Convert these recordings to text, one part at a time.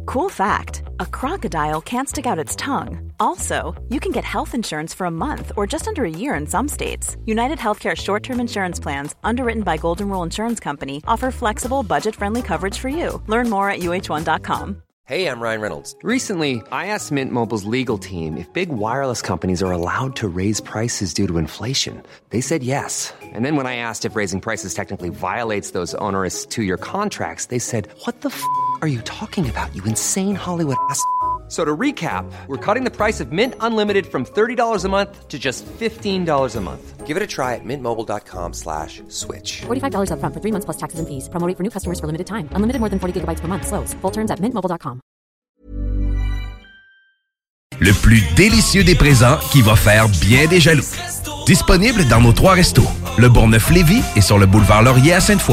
Cool fact, a crocodile can't stick out its tongue. Also, you can get health insurance for a month or just under a year in some states. United Healthcare short-term insurance plans, underwritten by Golden Rule Insurance Company, offer flexible, budget-friendly coverage for you. Learn more at uh1.com. Hey, I'm Ryan Reynolds. Recently, I asked Mint Mobile's legal team if big wireless companies are allowed to raise prices due to inflation. They said yes. And then when I asked if raising prices technically violates those onerous two-year contracts, they said, what the f*** are you talking about, you insane Hollywood ass f- So to recap, we're cutting the price of Mint Unlimited from $30 a month to just $15 a month. Give it a try at mintmobile.com/switch. $45 up front for 3 months plus taxes and fees. Promo rate for new customers for limited time. Unlimited more than 40 gigabytes per month. Slows full terms at mintmobile.com. Le plus délicieux des présents qui va faire bien des jaloux. Disponible dans nos 3 restos. Le Bourgneuf-Lévis et sur le boulevard Laurier à Sainte-Foy.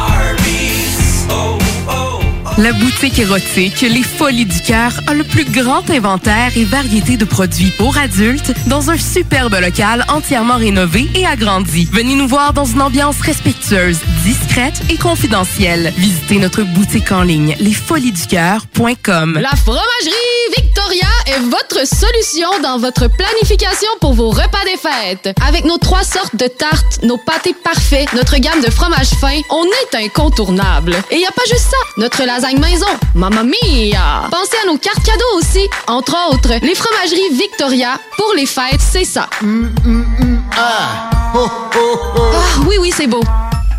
La boutique érotique Les Folies du Cœur a le plus grand inventaire et variété de produits pour adultes dans un superbe local entièrement rénové et agrandi. Venez nous voir dans une ambiance respectueuse, discrète et confidentielle. Visitez notre boutique en ligne lesfoliesducoeur.com. La fromagerie Victoria est votre solution dans votre planification pour vos repas des fêtes. Avec nos 3 sortes de tartes, nos pâtés parfaits, notre gamme de fromages fins, on est incontournable. Et il n'y a pas juste ça, notre lasagne maison, mamma mia! Pensez à nos cartes cadeaux aussi. Entre autres, les fromageries Victoria, pour les fêtes, c'est ça. Ah, oui, c'est beau.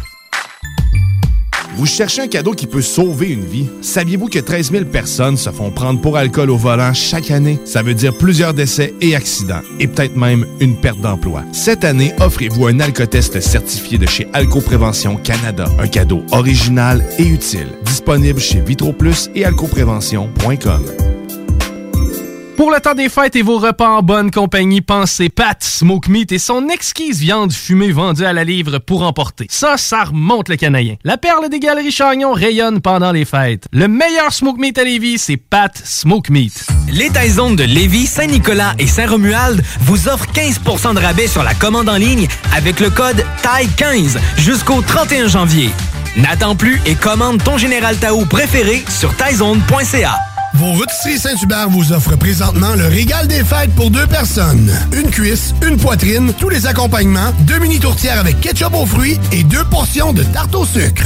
Vous cherchez un cadeau qui peut sauver une vie? Saviez-vous que 13 000 personnes se font prendre pour alcool au volant chaque année? Ça veut dire plusieurs décès et accidents, et peut-être même une perte d'emploi. Cette année, offrez-vous un alcotest certifié de chez Alcoprévention Canada. Un cadeau original et utile. Disponible chez VitroPlus et alcoprévention.com. Pour le temps des fêtes et vos repas en bonne compagnie, pensez Pat Smoke Meat et son exquise viande fumée vendue à la livre pour emporter. Ça remonte le canadien. La perle des Galeries Chagnon rayonne pendant les fêtes. Le meilleur Smoke Meat à Lévis, c'est Pat Smoke Meat. Les Taizones de Lévis, Saint-Nicolas et Saint-Romuald vous offrent 15% de rabais sur la commande en ligne avec le code TAI15 jusqu'au 31 janvier. N'attends plus et commande ton Général Tao préféré sur taizone.ca. Vos rôtisseries Saint-Hubert vous offrent présentement le régal des fêtes pour 2 personnes. Une cuisse, une poitrine, tous les accompagnements, 2 mini tourtières avec ketchup aux fruits et 2 portions de tarte au sucre.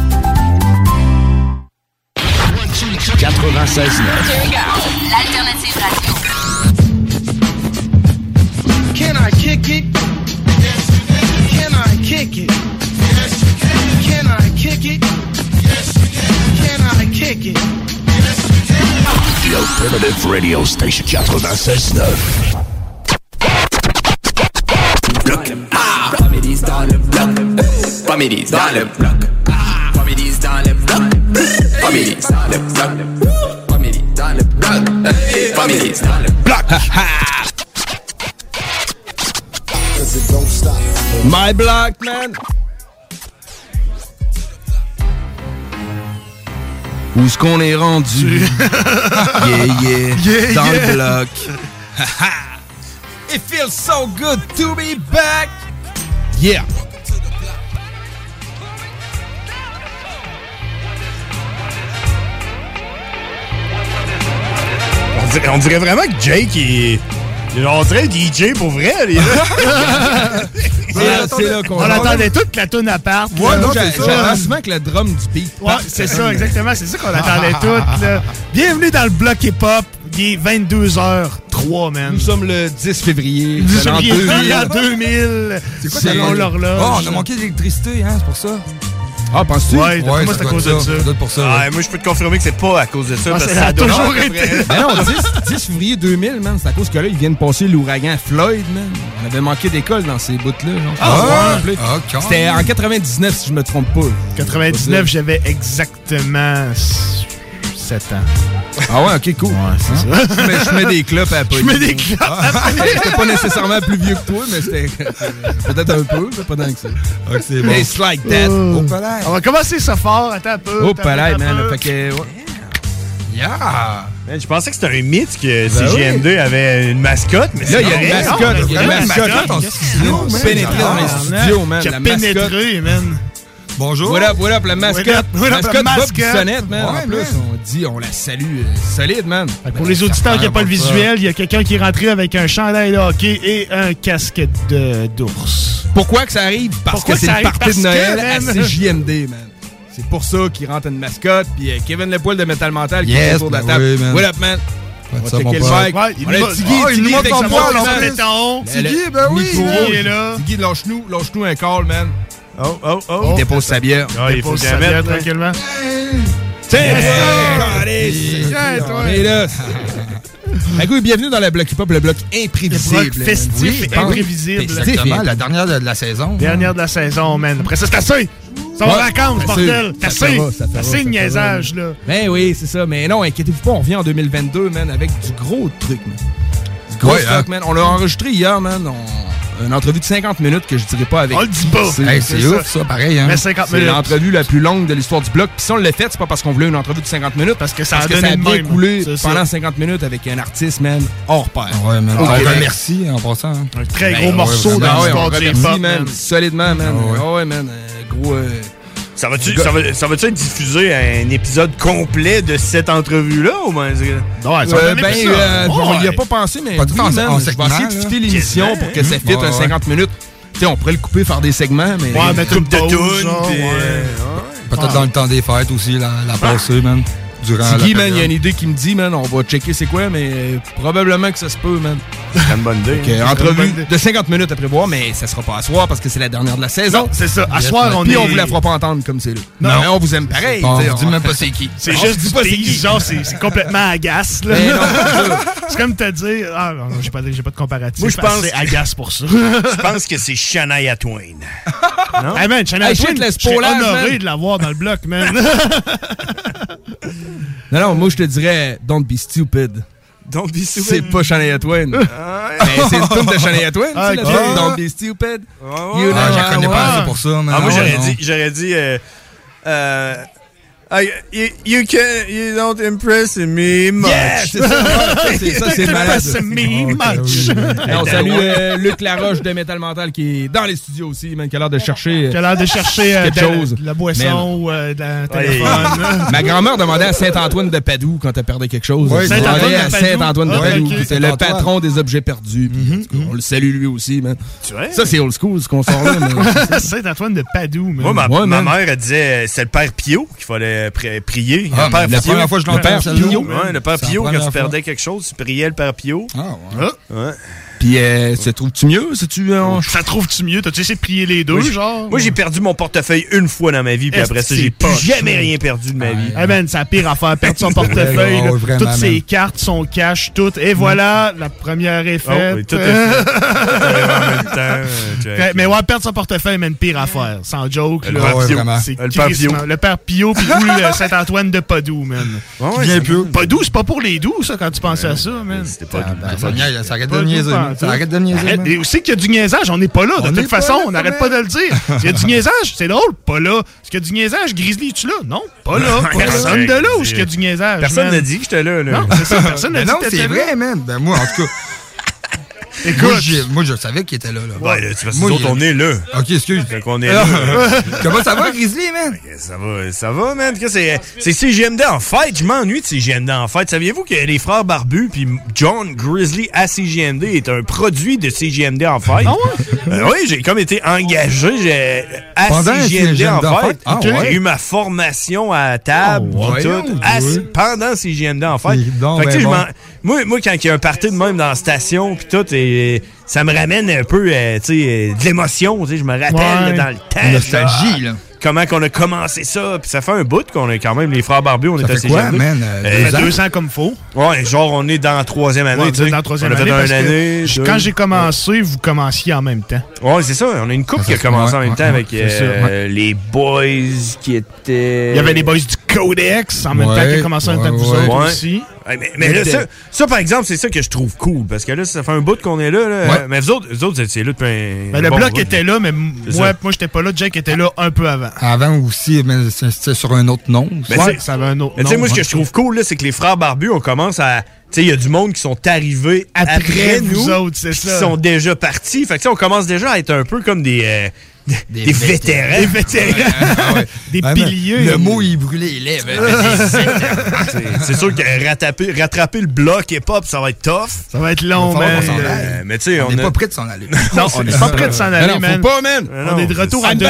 96.9. L'alternative radio. Can I kick it? Yes, you can. Can I kick it? Yes, you can. Can I kick it? Yes, you can. Can I kick it? The Alternative Radio Station 96.9. Bloc. Comédies dans le bloc. Comédies dans le bloc. Comédies dans le bloc. Comédies dans le bloc. Comédies dans le bloc. Comédies dans le bloc. My block, man. Où est-ce qu'on est rendu? yeah, dans le bloc. It feels so good to be back. Yeah. On dirait vraiment que Jake est... On dirait DJ pour vrai. C'est là qu'on... On attendait toute la toune à part. Ouais, j'attends souvent que le drum du beat. Ouais, c'est ça, exactement. C'est ça qu'on attendait toutes. Là. Bienvenue dans le bloc hip-hop. Il est 22h03, man. Nous sommes le 10 février. 2000. C'est quoi ça, l'horloge? Oh, on a manqué d'électricité, hein, c'est pour ça. Ah, penses-tu? Ouais, moi, c'est à cause de ça. Pour ça. Ouais. Moi, je peux te confirmer que c'est pas à cause de ça. Ah, parce que ça a toujours été. Mais non, 10 février 2000, man, c'est à cause que là, ils viennent passer l'ouragan Floyd, man. On avait manqué d'école dans ces bouts-là. Okay. C'était en 99, si je me trompe pas. 99, j'avais exactement 7 ans. Ah ouais, ok, cool. Ouais, c'est ça. Je mets des clopes à Pauline. Je mets des clopes à Pauline. J'étais pas nécessairement plus vieux que toi, mais c'était peut-être un peu, mais pas tant que ça. Ok, c'est bon. It's like that. On va commencer ça fort. Attends un peu. Oh, palais, man. Fait que... Yeah! Man, je pensais que c'était un mythe que CGM2 avait une mascotte, mais là, il y a une mascotte. Il y a une mascotte en studio. Pénétré dans les studios, man. Qui a pénétré, man. Bonjour. Voilà, la mascotte. Mascotte Bob Bissonnette, man. Ouais, en plus, on la salue solide, man. Pour les auditeurs qui n'ont pas le visuel, il y a quelqu'un qui est rentré avec un chandail de hockey et un casque d'ours. Pourquoi que ça arrive? Parce que c'est le party de Noël à man. CJMD, man. C'est pour ça qu'il rentre une mascotte, puis Kevin Lepoil de Metal Mental qui est autour de la ben table. oui, man. What up, man? On va ça, checker mon le pote. mic. Ouais, il On a nous Tiggy, il nous montre avec son sa poil, voix, on man. fait ton. Tiggy, ben oui. Nico, il est là. Tiggy, lâche-nous un call, man. Oh. Il dépose sa bière. Il dépose sa bière tranquillement. On est là. Bienvenue dans le bloc hip-hop, le bloc imprévisible. Le bloc festif et imprévisible. Exactement, la dernière de la saison. Dernière de la saison, man. Après ça, c'est assez. Ça va en vacances, bordel. C'est assez de niaisage, là. Ben oui, c'est ça. Mais non, inquiétez-vous pas, on revient en 2022, man, avec du gros truc, man. Du gros stock, man. On l'a enregistré hier, man. Une entrevue de 50 minutes que je dirais pas avec. On le dit pas. C'est ouf, ça, pareil. Hein? Mais 50 c'est minutes. l'entrevue la plus longue de l'histoire du bloc. Puis si on l'a fait, c'est pas parce qu'on voulait une entrevue de 50 minutes. Parce que ça a bien même coulé c'est pendant ça. 50 minutes avec un artiste, man, hors pair. Ouais, man. Okay. On remercie en passant. Hein. Un très gros morceau ouais, dans on l'histoire du remercie, hip-hop, man. Solidement, man. Ouais, man. Gros. Ça va-tu être diffusé un épisode complet de cette entrevue-là ou ben on n'y a pas pensé, mais Pas tout en je vais segment, essayer de fitter l'émission pour que ça fitte un 50 minutes. T'sais, on pourrait le couper, faire des segments, mais... Ouais, mettre une pause, Peut-être dans le temps des fêtes aussi, la passer, man. Durant Tiggy, la man, il y a période. une idée qui me dit, man, on va checker c'est quoi, mais probablement que ça se peut, man. C'est une bonne idée. Entrevue de 50 minutes à prévoir, mais ça sera pas à soir parce que c'est la dernière de la saison. Non, c'est ça. À soir, on Puis est... on vous la fera pas entendre comme c'est là. Non. Mais on vous aime pareil. On t'sais, dit même pas c'est qui. C'est On juste dit du pas c'est pays, qui. genre, c'est complètement agace, là. Mais non, C'est comme te dire... Ah, non, j'ai pas de comparatif. Moi, je pense- C'est agace pour ça. Je pense que c'est Shania Twain. Non? Hey, man, Shania Hey, Twain, shit, laisse je suis pas là, honoré man. de l'avoir dans le bloc, man. non, moi je te dirais Don't Be Stupid. Don't be stupid. C'est pas Shania Twain. Mais c'est une tune de Shania Twain, tu sais, la Ok. tune Don't Be Stupid. You know Je la connais how pas I- assez pour ça, man. Ah, moi, Non. j'aurais dit you don't impress me much. Yeah, c'est ça, c'est malade. C'est me much. Et on salue Luc Laroche de Metal Mental qui est dans les studios aussi, man, qui a l'air de chercher Qui a l'air de chercher quelque chose. de la boisson ou de la téléphone. Ma grand-mère demandait à Saint-Antoine de Padoue quand elle perdait quelque chose. Ouais, Elle Saint-Antoine demandait de à Padoue. Saint-Antoine de Ah, Padoue, ok. qui était le Saint-Antoine. patron des objets perdus. Puis, en tout cas, on le salue lui aussi, man. Tu vois? Ça, c'est old school, ce qu'on sort là. mais- Saint-Antoine de Padoue, man. Moi, Ouais, ma man. mère, elle disait c'est le père Pio qu'il fallait prier. Ah, le père la Pio. première fois que je Le l'entends, père celle-là. Pio. Ouais, le père C'est la Pio, quand première tu fois. perdais quelque chose, tu priais le père Pio. Ah, ouais. Ouais. Puis, se trouves-tu mieux? C'est-tu Ça trouve-tu mieux? T'as-tu essayé de plier les deux, genre? Moi, j'ai perdu mon portefeuille une fois dans ma vie, puis Est-ce après que ça, c'est j'ai plus poche, jamais man? rien perdu de ma vie. Hey man, c'est la pire affaire, perdre son portefeuille, Ouais, là. vraiment, Toutes ses man. cartes, son cash, tout. Et voilà, la première est Oh, faite. oui, tout est fait. en même temps. Mais ouais, perdre son portefeuille, mais une pire affaire. Sans joke, Le là. père Pio. vraiment. C'est Le père Pio. crissement. Le père Pio, puis ou le Saint-Antoine de Padoue, man. Ouais, Viens c'est- plus. Padoue, c'est pas pour les doux, ça, quand tu pensais à ça, man. C'était pas Ça arrête de Pas niaiser. tout man. Ça arrête de niaiser. Arrête, man. et aussi qu'il y a du niaisage, on n'est pas là. De On toute n'est pas façon, là, on n'arrête quand pas de le dire. S'il y a du niaisage, c'est drôle, pas là. Est-ce qu'il y a du niaisage, Grizzly, es-tu là? Non, pas là. Personne de là où il y a du niaisage. Personne man. n'a dit que j'étais là. Non, c'est ça, personne n'a Mais dit non, que t'étais c'est là. vrai, man. Ben, moi, en tout cas. Écoute, Moi, je savais qu'il était là. Ouais, là, tu vas Moi, nous autres, on est là. Ok, excuse. Fait qu'on est là. Comment ça va, Grizzly, man? Ça va, man. C'est CGMD en fête. Je m'ennuie de CGMD en fête. Saviez-vous que les frères Barbus puis John Grizzly à CGMD est un produit de CGMD en fête? Ah ouais? Oui, j'ai comme été engagé à Pendant CGMD en en fête. fête? Ah J'ai ouais? eu ma formation à table Ah ouais? tout, Ouais. pendant CGMD en fête. C'est donc Fait que, tu sais, ben je bon. moi, quand il y a un party de même dans la station puis tout, ça me ramène un peu, tu sais, de l'émotion. Tu sais, je me rappelle Ouais. là, dans le temps. Nostalgie, là. Comment qu'on a commencé ça, puis ça fait un bout qu'on est quand même les frères Barbus, on Ça est à fait quoi, CGMD. man? ça fait 2 ans comme faut. Ouais, genre on est dans la troisième année, Ouais, tu sais. dans la troisième on a fait année, parce une que année, deux. quand j'ai commencé, vous commenciez en même temps. Ouais, c'est ça, on a une couple qui a commencé en même temps avec c'est ça, les boys qui étaient... Il y avait les boys du Codex en même temps qui a commencé en même temps que vous autres aussi. Ouais, mais là, ça, par exemple, c'est ça que je trouve cool, parce que là, ça fait un bout qu'on est là. Ouais. Mais vous autres, c'est là depuis un Ben, le bon bloc bout. était là, mais C'est moi, ça. j'étais pas là. Jake était là un peu avant. Avant aussi, mais c'était sur un autre nom. Ben, Ouais, c'est- ça avait un autre Mais tu sais, nom, moi, ce que ouais. je trouve cool, là, c'est que les frères Barbus, on commence à... Tu sais, il y a du monde qui sont arrivés Après après vous nous, autres, c'est qui ça. sont déjà partis. Fait que, tu sais, on commence déjà à être un peu comme des Des vétérans. Des vétérans. Des piliers. Le mot, il brûlait les lèvres. C'est sûr que rattraper le bloc hip-hop, ça va être tough. Ça va être long, man. Mais tu sais, on n'est pas prêt de s'en aller. Non, on n'est pas prêt de s'en aller, man. Faut pas, man. On est de retour en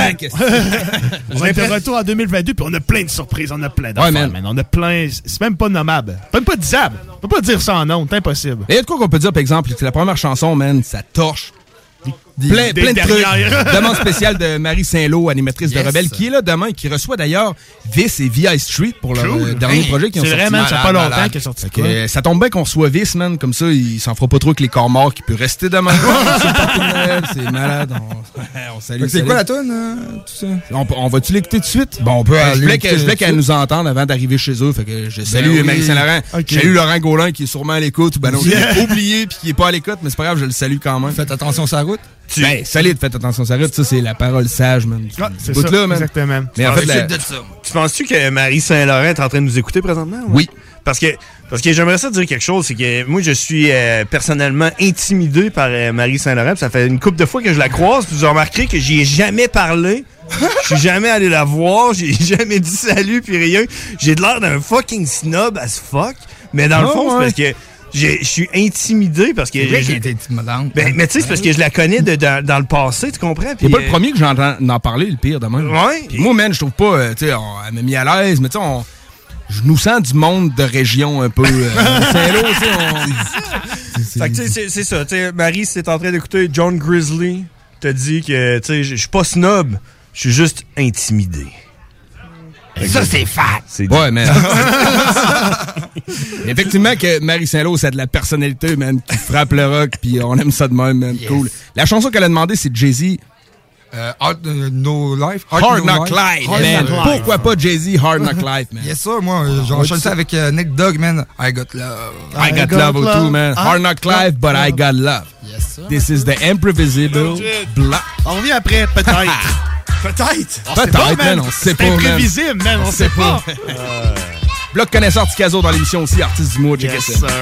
2022, puis on a plein de surprises. On a plein d'affaires, man. On a plein... C'est même pas nommable. Même pas disable. On peut pas dire ça en nom. C'est impossible. Et il y a de quoi qu'on peut dire, par exemple, c'est la première chanson, man, ça torche. Plein de trucs. Demande spéciale de Marie Saint-Lô, animatrice de Rebelle, qui est là demain et qui reçoit d'ailleurs Vice et VI Street pour leur dernier projet qui ont sorti. C'est vraiment, ça fait pas longtemps qu'il est sorti. Ça tombe bien qu'on soit Vice, man. Comme ça, il s'en fera pas trop que les corps morts qui peut rester demain. C'est malade. On salue. C'est quoi la toune, tout ça? On va-tu l'écouter tout de suite? Bon, on peut Je voulais qu'elle nous entende avant d'arriver chez eux. Fait que je salue Marie Saint-Laurent. Je salue Laurent Gaulin qui est sûrement à l'écoute. Ben non, il est oublié puis qui est pas à l'écoute, mais c'est pas grave, je le salue quand même. Faites attention sur la route. Ben, solide, faites attention, ça arrive. Ça, c'est la parole sage, man. C'est ça, là, man. Exactement. Mais en fait, tu penses-tu que Marie Saint-Laurent est en train de nous écouter présentement? Oui. Parce que j'aimerais ça dire quelque chose, c'est que moi, je suis personnellement intimidé par Marie Saint-Laurent. Ça fait une couple de fois que je la croise, puis vous remarquerez que j'y ai jamais parlé. Je suis jamais allé la voir, j'ai jamais dit salut, puis rien. J'ai de l'air d'un fucking snob as fuck. Mais dans le fond, c'est parce que je suis intimidé parce que... C'est vrai qu'elle était intimidante. Mais tu sais, c'est parce que je la connais dans le passé, tu comprends? C'est pas le premier que j'entends en parler, le pire de même. Ouais. Puis moi, man, je trouve pas... tu sais, elle m'a mis à l'aise, mais tu sais, je nous sens du monde de région un peu... Saint-Lô, tu sais, Fait que tu sais, c'est ça. Tu sais, Marie, si t'es en train d'écouter John Grizzly, te dit que, tu sais, je suis pas snob, je suis juste intimidé. Ça, c'est fat. Ouais, man. Effectivement que Marie Saint-Lô, ça a de la personnalité, man, qui frappe le rock, puis on aime ça de même, man. Yes. Cool. La chanson qu'elle a demandé, c'est Jay-Z. No Life. Hard Knock Life, man. Pourquoi pas Jay-Z, Hard Knock Life, man? Yes, sir, moi, j'enchaîne ça avec Nick Dogg, man. I got love. I got love too, man. Hard Knock Life, but I got love. Yes, sir. This is the imprevisible block. On revient après, peut-être. Peut-être, man, on sait pas. C'est imprévisible, man, on sait pas. Bloc connaisseur Ticazo dans l'émission aussi, artiste du mois, check yes, ça.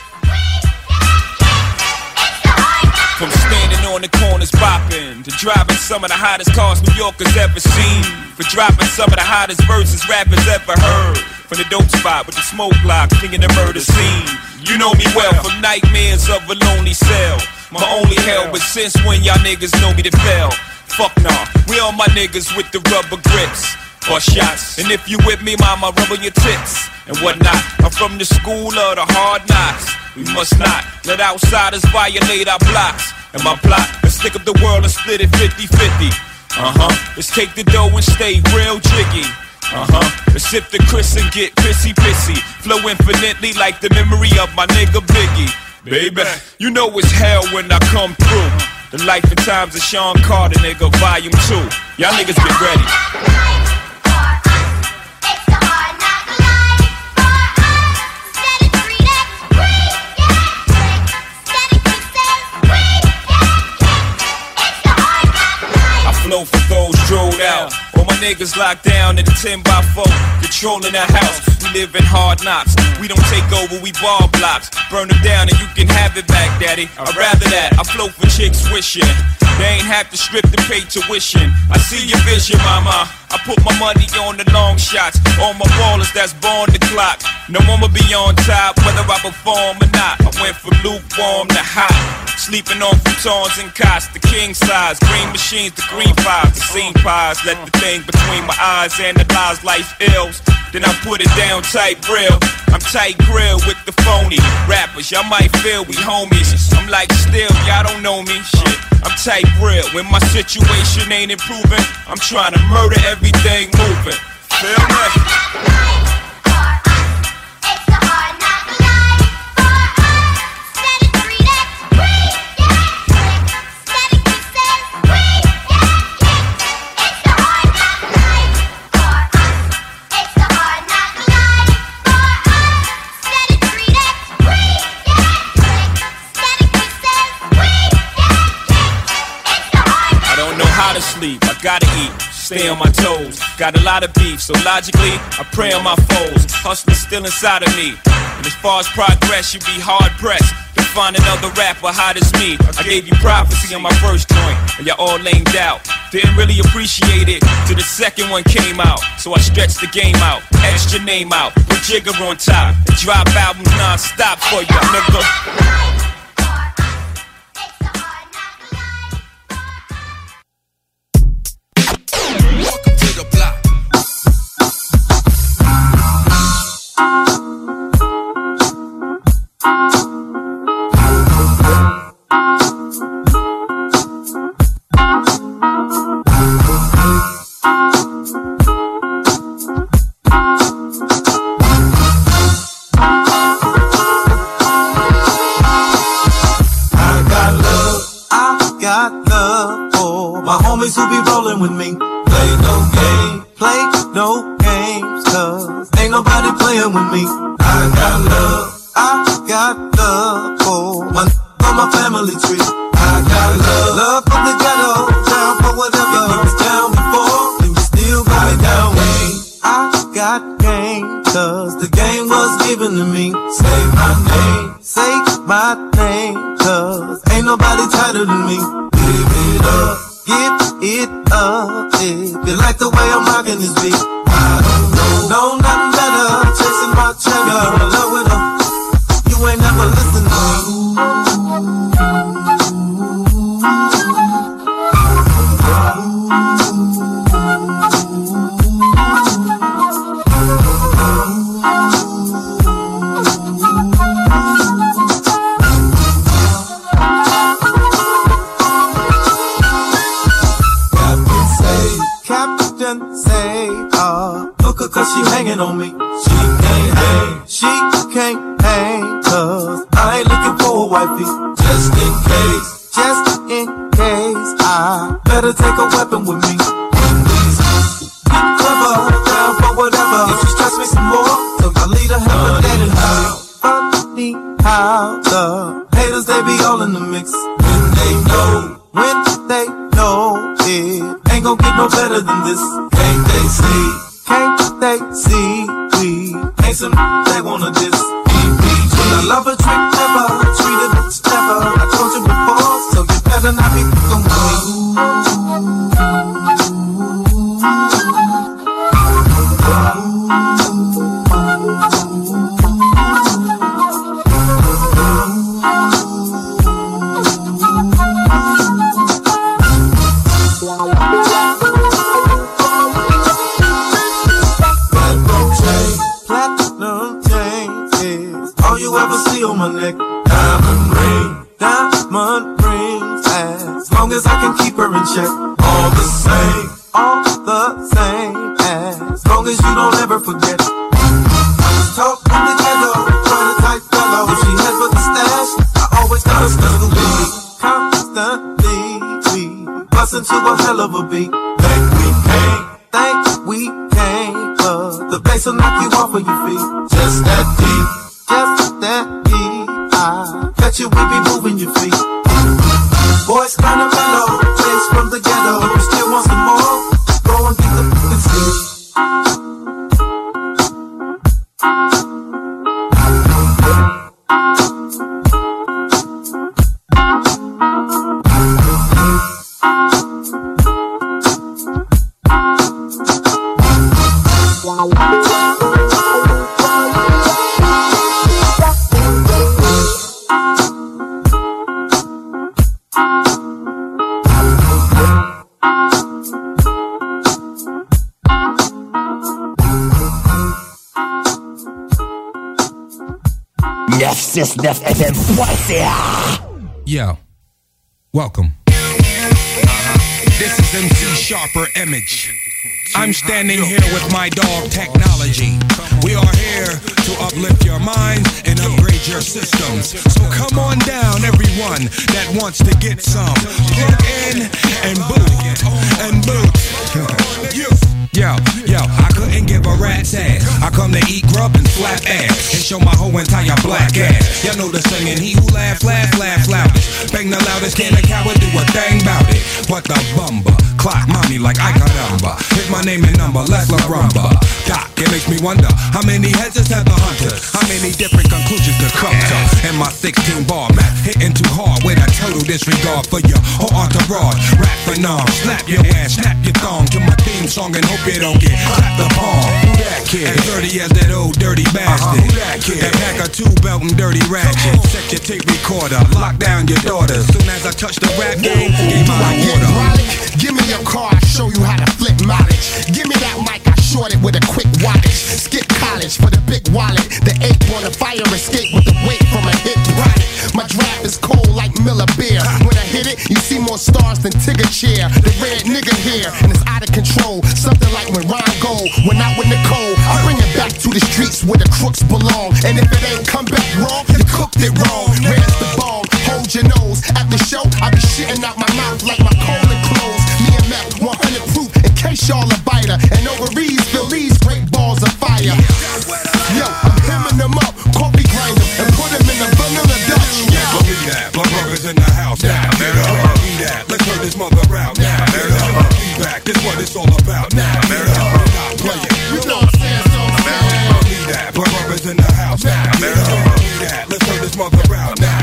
From standing on the corners popping to driving some of the hottest cars New Yorkers ever seen, for dropping some of the hottest verses rappers ever heard. From the dope spot with the smoke block, cleaning the murder scene. You know me well from nightmares of a lonely cell. My only hell, but since when y'all niggas know me to fail? Fuck nah, we all my niggas with the rubber grips. Or shots, and if you with me, mama, rub on your tits and whatnot. I'm from the school of the hard knocks. We must not let outsiders violate our blocks. And my plot is stick up the world and split it 50-50. Let's take the dough and stay real jiggy. Let's sip the Chris and get pissy. Flow infinitely like the memory of my nigga Biggie. Baby, you know it's hell when I come through. The life and times of Sean Carter, nigga, volume 2. Y'all niggas get ready. Flow for those drilled out. All my niggas locked down in a 10x4, controlling the house. We live in hard knocks. We don't take over, we ball blocks. Burn them down and you can have it back, daddy. I'd rather that. I flow for chicks wishing they ain't have to strip to pay tuition. I see your vision, mama. I put my money on the long shots. All my ballers that's born the clock. No one will be on top, whether I perform or not. I went from lukewarm to hot. Sleeping on futons and cots, the king size. Green machines, the green fives, the scene pies. Let the thing between my eyes analyze life ills. Then I put it down tight real. I'm tight grill with the phony rappers. Y'all might feel we homies. I'm like still, y'all don't know me. Shit, I'm tight real. When my situation ain't improving, I'm trying to murder everything moving. Feel me? Sleep, I gotta eat, stay on my toes. Got a lot of beef, so logically, I prey on my foes. Hustling still inside of me. And as far as progress, you be hard pressed to find another rapper hot as me. I gave you prophecy on my first joint, and y'all all lamed out. Didn't really appreciate it till the second one came out. So I stretched the game out, etched your name out, put Jigger on top, and drop albums non-stop for you, nigga. Who be rolling with me? Play no games, cause ain't nobody playing with me. I got love for my family tree. I got love for the ghetto, down for whatever. You was down before, and you still got it down with me. I got game, cause the game was given to me. Say my name, cause ain't nobody tighter than me. Give it up. Give it up if you like the way I'm rocking this beat. I don't know nothing better. Chasing my cheddar, in love with her. You ain't never listened to cause she hanging on me. She can't hang, cause I ain't looking for a wifey. Just in case, I better take a weapon with me. Please, get clever, down for whatever. If you stress me some more, so I lead a hell of that and funny how the haters, they be all in the mix. When they know it ain't gon' get no better than this. Can't they see we ain't some they wanna diss. When I love a trick, never treat it never. I told you before, so you better not be fucking with on my neck, diamond rings, as long as I can keep her in check. All the same, as long as you don't ever forget. I was taught from the ghetto, trying to type fellow. If she head for the stash, I always got a special beat. Constantly, we bust into a hell of a beat. Think we came, but the bass will knock you off of your feet. Just that deep. I bet you we be moving your feet. Boys kinda mellow, taste from the ghetto. If you still want some more, go and get the fucking seat. Yo, welcome. This is MC Sharper Image. I'm standing here with my dog Technology. We are here to uplift your minds and upgrade your systems. So come on down, everyone that wants to get some. Plug in and boot. And boot. Yo, I couldn't give a rat's ass. I come to eat grub and slap ass and show my whole entire black ass. Y'all know the singing, he who laughs, loudest. Bang the loudest, can a coward do a thing about it? What the bumba? Clock mommy like I got number. Here's my name and number, Leslie Rumba. Doc, it makes me wonder how many heads have the hunters? How many different conclusions to come to? And my 16 bar map hitting too hard with a total disregard for your whole entourage. Rap phenom, slap your ass, snap your thong to my theme song and hope you don't get clapped the palm. Who that kid? As dirty as that old dirty bastard. Who that kid? That pack of 2 belt and dirty ratchet. Set your tape recorder, lock down your daughter. Soon as I touch the rap game, give my water. Give me your car, I show you how to flip mileage. Give me that mic, I short it with a quick wattage. Skip college for the big wallet. The ape on the fire escape with the weight from a hit riot. My draft is cold like Miller beer. When I hit it, you see more stars than Tigger chair. The red nigga here, and it's out of control. Something like when Ron Gold went out with Nicole. I bring it back to the streets where the crooks belong. And if it ain't come back wrong, you cooked it wrong. Where's the bomb? Hold your nose. At the show, I be shitting out my mouth like my colon closed. Me and Mac, 100 proof in case y'all a biter. And ovaries fill these great balls of fire. Yo, I'm hemming them up, coffee grind them, and put them in the vanilla Dutch. Believe that, my brother's in the house now. Believe that, let's turn this mother out now. Be back, this what it's all about now. Not playing, you know what I'm saying? Believe that, my brother's in the house now. Believe that, let's turn this mother out now.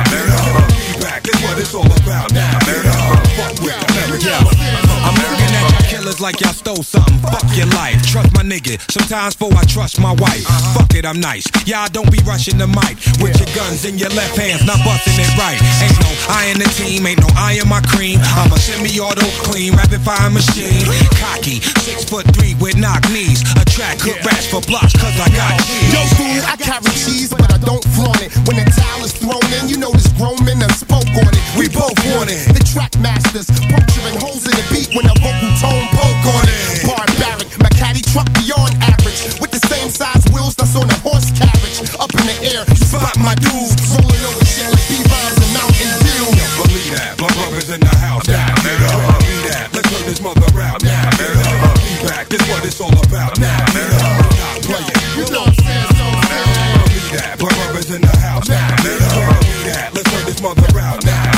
Be back, this what it's all about now. Fuck with America. I'm looking at y'all killers like y'all stole something. Fuck your life, trust my nigga. Sometimes before I trust my wife. Fuck it, I'm nice. Y'all don't be rushing the mic with your guns in your left hands, not busting it right. Ain't no I in the team, ain't no I in my cream. I'm a semi-auto clean, rapid fire machine. Cocky, 6'3" with knock knees. Attract good rats for blocks, cause I got cheese. Yo, fool, I carry cheese, but I don't flaunt it. When the towel is thrown in, you know this grown men done spoke on it. We both want it. The track masters, puncturing holes in the beat when a vocal tone poke on it. Barbaric, my caddy truck beyond average. With the same size wheels that's on a horse carriage. Up in the air, you spot my dudes. Rolling over shit like B-Rhymes and Mountain Dew. Believe that, my brother's in the house now. Believe that, let's turn this mother out now. Be back, this what it's all about now. Not playing, you know what I'm saying? Believe that, my brother's in the house now. Believe that, let's turn this mother out now.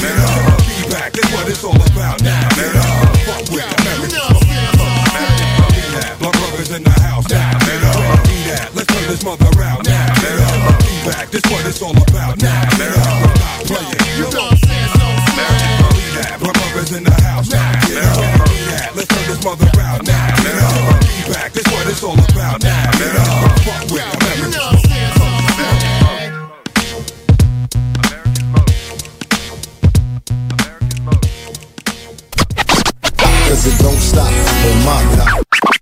Be back, this what it's all about now. Fuck with America. Believe that, my brother's in the house now. Believe that, let's turn this mother out now. Be back, this what it's all about now. Not playing, you know what I'm saying? Believe that, my brother's in the house now. Believe that, let's turn this mother out now. Be back, this what it's all about now. Fuck with America. Cause it don't stop on my top.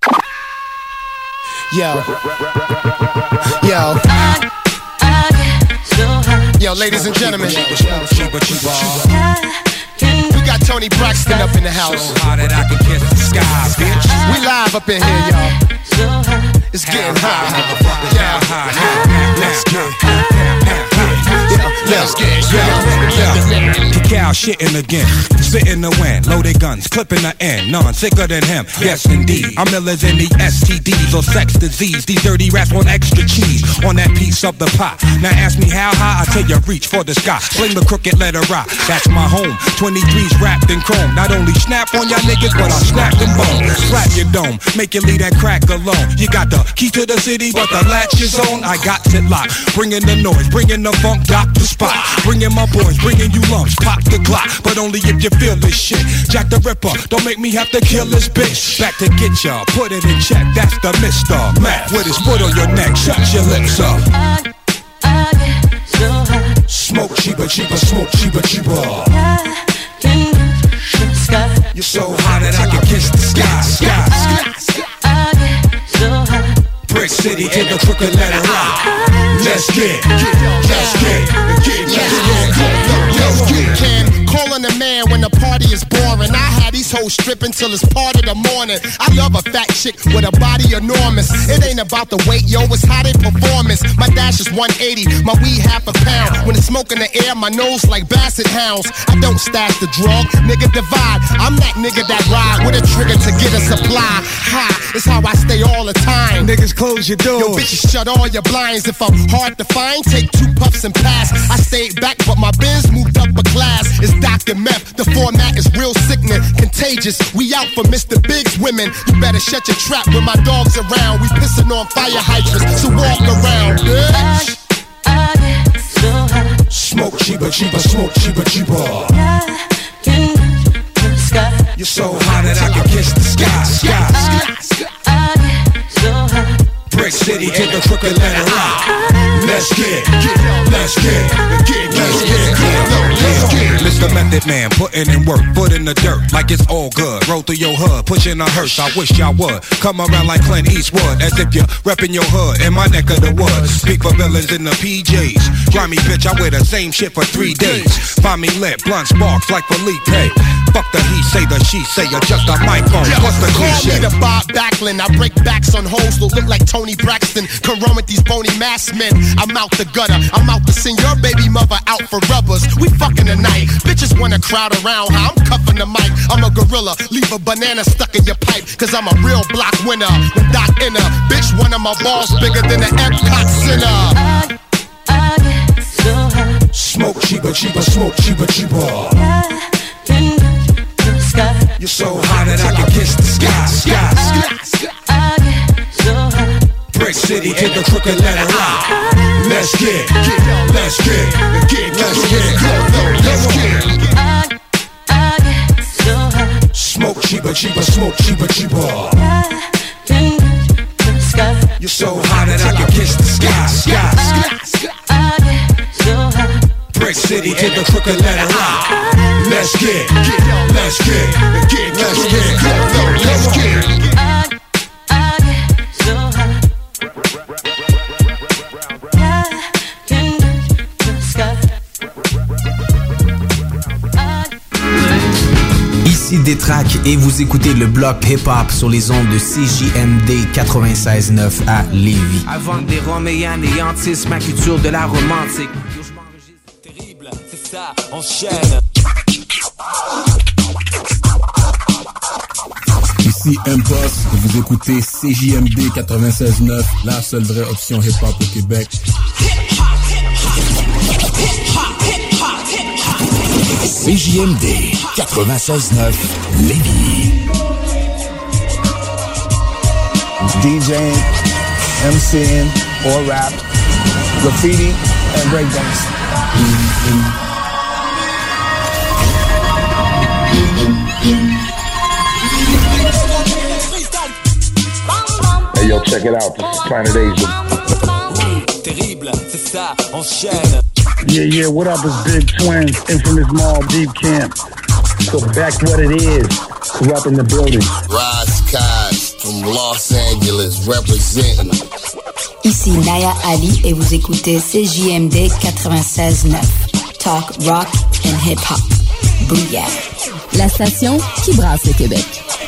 Yo, ladies and gentlemen, we got Tony Braxton up in the house. We live up in here, y'all. It's getting hot. Let's get Cacao shitting again, spitting the wind, loaded guns, clipping the end, none sicker than him, yes indeed. I'm Miller's in the STDs or sex disease. These dirty rats want extra cheese on that piece of the pot. Now ask me how high, I tell you reach for the sky. Sling the crooked letter rock, that's my home. 23's wrapped in chrome. Not only snap on y'all niggas, but I snap them bones. Slap your dome, make you leave that crack alone. You got the key to the city, but the latch is on. I got it locked, bringing the noise, bringing the funk, dock the spot. Bringing my boys, bringing you lumps, pop the Glock, but only if you feel this shit. Jack the Ripper, don't make me have to kill this bitch. Back to get ya, put it in check, that's the Mr. Mac. With his foot on your neck, shut your lips up. Smoke cheaper, cheaper, smoke cheaper, cheaper. You're so hot that I can kiss the sky. Brick City to the crooked letter rock. Let's get. Calling a man when the party is boring. I had these toes stripping till it's part of the morning. I love a fat chick with a body enormous. It ain't about the weight, yo, it's how they performance. My dash is 180, my weed half a pound. When it's smoke in the air, my nose like basset hounds. I don't stash the drug, nigga divide. I'm that nigga that ride with a trigger to get a supply. High, it's how I stay all the time. Niggas close your doors. Yo, bitches shut all your blinds. If I'm hard to find, take 2 puffs and pass. I stayed back, but my Benz moved up a class. It's Dr. Meth, the format is real sickening, contagious. We out for Mr. Big's women. You better shut your trap when my dog's around. We pissing on fire hydrants, so walk around, bitch. I get so high. Smoke cheaper, cheaper, smoke cheaper, cheaper. You're so high that I can kiss the sky, sky. I get so high. Brick City to the crooked letter rock. Let's get. Mr. Method Man, putting in work, foot in the dirt, like it's all good. Roll through your hood, pushing a hearse. I wish y'all would come around like Clint Eastwood, as if you're repping your hood in my neck of the woods. Speak for villains in the PJs. Grimy bitch, I wear the same shit for 3 days. Find me lit, blunt sparks like Felipe. Fuck the he say, the she say, adjust the microphone. What's the cliche? Call me the Bob Backlund. I break backs on hoes that look like Tony Braxton. Come run with these bony masked men. I'm out the gutter. I'm out to send your baby mother out for rubbers. We fucking tonight. Bitches wanna crowd around how I'm cuffing the mic. I'm a gorilla. Leave a banana stuck in your pipe. Cause I'm a real block winner. With Doc Inner. Bitch, one of my balls bigger than the Epcot Center. I get so high. Smoke cheaper, cheaper, smoke cheaper, cheaper. You're so high that I can kiss the sky, sky. I get so high. Brick City to the crooked letter rock. Let's get. I get so high. Smoke cheaper, cheaper, smoke cheaper, cheaper. You're so high that I can kiss the sky, sky. I get so high. Brick City to the crooked letter rock. Let's get. I get so high. Ici Détrac et vous écoutez le bloc hip-hop sur les ondes de CJMD 96.9 à Lévis. Avant que des Roméens néantissent ma culture de la romantique. Terrible, c'est ça, enchaîne. Ici M-Boss et vous écoutez CJMD 96.9, la seule vraie option hip-hop au Québec. CJMD 96.9 Lévis. DJing, MCing, or rap, graffiti, and breakdance. Hey yo, check it out. This is Planet Asia. Terrible, c'est ça, enchaîne. Yeah, what up? It's Big Twins, Infamous Mall, Deep Camp. So back what it is, Corrupt in the building. Rise Cos from Los Angeles, representing. Ici Naya Ali et vous écoutez CJMD 96.9. Talk, rock and hip-hop. Booyah. La station qui brasse le Québec.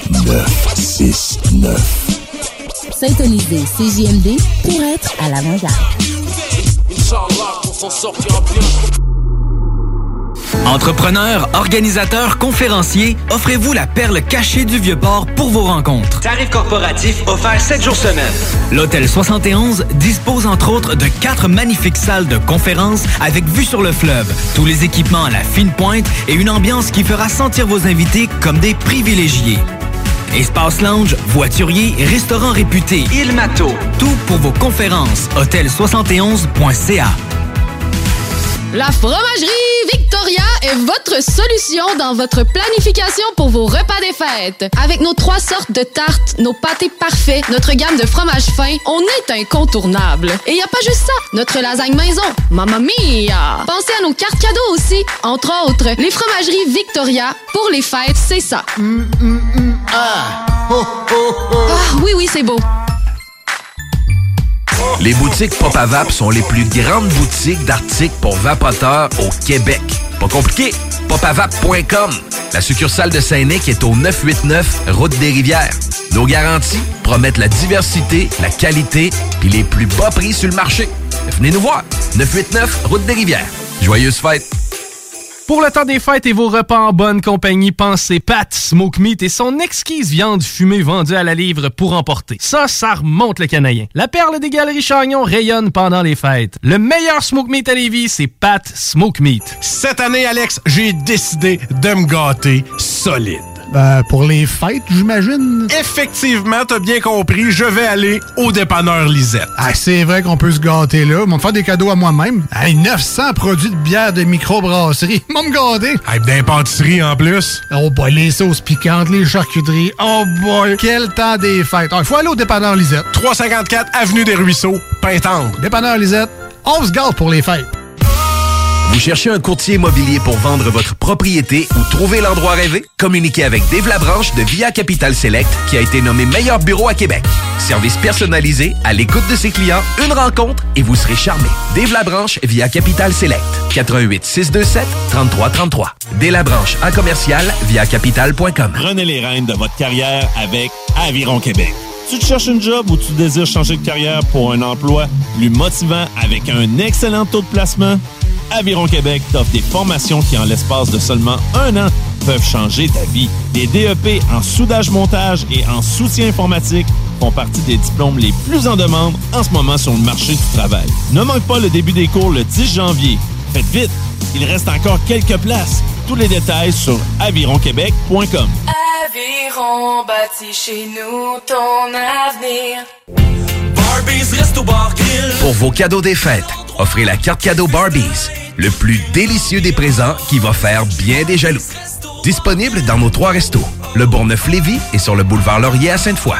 969. Syntonisez CJMD pour être à l'avant-garde. Entrepreneurs, organisateurs, conférenciers, offrez-vous la perle cachée du Vieux-Port pour vos rencontres. Tarif corporatif offert 7 jours semaine. L'Hôtel 71 dispose entre autres de 4 magnifiques salles de conférences avec vue sur le fleuve, tous les équipements à la fine pointe et une ambiance qui fera sentir vos invités comme des privilégiés. Espace lounge, voiturier, restaurant réputé, Il Mato. Tout pour vos conférences. Hôtel71.ca. La fromagerie Victoria est votre solution dans votre planification pour vos repas des fêtes. Avec nos 3 sortes de tartes, nos pâtés parfaits, notre gamme de fromages fins, on est incontournable. Et y a pas juste ça, notre lasagne maison, mamma mia! Pensez à nos cartes cadeaux aussi. Entre autres, les fromageries Victoria, pour les fêtes, c'est ça. Ah, oui, c'est beau. Les boutiques Pop à Vape sont les plus grandes boutiques d'articles pour vapoteurs au Québec. Pas compliqué, popavape.com. La succursale de Saint-Nic est au 989 Route des Rivières. Nos garanties promettent la diversité, la qualité puis les plus bas prix sur le marché. Venez nous voir. 989 Route des Rivières. Joyeuses fêtes! Pour le temps des fêtes et vos repas en bonne compagnie, pensez Pat Smoke Meat et son exquise viande fumée vendue à la livre pour emporter. Ça remonte le canadien. La perle des Galeries Chagnon rayonne pendant les fêtes. Le meilleur Smoke Meat à Lévis, c'est Pat Smoke Meat. Cette année, Alex, j'ai décidé de me gâter solide. Pour les fêtes, j'imagine. Effectivement, t'as bien compris, je vais aller au dépanneur Lisette. Ah, c'est vrai qu'on peut se gâter là. Ils vont me faire des cadeaux à moi-même. Hey, 900 produits de bière de microbrasserie. Ils vont me gâter. Hey, d'impantisserie en plus. Oh boy, les sauces piquantes, les charcuteries. Oh boy, quel temps des fêtes. Il faut aller au dépanneur Lisette. 354 Avenue des Ruisseaux, Pintendre. Dépanneur Lisette, on se gâte pour les fêtes. Vous cherchez un courtier immobilier pour vendre votre propriété ou trouver l'endroit rêvé? Communiquez avec Dave Labranche de Via Capital Select qui a été nommé meilleur bureau à Québec. Service personnalisé, à l'écoute de ses clients, une rencontre et vous serez charmé. Dave Labranche via Capital Select. 88 627 3333. Dave Labranche en commercial via capital.com. Prenez les rênes de votre carrière avec Aviron Québec. Tu te cherches une job ou tu désires changer de carrière pour un emploi plus motivant avec un excellent taux de placement? Aviron Québec t'offre des formations qui, en l'espace de seulement 1 an, peuvent changer ta vie. Des DEP en soudage-montage et en soutien informatique font partie des diplômes les plus en demande en ce moment sur le marché du travail. Ne manque pas le début des cours le 10 janvier. Faites vite, il reste encore quelques places. Tous les détails sur avironquebec.com. Aviron bâtit chez nous ton avenir. Pour vos cadeaux des fêtes, offrez la carte cadeau Barbies, le plus délicieux des présents qui va faire bien des jaloux. Disponible dans nos 3 restos, le Bourgneuf-Lévis et sur le boulevard Laurier à Sainte-Foy.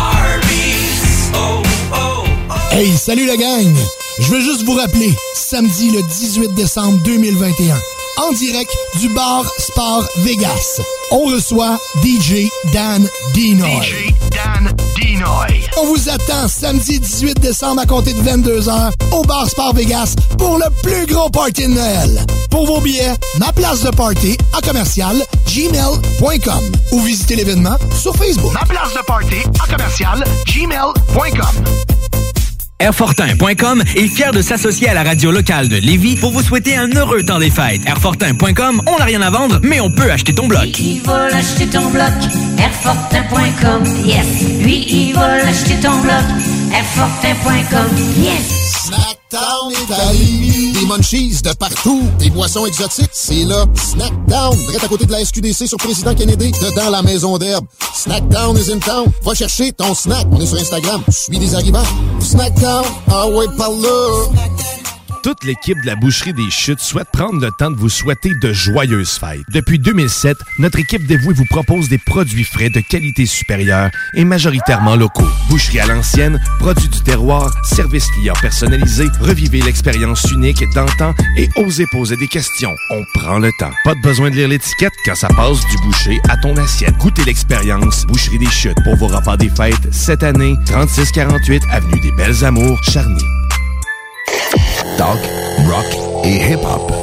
Hey, salut la gang! Je veux juste vous rappeler, samedi le 18 décembre 2021, en direct du bar Sport Vegas, on reçoit DJ Dan Dinoy. On vous attend samedi 18 décembre à compter de 22h au bar Sport Vegas pour le plus gros party de Noël. Pour vos billets, ma place de party en commercial gmail.com ou visitez l'événement sur Facebook. Ma place de party en commercial gmail.com. Airfortin.com est fier de s'associer à la radio locale de Lévis pour vous souhaiter un heureux temps des fêtes. Airfortin.com, on n'a rien à vendre, mais on peut acheter ton bloc. Lui, il va l'acheter ton bloc. Airfortin.com, yes. Lui, il va l'acheter ton bloc. Airfortin.com, yes. Snackdown Italie. Des munchies de partout. Des boissons exotiques. C'est là. Snackdown. Direct à côté de la SQDC sur Président Kennedy. Dedans la maison d'herbe. Snackdown is in town. Va chercher ton snack. On est sur Instagram. Suis des arrivants. Snackdown. Ah ouais, par là. Toute l'équipe de la Boucherie des Chutes souhaite prendre le temps de vous souhaiter de joyeuses fêtes. Depuis 2007, notre équipe dévouée vous propose des produits frais de qualité supérieure et majoritairement locaux. Boucherie à l'ancienne, produits du terroir, service client personnalisé, revivez l'expérience unique d'antan et osez poser des questions. On prend le temps. Pas de besoin de lire l'étiquette quand ça passe du boucher à ton assiette. Goûtez l'expérience Boucherie des Chutes pour vos repas des fêtes cette année. 3648 Avenue des Belles Amours, Charny. Talk, rock et hip-hop.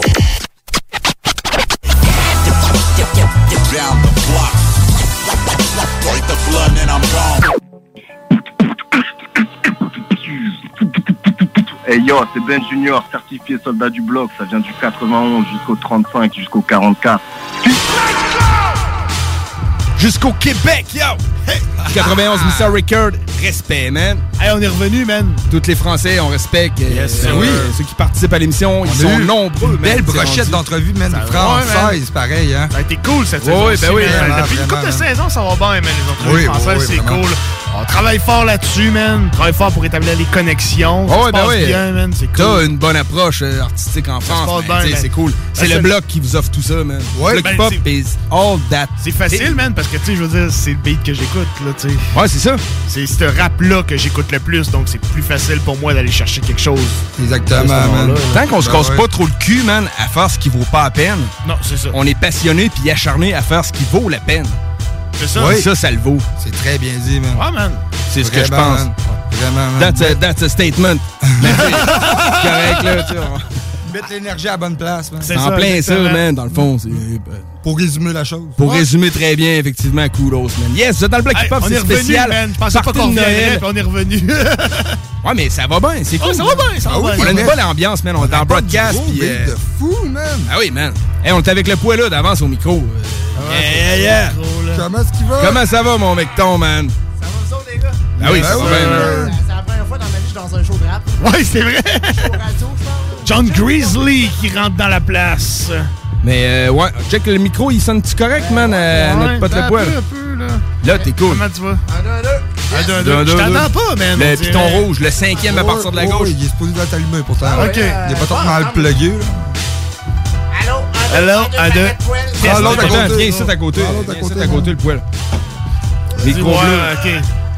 Hey yo, c'est Ben Junior, certifié soldat du bloc. Ça vient du 91 jusqu'au 35, jusqu'au 44. Jusqu'au Québec, yo! Hey! 91 Mr. Record, respect, man. Hey, on est revenu, man. Tous les Français, on respecte. Yes, oui. Ceux qui participent à l'émission, ils sont nombreux, man. Belle brochette d'entrevue, man. Française, pareil, hein. Ça a été cool cette saison. Oui, ben oui. Depuis une couple de saisons, ça va bien, man. Les entrevues françaises, c'est vraiment cool. On travaille fort là-dessus, man. On travaille fort pour établir les connexions. Ça se passe bien, man. C'est cool. T'as une bonne approche artistique en France. C'est cool. C'est le bloc qui vous offre tout ça, man. Ouais, Bloc Pop is all that. C'est facile, man, parce que, tu sais, je veux dire, c'est le beat que j'écoute, là, tu sais. Ouais, c'est ça. C'est ce rap-là que j'écoute le plus, donc c'est plus facile pour moi d'aller chercher quelque chose. Exactement, man. Tant qu'on se casse pas trop le cul, man, à faire ce qui vaut pas la peine. Non, c'est ça. On est passionné puis acharné à faire ce qui vaut la peine. C'est ça. Oui. Ça le vaut. C'est très bien dit, man. Ouais, man. C'est ce que je pense. Man. Vraiment, man. That's a statement. C'est correct, là, tu vois. Mettre l'énergie à la bonne place, man. C'est en plein ça, man, dans le fond. Pour résumer la chose. Pour résumer très bien, effectivement, kudos, man. Yes, vous êtes dans le bloc hip-hop, c'est spécial. Man. Je pensais pas qu'on reviendrait, puis on est revenu. Ouais, mais ça va bien, c'est cool. Ça va bien, ça va bien. On a une bonne ambiance, man. On est en broadcast. Puis, de fou, man. Ah oui, man. Hey, on est avec le poids là d'avance au micro. Yeah. Comment est-ce qu'il va? Comment ça va, mon mecton, man? Ça va, vous autres, les gars? Ah oui, ça va bien, man. C'est la première fois dans ma vie que je suis dans un show de rap. Ouais, c'est vrai. Show radio, je pense. John Grizzly qui rentre dans la place. Mais ouais, check le micro, il sonne-tu correct, man, notre pote le poil? Un peu, là. Là, t'es cool. Comment tu vas? 1, 2, 1, 2. Je t'entends pas, man. Le piton rouge, le 5e à partir de la gauche. Il est supposé d'être allumé, pourtant. OK. Il est pas trop mal plugué, là. Allô, 1, 2. Ah, l'autre à côté. Viens ici à côté. Viens ici à côté, le poil. Micro bleu. OK.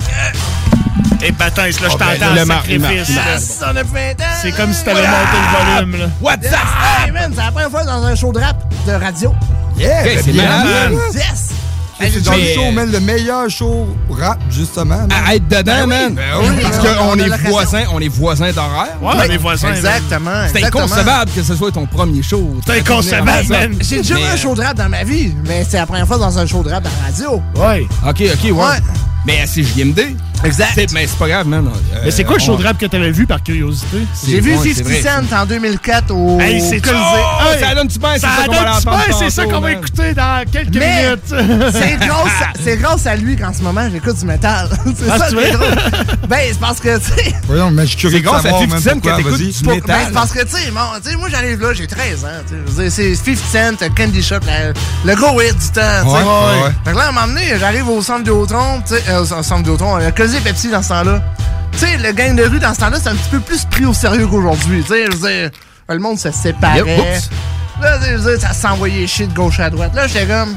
Et Batins, là, je t'entends, le sacrifice. On a fait un temps. C'est comme si t'avais monté le volume, là. What's up? Hey, man, c'est la première fois dans un show de rap de radio. Yeah! C'est malade, man. Yes! C'est dans le show, man, le meilleur show rap, justement. À être dedans, man. Parce qu'on est voisins d'horaire. Ouais, on est voisins. Exactement. C'est inconcevable que ce soit ton premier show. C'est inconcevable, man. J'ai déjà vu un show de rap dans ma vie, mais c'est la première fois dans un show de rap dans la radio. Ouais. OK, ouais. Mais c'est JMD. Exact. Mais c'est pas grave, man. Mais c'est quoi le show de rap que t'avais vu par curiosité? J'ai vu 50 Cent en 2000 au Colisée. Ça donne-tu bien? C'est ça qu'on va écouter dans quelques minutes. C'est grâce à lui qu'en ce moment, j'écoute du métal. C'est ça qui est drôle. Ben, c'est parce que, tu sais... Voyons, mais je suis curieux de savoir, c'est grâce à 50 Cent que t'écoutes du métal. Ben, c'est parce que, tu sais, moi, j'arrive là, j'ai 13 ans. C'est 50 Cent, Candy Shop, le gros hit du temps. Ouais. Fait que là, à un moment donné, j'arrive au centre Vidéotron, tu sais, au centre Vidéotron, Colisée Pepsi dans ce temps-là. Tu sais, le gang de rue dans ce temps-là, c'est un petit peu plus pris au sérieux qu'aujourd'hui. Tu sais, je veux dire, le monde se séparait. Là, je veux dire, ça s'envoyait chier de gauche à droite. Là, j'étais comme...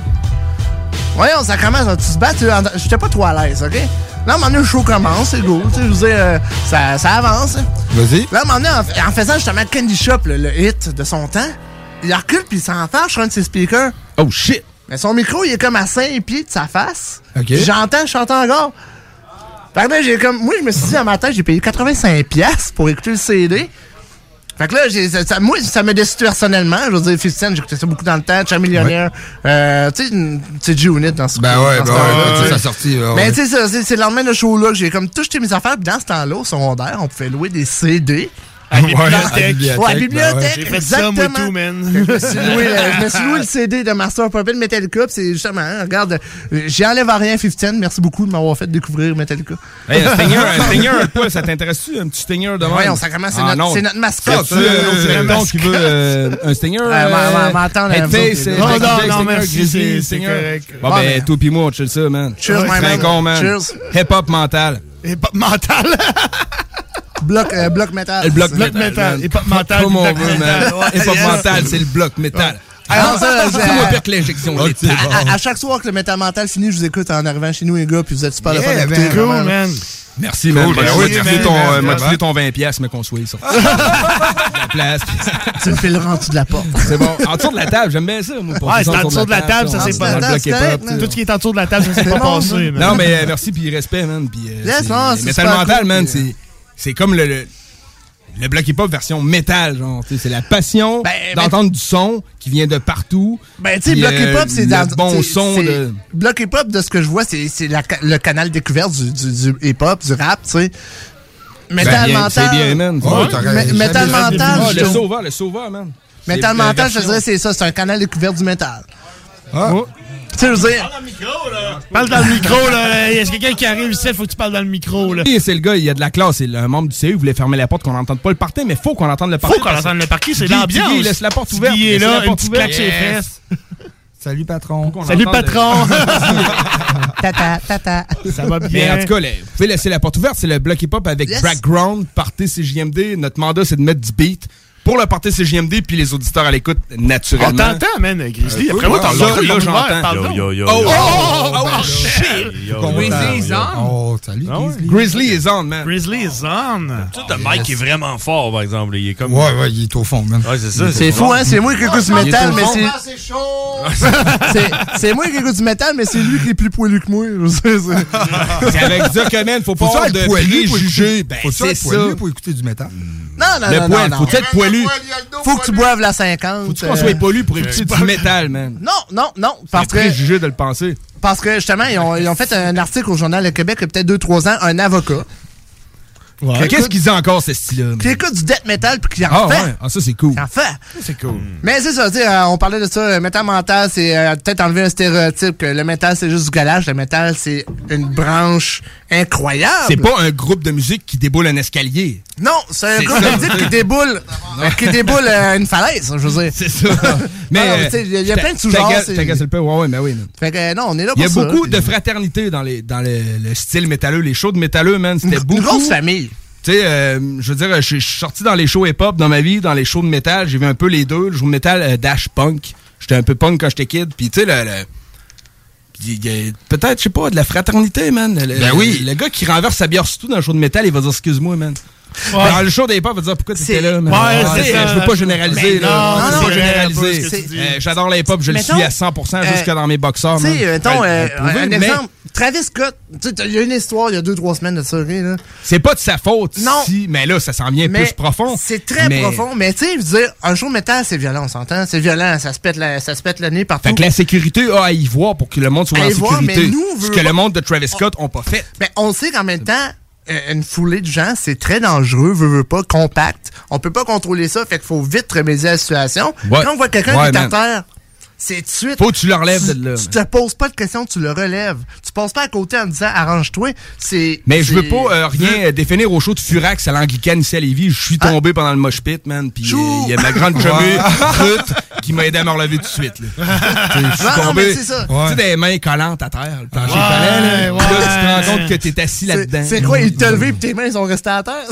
Voyons, ça commence, tu te bats, j'étais pas trop à l'aise, OK? Là, à un moment donné, le show commence, c'est go. Tu sais, je veux dire, ça avance. Vas-y. Là, à un moment donné, en faisant justement Candy Shop, le hit de son temps, il recule puis il s'enfarge sur un de ses speakers. Oh, shit! Mais son micro, il est comme à 5 pieds de sa face. OK. Je chante encore. Fait que là, moi, je me suis dit, à ma tête, j'ai payé 85$ pour écouter le CD. Fait que là, moi, ça me déçu personnellement. Je veux dire, 50 Cent, j'écoutais ça beaucoup dans le temps. Chat Millionnaire. Tu sais, G-Unit dans ce Ben ouais, ça a sorti. Mais tu sais, c'est le lendemain de show-là que j'ai comme tout jeté mes affaires. Puis dans ce temps-là, au secondaire, on pouvait louer des CD. À la bibliothèque. Ouais, à la bibliothèque. J'ai fait ça, moi, tout, man. Je me suis loué le CD de Master Puppet Metallica. C'est justement, regarde, j'y enlève à rien 50 Cent. Merci beaucoup de m'avoir fait découvrir Metallica. Hey, un Stinger, ça t'intéresse-tu? Un petit Stinger de même? Voyons, ça commence, c'est notre mascotte. Donc, qui veut un Stinger? M'attendre. Non, merci, c'est correct. Bon, ben, toi pis moi, on chill ça, man. Cheers, my man. Con, man. Cheers. Hip-hop mental. Hip-hop mental. Bloc métal. Le bloc métal. Hip-hop mental. Comme on veut, man. Hip-hop mental, c'est le bloc métal. Alors ça, c'est moi pire que l'injection. À chaque soir que le métal mental finit, je vous écoute en arrivant chez nous, les gars, puis vous êtes super le fun d'écouter. Cool, man. Merci, man. M'a tiré ton 20$, mais qu'on soit ça. La place. Tu me fileras en dessous de la porte. C'est bon. En dessous de la table, j'aime bien ça, moi. Ouais, c'est en dessous de la table, ça s'est pas passé. Tout ce qui est en dessous de la table, ça s'est pas passé. Non, mais merci, puis respect, man. Métal mental, man, c'est comme le bloc hip-hop version métal, genre. C'est la passion d'entendre du son qui vient de partout. Ben, tu sais, bloc hip-hop, c'est dans le bon son de... Bloc hip-hop, de ce que je vois, c'est le canal découverte du hip-hop, du rap, tu sais. Métal mental. C'est bien, man. Métal mental. Le sauveur, man. Métal mental, je dirais, c'est ça. C'est un canal découverte du métal. Tu sais, je veux dire... Parle dans le micro, là. Il y a quelqu'un qui arrive ici, il faut que tu parles dans le micro, là. C'est le gars, il y a de la classe. C'est un membre du CU, il voulait fermer la porte, qu'on n'entende pas le party, mais faut qu'on entende le party. Faut qu'on entende le party, c'est l'ambiance. Il laisse la porte ouverte. Il est là, une petite claque sur les fesses. Salut, patron. Salut, patron. Tata. Ça va bien. Mais en tout cas, vous pouvez laisser la porte ouverte. C'est le bloc hip-hop avec background, party CJMD. Notre mandat, c'est de mettre du beat pour le party CJMD puis les auditeurs à l'écoute, naturellement. On t'entend, man, Grizzly. Après moi, t'en là, j'entends. Yo. Oh, shit. Grizzly is on. Oh, salut, Grizzly. Grizzly is on, man. Grizzly is on. Le mic est vraiment fort, par exemple. Il est comme... Ouais, il est au fond, man. Ouais, c'est ça. C'est fou, hein? C'est moi qui écoute du métal, mais c'est... C'est chaud! C'est moi qui écoute du métal, mais c'est lui qui est plus poilu que moi. C'est avec ça que, man, faut pas avoir de préjugés. Faut-tu être poilu pour écouter du métal? Le poil, faut être poilu. Faut que tu boives la 50. Faut qu'on soit poilu pour éviter du métal, man. Non. Parce que... C'est préjugé de le penser. Parce que, justement, ils ont fait un article au Journal de Québec il y a peut-être 2-3 ans, un avocat. Ouais. Qu'est-ce qu'ils ont encore, ce style-là? Qui écoute du death metal puis qui en fait. Ouais. Ah, ça, c'est cool. Qui en fait. C'est cool. Mais c'est ça, tu sais, on parlait de ça. Le métal mental, c'est peut-être enlever un stéréotype que le métal, c'est juste du galage. Le métal, c'est une branche incroyable. C'est pas un groupe de musique qui déboule un escalier. Non, c'est un groupe de musique qui déboule une falaise, je veux dire. C'est ça. Mais il y a plein de sous-genres. T'agaces le peu, ouais, mais oui. Fait que non, on est là pour ça. Il y a beaucoup de fraternité dans le style métalleux. Les shows de métalleux, man, c'était beaucoup. Une grosse famille. Tu sais, je veux dire, je suis sorti dans les shows hip-hop dans ma vie, dans les shows de métal. J'ai vu un peu les deux. Le show de métal dash punk. J'étais un peu punk quand j'étais kid. Puis tu sais, peut-être, je sais pas, de la fraternité, man. Oui. Le gars qui renverse sa bière surtout dans le show de métal, il va dire excuse-moi, man. Ouais. Dans le show des hip-hop, il va dire pourquoi t'étais là, man. Ouais, c'est ça. Je veux pas généraliser, là. Non, je veux pas généraliser. J'adore les hip-hop, je le suis à 100% jusque dans mes boxeurs. Tu sais, mettons, un exemple. Travis Scott, il y a une histoire il y a 2-3 semaines de ça, là. C'est pas de sa faute, non. Si, mais là, ça s'en vient plus profond. C'est très profond, mais tu sais, je veux dire, un show de métal, c'est violent, on s'entend? C'est violent, ça se pète le nez partout. Fait que la sécurité a à y voir pour que le monde soit en sécurité. Ce que le monde de Travis Scott n'a pas fait. Mais on sait qu'en même temps, une foulée de gens, c'est très dangereux, veut pas, compact. On peut pas contrôler ça, fait qu'il faut vite remédier à la situation. Ouais. Quand on voit quelqu'un qui est à terre, c'est tout de suite. Faut que tu le relèves de là. Tu te poses pas de questions, tu le relèves. Tu passes pas à côté en disant arrange-toi. Mais je veux pas rien définir au show de Furax à l'Anglicane ici à Lévis. Je suis tombé pendant le mosh pit, man. Puis il y a ma grande chumée, Ruth, qui m'a aidé à me relever tout de suite. Je suis tombé. Tu sais, des mains collantes à terre. Le plancher collait, là. Puis là, tu te rends compte que t'es assis là-dedans. C'est quoi, il t'a levé puis tes mains sont restées à terre?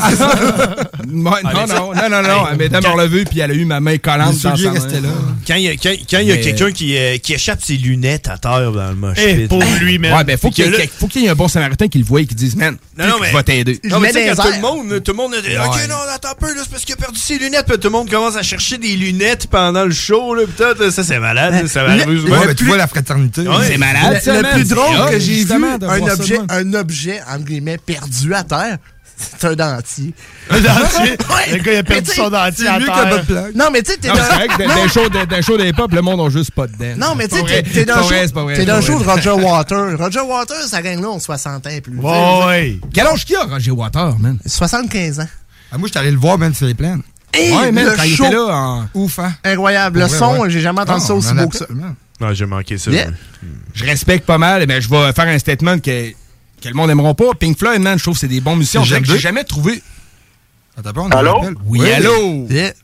Non. Elle m'a aidé à me relever puis elle a eu ma main collante dans sa main. Quand il y a quelqu'un qui échappe ses lunettes à terre dans le mosh pit. Pour lui, même. Ouais, ben, faut qu'il y ait un bon samaritain qui le voie et qui dise, man, je vais t'aider. Non, mais tu sais, quand tout le monde a dit, OK, non, attends un peu, là, c'est parce qu'il a perdu ses lunettes, puis tout le monde commence à chercher des lunettes pendant le show, là, peut-être, ça, c'est malade, ça va arriver souvent. Ouais, mais tu vois la fraternité. C'est malade, ça, le plus drôle que j'ai vu, un objet, entre guillemets, perdu à terre, c'est un dentier. Un dentier? Le gars, il a perdu son dentier à terre. Non, mais tu sais, t'es dans... D'un show d'hip-hop, le monde n'a juste pas de dents. Non, mais tu sais, t'es dans le show de Roger Waters. Roger Waters, ça gagne là, on 60 ans et plus. Ouais. Quel âge qu'il a, Roger Waters, man? 75 ans. Moi, je suis allé le voir, man, sur les plaines. Ouais, man, quand il était là, en... Ouf, hein? Incroyable. Le son, j'ai jamais entendu ça aussi beau que ça. Non, j'ai manqué ça. Je respecte pas mal, mais je vais faire un statement que le monde n'aimeront pas. Pink Floyd, man, je trouve que c'est des bons musiciens. J'ai jamais trouvé. Allô? Oui, allô? C'est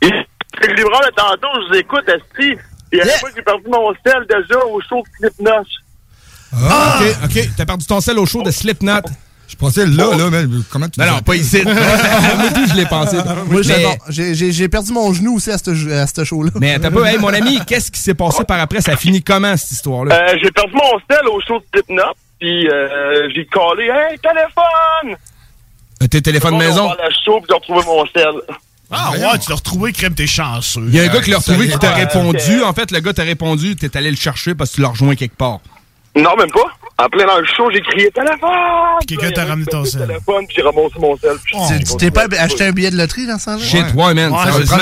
le livreur de tantôt, je vous écoute, Esti. Puis à la fois, j'ai perdu mon sel déjà au show de Slipknot. OK. T'as perdu ton sel au show de Slipknot. Je pensais là, mais comment tu... Non, pas ici. Moi aussi, je l'ai pensé. Moi, j'ai perdu mon genou aussi à ce show-là. Mais t'as pas... Hey, mon ami, qu'est-ce qui s'est passé par après? Ça a fini comment, cette histoire-là? J'ai perdu mon sel au show de Slipknot. Puis j'ai collé, hey, téléphone! Tes téléphones maison? J'ai la show, puis j'ai retrouvé mon sel. Ah ouais, tu l'as retrouvé, crème, t'es chanceux. Il y a un gars qui l'a retrouvé qui t'a répondu. En fait, le gars t'a répondu, t'es allé le chercher parce que tu l'as rejoint quelque part. Non, même pas. En plein dans le show, j'ai crié téléphone! Quelqu'un t'a ramené ton sel. Téléphone, puis j'ai ramassé mon sel. Tu t'es pas acheté un billet de loterie dans ce temps-là? Shit, ouais, man.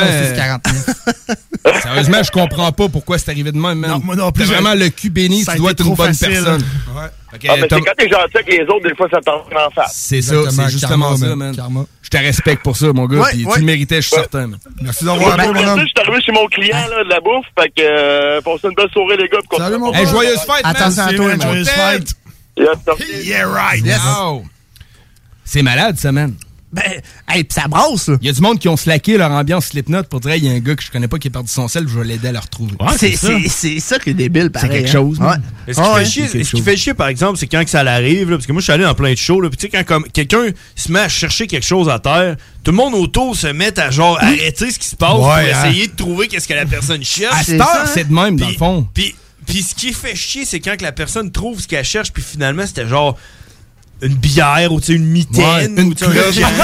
Sérieusement, sérieusement, je comprends pas pourquoi c'est arrivé de même, man. Non, moi non plus. T'as vraiment le cul béni, tu dois être une bonne personne. Ouais. Okay, mais c'est quand t'es gentil avec les autres, des fois, ça t'en en face. C'est ça, c'est justement ça, man. Je te respecte pour ça, mon gars, puis tu le méritais, je suis certain, man. Merci d'avoir appelé, mon homme. Je suis arrivé chez mon client, là, de la bouffe, fait que, passez une belle soirée, les gars. Salut, mon gars. Joyeuse fête, man. Attention à toi, joyeuse fête. Yeah, right. Yes. Wow. C'est malade, ça, man. Ben, hey, pis ça brasse, là. Il y a du monde qui ont slacké leur ambiance Slipknot pour dire, il y a un gars que je connais pas qui a perdu son sel, je vais l'aider à le retrouver. Ouais, c'est ça qui est débile, pareil. C'est quelque chose. Ouais. Ce qui fait chier, par exemple, c'est quand que ça l'arrive, parce que moi, je suis allé dans plein de shows, puis tu sais, quand comme quelqu'un se met à chercher quelque chose à terre, tout le monde autour se met à genre arrêter ce qui se passe pour essayer de trouver qu'est-ce que la personne cherche. À cette heure, c'est de même, dans le fond. Puis ce qui fait chier, c'est quand que la personne trouve ce qu'elle cherche, puis finalement, c'était genre une bière ou une mitaine ou une clope.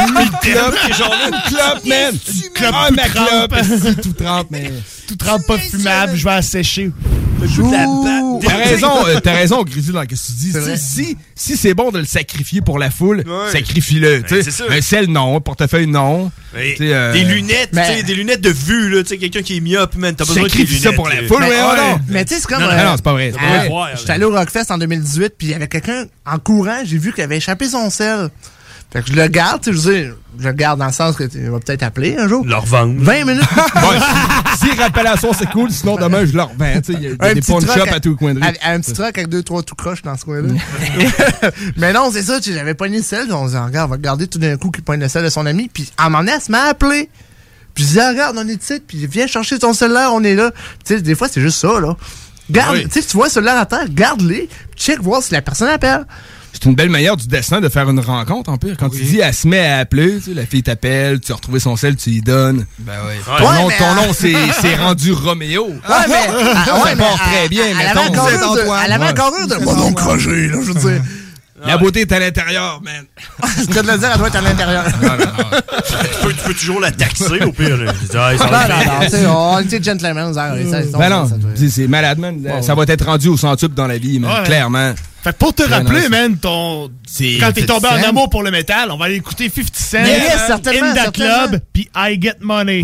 Genre une clope, man. Une clope tout trempe, mais tout trempe pas fumable, je vais la sécher. T'as raison, Grizzly, dans ce que tu dis. Si c'est bon de le sacrifier pour la foule, sacrifie-le. Un sel, non. Un portefeuille, non. Des lunettes, des lunettes de vue, là. Quelqu'un qui est myope, man. T'as besoin de lunettes. Ça pour la foule, non. Mais tu sais, c'est comme. Non, c'est pas vrai. J'étais allé au Rockfest en 2018, puis il y avait quelqu'un en courant, j'ai vu qu'il avait échappé son sel. Fait que je le garde, tu sais, je le garde dans le sens que tu vas peut-être appeler un jour. Le revendre. 20 minutes. S'il rappelle à ça, c'est cool. Sinon, demain, je le revends. Il y a des pawn shops à tout le coin de rue. Un petit truck avec 2-3 tout croches dans ce coin-là. Mais non, c'est ça, j'avais pogné le sel. On se dit, regarde, on va garder tout d'un coup qu'il pogne le sel de son ami. Puis à un moment donné, elle se met à appeler. Puis je dis, regarde, on est ici. Puis viens chercher ton cellulaire, on est là. Tu sais, des fois, c'est juste ça, là. Garde, tu sais, tu vois le cellulaire à terre, garde-les. Check, voir si la personne appelle. C'est une belle manière du destin de faire une rencontre, en pire. Quand tu dis, elle se met à appeler, tu sais, la fille t'appelle, tu as retrouvé son sel, tu lui donnes. Ben oui. Ton nom, c'est rendu Roméo. Ouais, mais. Ça part très bien, mais elle avait encore eu de. Moi, donc, Roger, là, je veux dire. La beauté est à l'intérieur, man. Je peux te le dire, elle doit être à l'intérieur. Tu peux toujours la taxer, au pire. Non, on était gentlemen. Non, c'est malade, man. Ça va être rendu au centuple dans la vie, man, clairement. Fait pour te rappeler, man, quand t'es tombé en amour pour le métal, on va aller écouter 50 Cent, In The Club, puis I Get Money.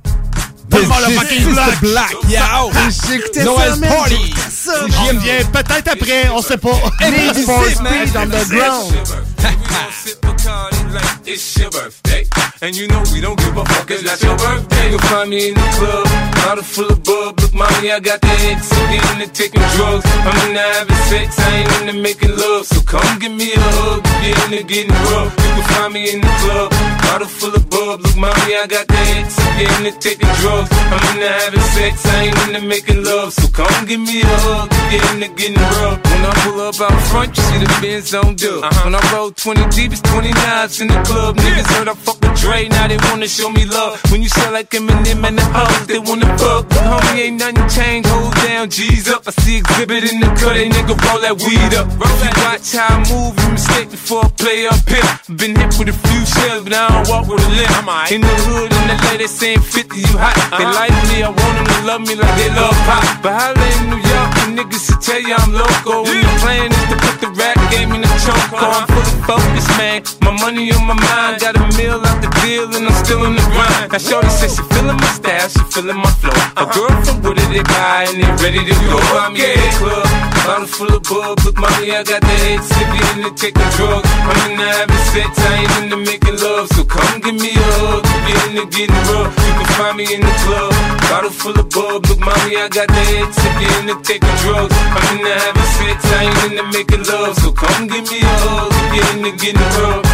Black, yeah. J'écoutais Noël ça, Party. On revient peut-être après, on sait pas. Need for Speed Underground. It's your birthday, and you know we don't give a fuck, it's not your birthday. You'll find me in the club, bottle full of bub. Look, mommy, I got the X, I'm getting into taking drugs. I'm into having sex, I ain't into making love. So come give me a hug, get into getting rough. You can find me in the club, bottle full of bub. Look, mommy, I got the X, I'm getting into taking drugs. I'm into having sex, I ain't into making love. So come give me a hug, get into getting rough. When I pull up out front, you see the Benz on dub. When I roll 20 deep, it's 20 knives in the club. Niggas heard I fuck with Dre, now they wanna show me love. When you sell like Eminem and the hoes, they wanna fuck. But homie, ain't nothing changed, hold down, G's up. I see exhibit in the cut, they nigga roll that weed up. You watch how I move, you mistake before I play up here. Been hit with a few shells, but I don't walk with a limp. In the hood, in the lady saying 50, you hot. They like me, I want them to love me like they love pop. But holla in New York, the niggas should tell you I'm loco. When the plan is to put the rap game in the choke. I'm fully focused, man. My money on my mind, got a meal out the deal and I'm still in the grind. Now shorty says she feeling my style, she feeling my flow. A girl from Wooded, they buy and they ready to go. I'm in the club, bottle full of bub. Look, mommy, I got the head sick, in the taking drugs. I'm in the having sex, I ain't into making love. So come give me a hug, get into getting rough. You can find me in the club, bottle full of bub. Look, mommy, I got the head sick, in the taking drugs. I'm in the having sex, I ain't into making love. So come give me a hug, get into getting rough.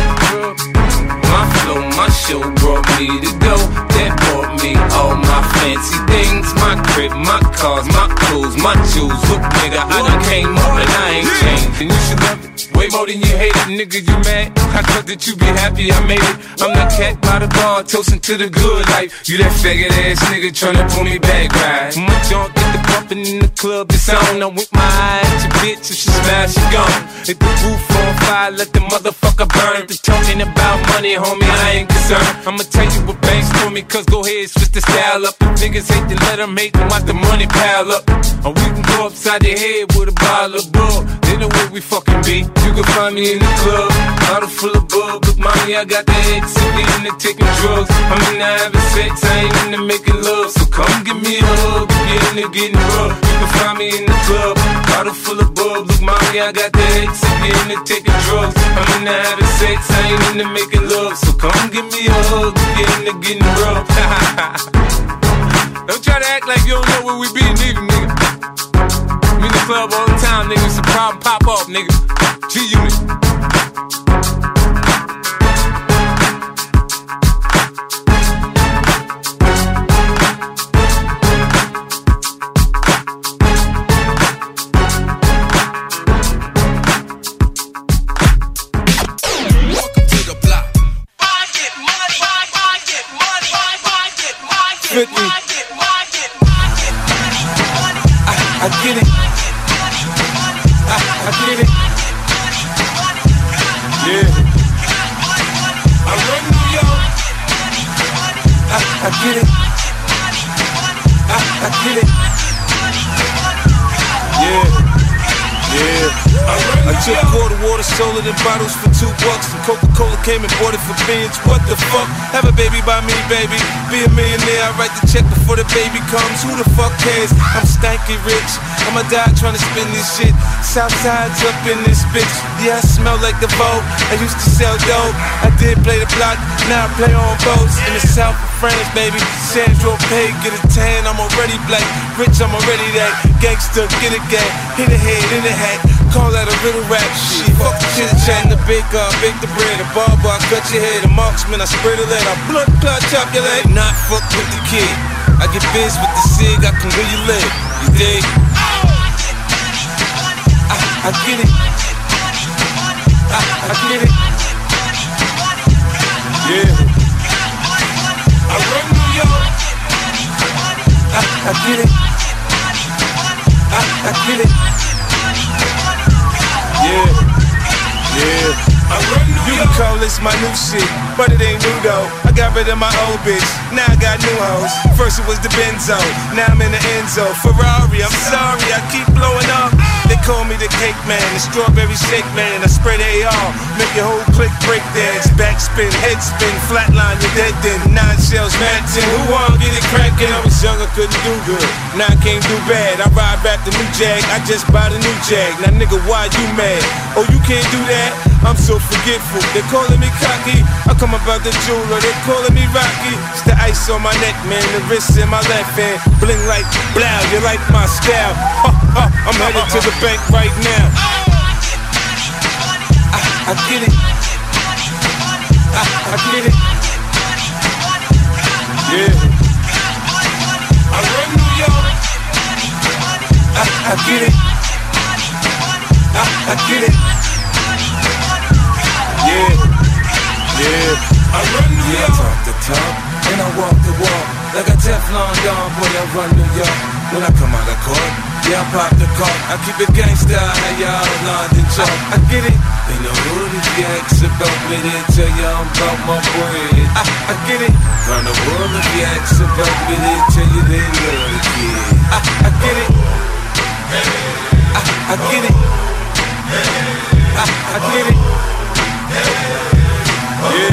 My flow, my show brought me to go. That brought me all my fancy things. My crib, my cars, my clothes, my shoes. Look, nigga, I done came up and I ain't changed. And you should love it way more than you hate it, nigga, you mad? I thought that you be happy I made it. I'm the cat by the bar, toasting to the good life. You that faggot ass nigga tryna pull me back, right? My junk get the bumpin' in the club, it's on. I'm with my eye at your bitch, if she smash, she gone. Hit the roof on fire, let the motherfucker burn. If they're talking about money, homie, I ain't concerned. I'ma tell you what banks told me, cause go ahead, switch the style up. If niggas hate to let them hate them, watch the money pile up. Or we can go upside the head with a bottle of bull. They know where we fucking be. You can find me in the club, bottle full of bub. Look, mommy, I got the head sick, into taking drugs. I'm into having sex, I ain't into making love. So come give me a hug, get into getting rough. You can find me in the club, bottle full of bub. Look, mommy, I got the head sick, into taking drugs. I'm into having sex, I ain't into making love. So come give me a hug, get into getting rough. Don't try to act like you don't know where we be, nigga. I'm in the club all the time, nigga. It's a problem, pop off, nigga. G-Unit. I get it. I get it. Yeah. I run New York. I get it. I get it. Yeah, I took quarter water, sold it in bottles for $2. And Coca-Cola came and bought it for beans. What the fuck? Have a baby by me, baby. Be a millionaire, I write the check before the baby comes. Who the fuck cares? I'm stanky rich. I'ma die trying to spin this shit. Southside's up in this bitch. Yeah, I smell like the Vogue. I used to sell dope. I did play the block, now I play on boats. In the south of France, baby. Sandro Pay, get a tan, I'm already black. Rich, I'm already that. Gangster, get a gang. Hit a head, in a hat. Call that a little rap shit. Fuck the chit chat in the baker, bake the bread. A barber, I cut your head. A marksman, I spray the lead. I blood clot, chop your leg. Not fuck with the kid. I get biz with the cig, I can where you live. You dig? I get it. I get it. Yeah. I run New York. I get it. I get it. Yeah. Yeah. I run New York. You can call this my new shit, but it ain't new though. I got rid of my old bitch, now I got new hoes. First it was the Benzo, now I'm in the Enzo. Ferrari, I'm sorry, I keep blowing up. They call me the cake man, the strawberry shake man. I spray the AR, make your whole clique break dance. Backspin, head spin, flatline, you're dead then. 9 shells, mad 10, who wanna get it crackin'? I was young, I couldn't do good, now I can't do bad. I ride back the new Jag, I just bought a new Jag. Now nigga, why you mad? Oh, you can't do that? I'm so forgetful, they calling me cocky. I come about the jeweler, they calling me Rocky. It's the ice on my neck, man, the wrist in my left hand. Bling like blow, you like my style. I'm headed to the bank right now. I get it. I get it. Yeah. I run New York. I get it. I get it. Yeah. Yeah. I run New York. I talk the talk and I walk the walk. Like a Teflon Don, boy, I run New York. When I come out of court, yeah, I pop the cork. I keep it gangsta, how y'all London chalk. I get it. They know who the yaks about me, they tell you I'm about my bread. I get it. Round the world of yaks about me, they tell you they love the kid. I get it. I get it. I get it. Yeah.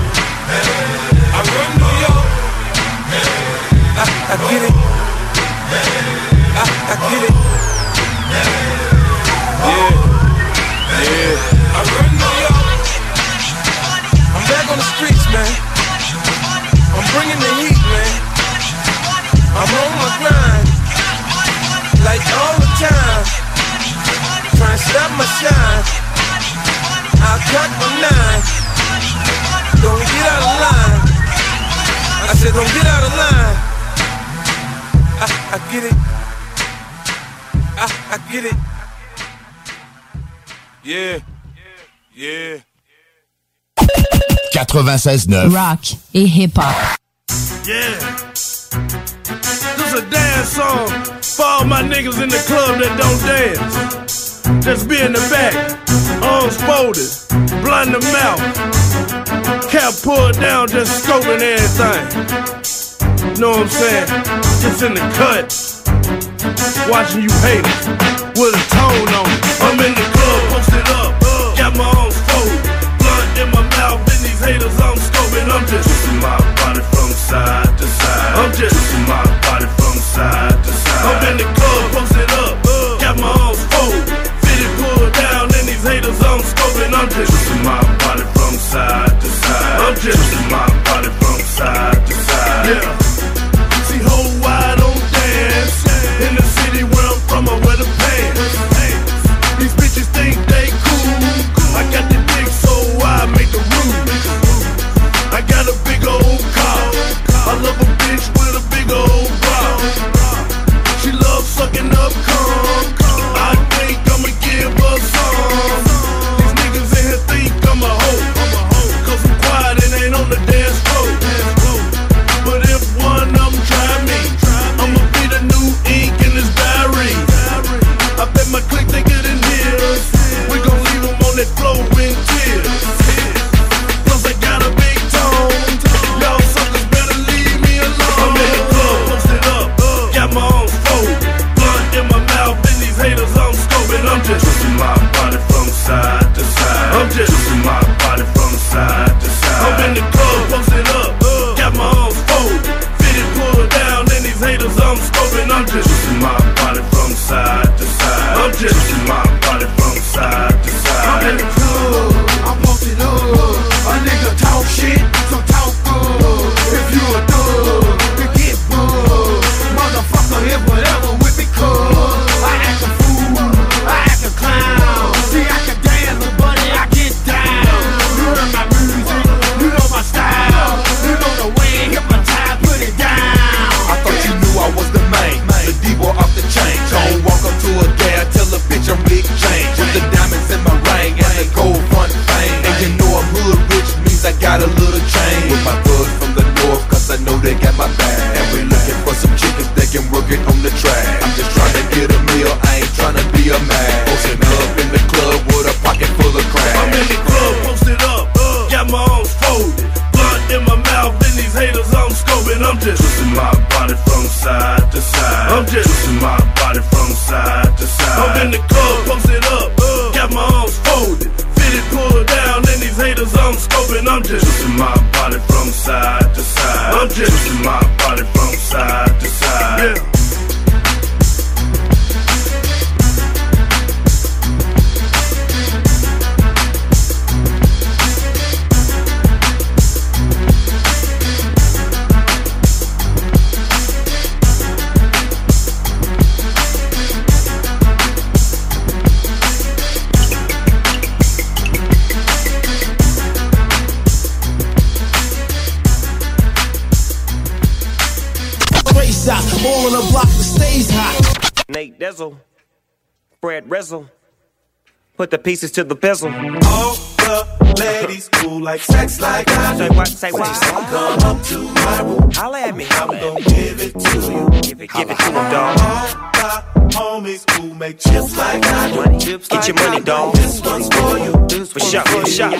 I run New York. I get it. I get it. Yeah. Yeah. I run New York. I'm back on the streets, man. I'm bringing the heat, man. I'm on my grind. Like all the time. Trying to stop my shine. I'll cut my 9. Don't get out of line. I said don't get out of line. I get it. I get it. Yeah. Yeah. 96.9 Rock et hip-hop. Yeah. This a dance song for all my niggas in the club that don't dance. Just be in the back, arms folded, blunt in the mouth, cap pulled down, just scoping everything. Know what I'm saying? Just in the cut, watching you haters with a tone on it. I'm in the club, posted up, got my arms folded, blunt in my mouth, and these haters I'm scoping. I'm just twisting my body from side to side. I'm just twisting my body from side to side. I'm in the club, posted up, got my arms folded, fitted pulled down, and these haters I'm scoping. I'm just twisting my body from side to side. I'm just twisting my body from side to side. Yeah. See whole wide on dance in the city where I'm from, I wear the pants. These bitches think they cool. I got I'm just twisting my body from side to side. I'm just twisting my body from side to side. I'm in the club, I'm posted up. A nigga talk shit, so talk good. If you a thug, then get bugged. Motherfucker, if whatever with me cuz I act a fool, I act a clown. See, I can dance, but buddy, I get down. You heard my music, you know my style. You know the way I hypnotize, put it down. I thought you knew I was the main, the D-boy off the chain. Don't walk up to a gal, tell a bitch I'm Big Change. With the diamonds in my ring and the gold front fame. And you know I'm hood rich, means I got a little change. With my thugs from the north, cause I know they got my back. And we looking for some chickens that can work it on the track. I'm just trying to get a meal, I ain't trying to be a man. Posted up in the club with a pocket full of crack. I'm in the club, posted up, got my arms folded. Blunt in my mouth, and these haters I'm scoping. I'm just twisting my body from side to side. I'm just twisting my body from side to side. I'm in the club, posted up, got my arms folded. Fitted, pulled down, and these haters I'm scoping. I'm just twisting my body from side to side. I'm just twisting my body from side to side. Yeah. All on the block that stays hot. Nate Dizzle, Fred Rizzle, put the pieces to the bezel. All the ladies cool like sex like I do. Say what? Say what? Come up to my room. Holla at me. I'm gon' give it to you. Give it to them, dog. All my homies who make chips like I do. Get your money, dog. This one's for you. This For sure, for sure.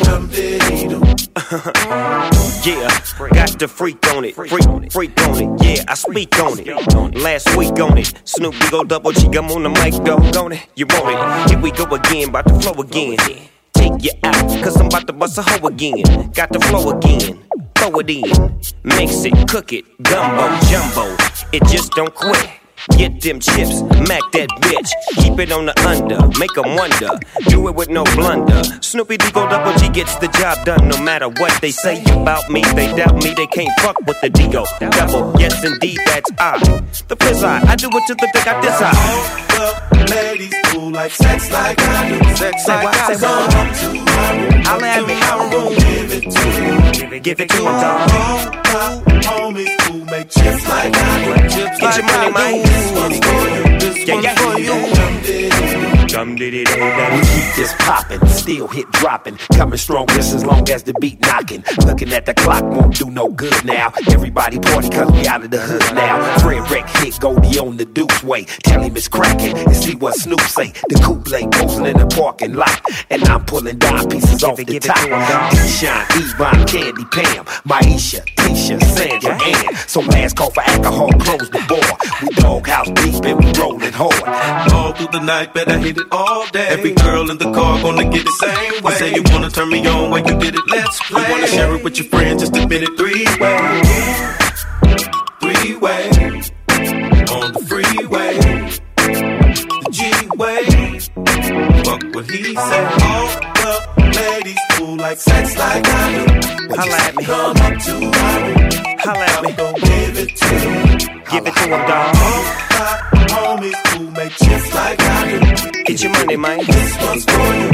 Yeah, got the freak on it, freak on it. Yeah, I speak on it. Last week on it, Snoop Dogg double G, I'm on the mic, dog on it. You want it? Here we go again, bout to flow again. Take you out, cause I'm about to bust a hoe again. Got the flow again, throw it in. Mix it, cook it, gumbo, jumbo. It just don't quit. Get them chips, mac that bitch. Keep it on the under, make them wonder. Do it with no blunder. Snoopy Dogg double G gets the job done. No matter what they say about me, they doubt me. They can't fuck with the Digo double. Yes, indeed, that's I. The fizz I do it to the dick I desire. All the ladies cool like sex like I do. Sex like I do. Come up to my room. I'll have me I'm gon' give it to you. Give it to them, dog. All my homies who make chips like I do. Get your money, man. This one's for you. This one's for you. We keep this poppin', still hit dropping, coming strong just as long as the beat knocking. Looking at the clock won't do no good now. Everybody party cause we out of the hood now. Fred Wreck hit Goldie on the Duke's way. Tell him it's cracking and see what Snoop say. The coupe lay posing in the parking lot, and I'm pulling dime pieces off the top. D-Shine, Yvonne, Candy, Pam, Maisha, Tisha, Sandra, Ann. So last call for alcohol, close the bar. We doghouse deep and we rolling hard. All through the night, better hit it all day. Every girl in the car gonna get it same way. You say you wanna turn me on when you did it, let's play. You wanna share it with your friends, just admit it three-way. Three-way. On the freeway. The G-way. Fuck what he said. All the ladies cool like sex like I do. Holla at me. Come up to my room. Holla at me. I'm gon' give it to you. Give it to him, dog. All my homies who make chips like I do. Get your money, man. This one's for you.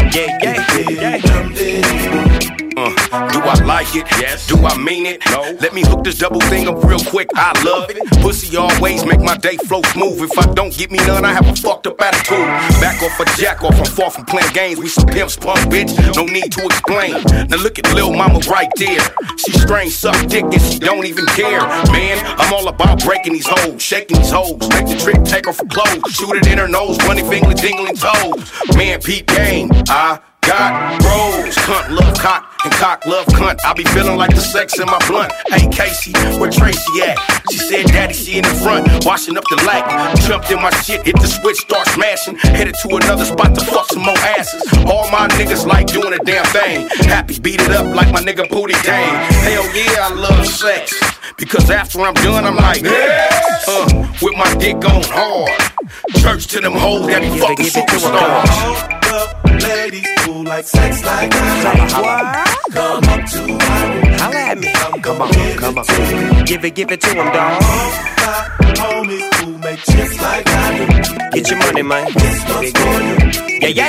Do I like it? Yes. Do I mean it? No. Let me hook this double thing up real quick. I love it. Pussy always make my day flow smooth. If I don't get me none, I have a fucked up attitude. Back off a jack off. I'm far from playing games. We some pimps, punk bitch. No need to explain. Now look at Lil Mama right there. She strange, suck dick, and she don't even care. Man, I'm all about breaking these hoes, shaking these hoes. Make the trick, take her for clothes. Shoot it in her nose, bunny finger, dingling toes. Man, peep game. I got bros. Cunt love cock and cock love cunt. I be feeling like the sex in my blunt. Hey Casey, where Tracy at? She said daddy, she in the front, washing up the light. Jumped in my shit, hit the switch, start smashing. Headed to another spot to fuck some more asses. All my niggas like doing a damn thing. Happy beat it up like my nigga Booty Dang. Hell yeah, I love sex. Because after I'm done, I'm like, with my dick on hard. Church to them hoes that he fucking superstars. Ladies who like sex like that. Come up to my room. Holla at me. Come on. Give it to him, dog. Homies who make chips like that. Get your money, man. This one's for you. Yeah.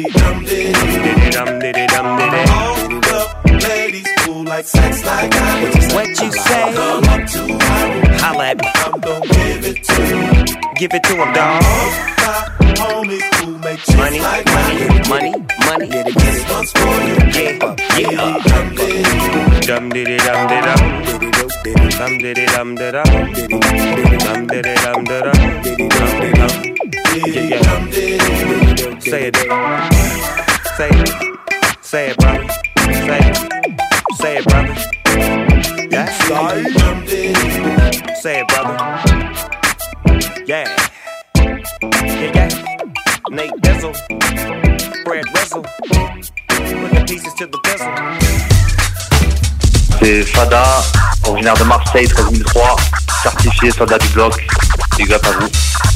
Ladies who like sex like that. What you say? Come up to my room. Holla at me. I'm gonna give it to you. Give it to him, dog. Homies who make chips Money. This one's for you. Yeah. Dum diddy dum diddy dum diddy dum diddy dum diddy dum diddy dum. Say it, say it, brother. Say it, brother. Yeah. Say it, brother. Yeah. Nate Dizzle, Fred Wessel, put the pieces to the bezel. C'est Fada, originaire de Marseille, 13003, certifié soldat du bloc. Big up à vous.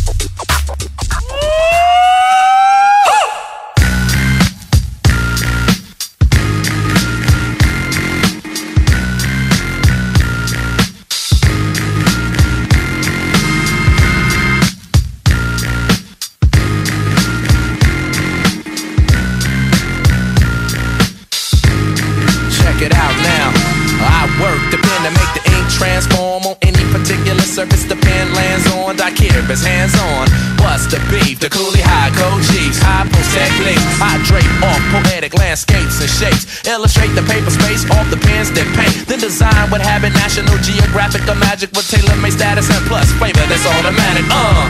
Check it out now. I work the pen to make the ink transform on any particular surface the pen lands on. Dicurus hands on. What's the beef? The coolie high code chiefs, high post techniques. I drape off poetic landscapes and shapes. Illustrate the paper space off the pens that paint. Then design what habit National Geographic or magic with tailor-made status and plus flavor that's automatic.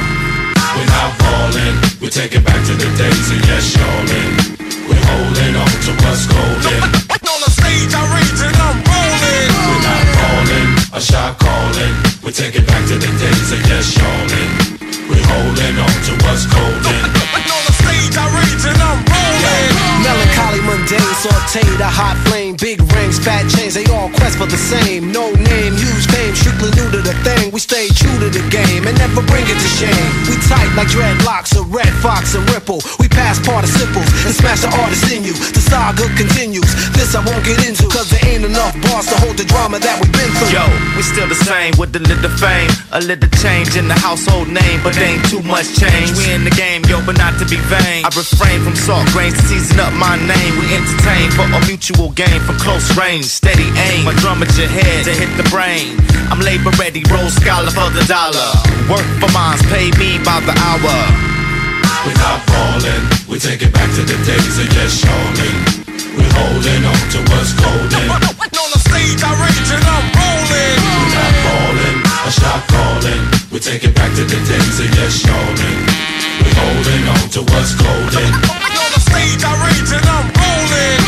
We're not falling, we take it back to the days of yes, y'allin'. We're holding on to what's golden. On the stage, I rage and I'm rolling. We're not falling, a shot calling. We take it back to the days of yes, y'allin'. We're holding on to what's golden. On the stage, I rage and I'm rolling. Melancholy, mundane, sauteed, a hot flame. Big rings, fat chains, they all quest for the same. No name, huge fame, strictly new to the thing. We stay true to the game and never bring it to shame. We tight like dreadlocks, a red fox and ripple. We pass participles and smash the artist in you. The saga continues. This I won't get into, cause there ain't enough bars to hold the drama that we've been through. Yo, we still the same with a little fame, a little change in the household name, but ain't too much change. We in the game, yo, but not to be vain. I refrain from salt grains to season up my name. We entertain for a mutual gain from close range, steady aim. My drum at your head to hit the brain. I'm labor ready, roll scholar for the dollar. Work for mines, pay me by the hour. We're not falling, we take it back to the days of yes, y'allin'. We're holding on to what's golden. On the stage, I rage and I'm rolling. We're not falling, a shot calling. We take it back to the days of yes, y'allin'. We're holding on to what's golden. On the stage, I rage and I'm rolling.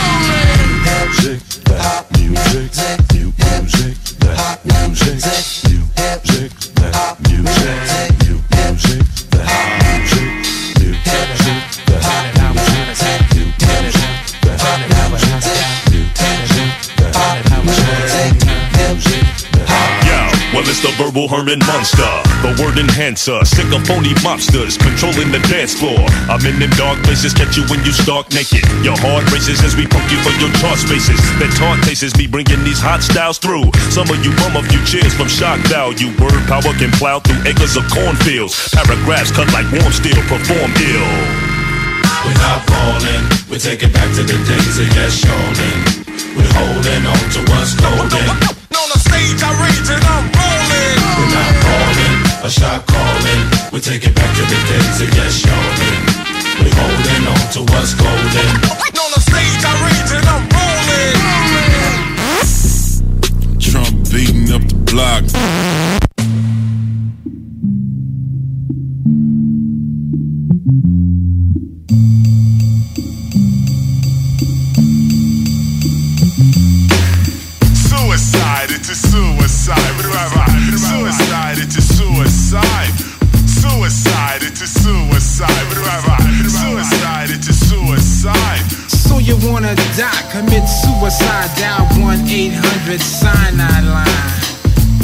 Music, that music, new music, that music, new music, that music, new music, that music, new music, that music, new music, that music, well, it's the verbal Herman Monster, the word enhancer, sick of phony mobsters, controlling the dance floor. I'm in them dark places, catch you when you stark naked. Your heart races as we poke you for your chart spaces. That taunt tastes me bringing these hot styles through. Some of you bum a few cheers from shock value. Word power can plow through acres of cornfields. Paragraphs cut like warm steel, perform ill. We're not falling, we take it back to the days of yes, y'allin'. We're holding on to what's golden. On the stage, I rage and I'm rolling. We're not falling, a shot calling. We take it back to the days of yes, y'allin'. We're holding on to what's golden. On the stage, I rage and I'm rolling. Trump beating up the block. Suicide, it's a suicide. Suicide, it's a suicide. Suicide, it's a suicide. Suicide, it's a suicide. So you wanna die, commit suicide, dial 1-800-cyanide line.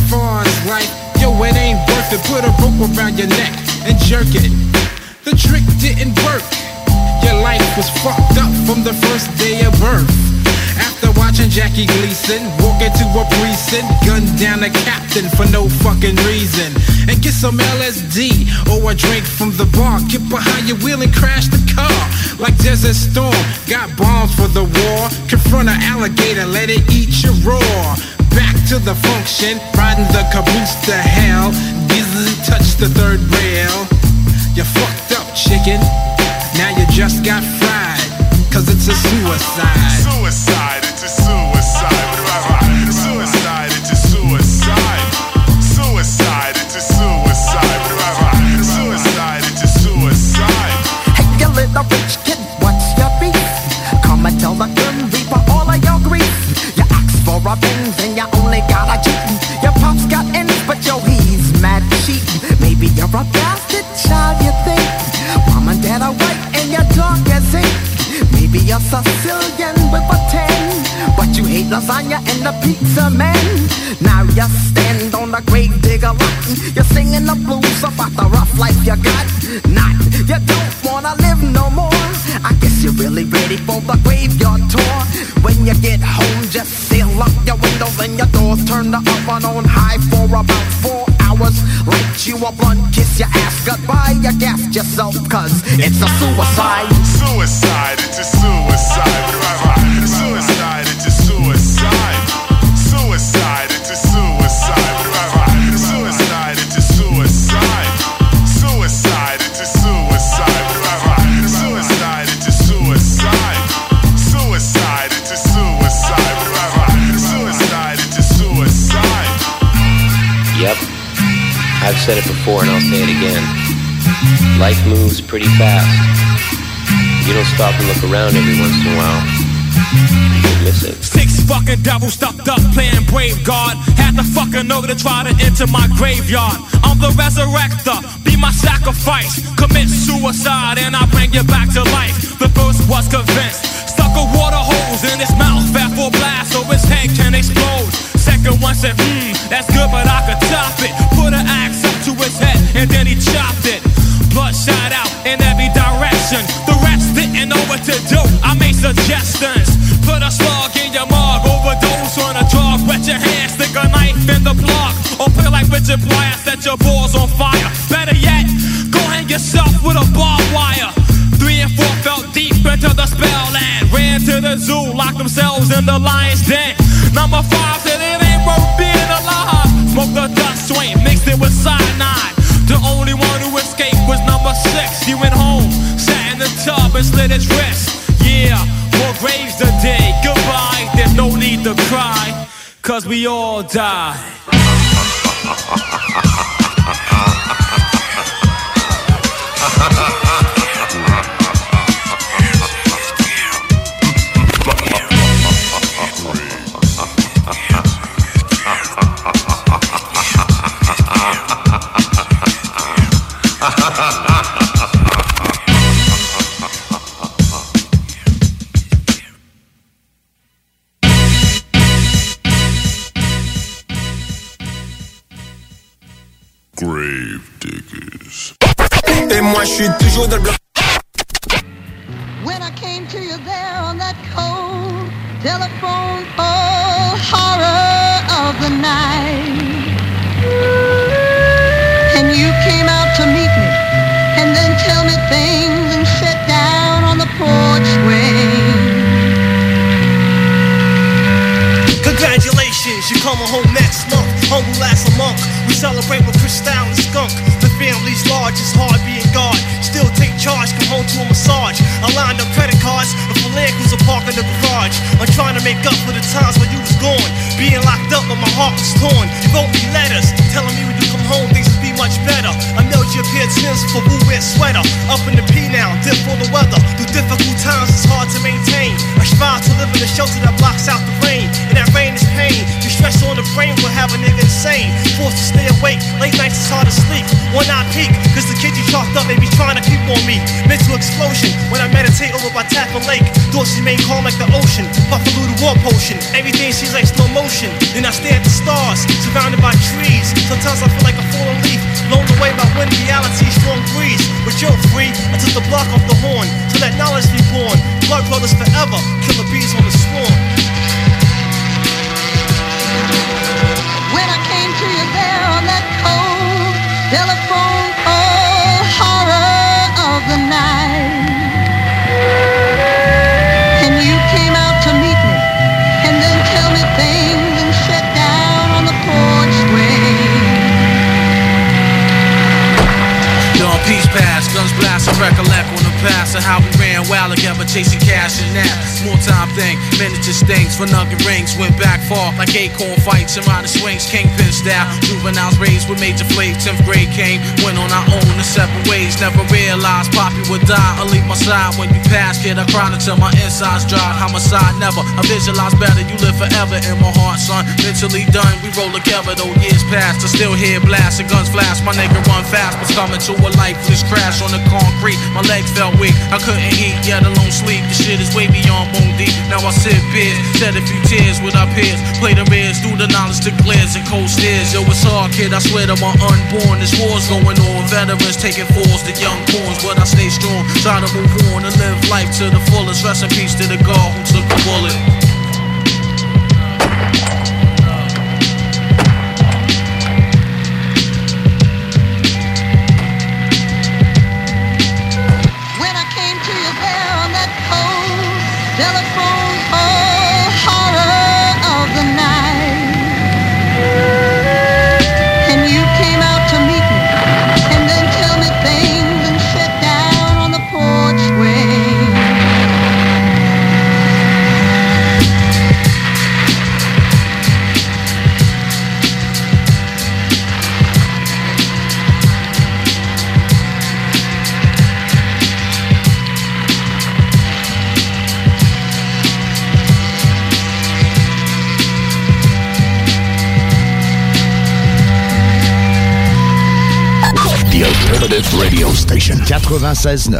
far as life, yo, it ain't worth it. Put a rope around your neck and jerk it. The trick didn't work. Your life was fucked up from the first day of birth. After watching Jackie Gleason walk into a precinct, gun down a captain for no fucking reason, and get some LSD or a drink from the bar. Get behind your wheel and crash the car like Desert Storm. Got bombs for the war. Confront an alligator, let it eat your raw. Back to the function, riding the caboose to hell. Didn't touch the third rail. You fucked up, chicken. Now you just got fried, cause it's a suicide. Suicide, it's a suicide. Suicide, it's a suicide. Suicide, it's a suicide. Suicide, it's a suicide. Hey, you little rich kid, what's your beef? Come and tell the Grim Reaper all of your grief. You asked for a Benz and you only got a Jeep. Your pops got ends, but yo, he's mad cheap. Maybe you're a bastard child, you think. Mom and dad are white and your dog is ink. Maybe you're Sicilian with a 10, but you hate lasagna and the pizza man. Now you stand on the grave digger lot. You're singing the blues about the rough life you got. Not, you don't wanna live no more. I guess you're really ready for the graveyard tour. When you get home, just seal up your windows and your doors. Turn the oven on high for about 4 hours. Light you a blunt, kiss your ass goodbye. You gassed yourself cause it's a suicide. Suicide, it's a suicide. Suicide, it's a suicide. Suicide, it's a suicide. Suicide, it's a suicide. Suicide, it's a suicide. Suicide, it's a suicide. Suicide, it's a suicide. Suicide, it's a suicide. Yep, I've said it before and I'll say it again. Life moves pretty fast. You don't stop and look around every once in a while, you miss it. 6 fucking devils stuffed up playing brave guard. Had to fucking know to try to enter my graveyard. I'm the resurrector, be my sacrifice. Commit suicide and I bring you back to life. The first was convinced. Stuck a water hose in his mouth, fat for blast so his head can explode. Second one said, that's good but I could top it. Put an axe up to his head and then he chopped it. Blood shot out in every direction. The rest didn't know what to do. I made suggestions. Put a slug in your mug, overdose on a drug. Wet your hand, stick a knife in the plug. Or play like Richard Pryor, set your balls on fire. Better yet, go hang yourself with a barbed wire. 3 and 4 fell deep into the spell land. Ran to the zoo, locked themselves in the lion's den. Number 5 said it ain't worth being alive. Smoked the dust swain, mixed it with cyanide. The only one who escaped was number 6. He went home, sat in the tub and slit his wrist. Yeah, more graves today. Goodbye, there's no need to cry, cause we all die. Grave diggers. Et moi je suis toujours dans le bloc. When I came to you there on that cold telephone pole, horror of the night, and you came out to meet me and then tell me things and sit down on the porch swing. Congratulations, you're coming home next month. Humble as a monk, we celebrate with Cristal and Skunk. The family's large, it's hard being God. Still take charge, come home to a massage. I lined up credit cards, and for land cruiser park in the garage. I'm trying to make up for the times when you was gone. Being locked up, but my heart was torn. You wrote me letters, telling me when you come home, things would be much better. I mailed you a pair of Timbs for a blue red sweater. Up in the P now, dip for the weather. Through difficult times, it's hard to maintain. I strive to live in a shelter that blocks out the rain. And that rain is pain. The stress on the brain will have a nigga insane. 4 forced to stay awake. Late nights it's hard to sleep. One eye peak, cause the kids you chalked up may be trying to creep on me. Mental explosion when I meditate over by Tapper Lake. Thoughts remain calm like the ocean. Buffalo the war potion. Everything seems like slow motion. Then I stare at the stars, surrounded by trees. Sometimes I feel like a fallen leaf, blown away by wind, reality, strong breeze. But you're free, I took the block off the horn, so that knowledge be born. Blood brothers forever, killer bees on the swarm. When I came to you there on that cold telephone pole, horror of the night, and you came out to meet me, and then tell me things and sit down on the porch swing. Dawn peace pass, guns blast and recollect on the past of how we ran wild together chasing cash and that. Small time thing, miniature stings for nugget rings. Went back far like acorn fights and rider swings, kingpin style. Juveniles raised with major flaves. 10th grade came, went on our own in separate ways. Never realized Poppy would die or leave my side. When you pass, kid, I cried until my insides dried. Homicide never, I visualize better. You live forever in my heart, son. Mentally done, we roll together though years passed. I still hear blasts and guns flash. My nigga run fast, was coming to a lifeless crash on the concrete. My legs felt weak, I couldn't eat, yet alone sleep. The shit is way beyond bone deep. Now I sip beers, shed a few tears with our peers. Play the rears, through the knowledge to clears and cold stairs. Yo, it's hard, kid, I swear to my unborn. This war's going on, veterans taking falls to young pawns. But I stay strong, try to move on and live life to the fullest. Rest in peace to the God who took the bullet. Telephone pole, horror of the night, and you came out to meet me, and then tell me things and sit down on the porch swing. The Alternative Radio Station 96.9.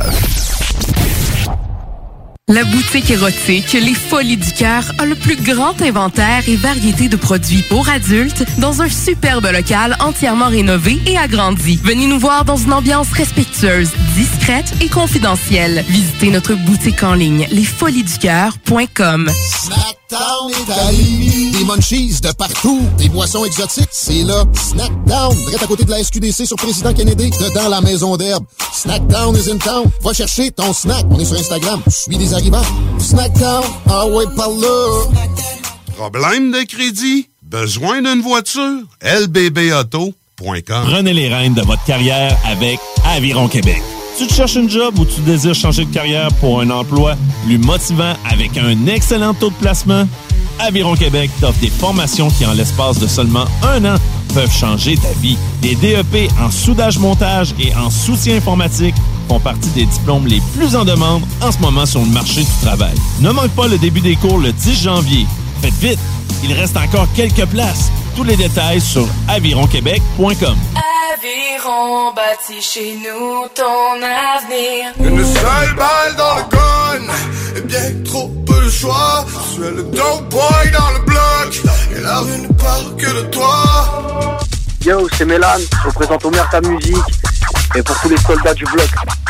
La boutique érotique Les Folies du Cœur a le plus grand inventaire et variété de produits pour adultes dans un superbe local entièrement rénové et agrandi. Venez nous voir dans une ambiance respectueuse, discrète et confidentielle. Visitez notre boutique en ligne lesfoliesducoeur.com. Snackdown Italie, des munchies de partout, des boissons exotiques, c'est là. Snackdown, direct à côté de la SQDC sur Président Kennedy, dedans la maison d'herbe. Snackdown is in town. Va chercher ton snack. On est sur Instagram. Je suis des arrivants. Snackdown, ah ouais, par là. Problème de crédit? Besoin d'une voiture? lbbauto.com. Prenez les rênes de votre carrière avec Aviron Québec. Tu te cherches une job ou tu désires changer de carrière pour un emploi plus motivant avec un excellent taux de placement? Aviron Québec t'offre des formations qui, en l'espace de seulement 1 an, peuvent changer ta vie. Les DEP en soudage-montage et en soutien informatique font partie des diplômes les plus en demande en ce moment sur le marché du travail. Ne manque pas le début des cours le 10 janvier. Faites vite, il reste encore quelques places. Tous les détails sur avironquebec.com. Aviron bâtit chez nous ton avenir. Une seule balle dans le gun, et bien trop peu de choix. Tu es le dope boy dans le bloc, et la rue ne parle que de toi. Yo, c'est Mélan, je représente Omer ta musique, et pour tous les soldats du bloc.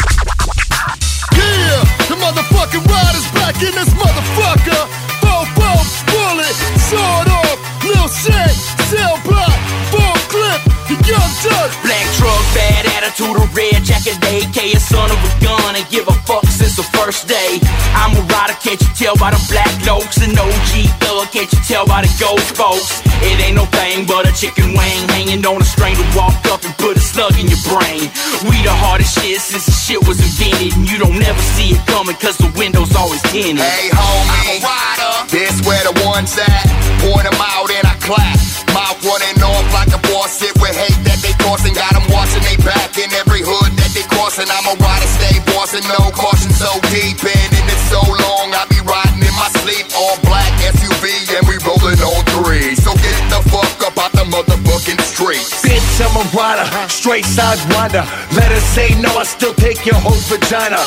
Yeah, the motherfucking riders back in this motherfucker. Bow, bullet, sword off, Lil Shaq, cell block, full clip, the young judge. Black truck, bad attitude, a red jacket, AK, a son of a gun, and give a fuck since the first day. I'm a rider, can't you tell by the black lokes, an OG thug, can't you tell by the ghost folks? It ain't no thing but a chicken wing hanging on a string to walk up and put a slug in your brain. We the hardest shit since the shit was invented, and you don't never see it coming cause the window's always tinted. Hey homie, I'm a rider, this where the ones at. Point them out and I clap. Mouth running off like a boss, sit with hate that they causing. Got them watching they back in every hood that they crossing. I'm a rider, stay bossing, no caution, so deep in it so long. I be riding in my sleep, all black SUV and we rolling on 3. So get the fuck up out the motherfucking street. bitch, I'm a rider. Straight side winder. Let her say no, I still take your whole vagina.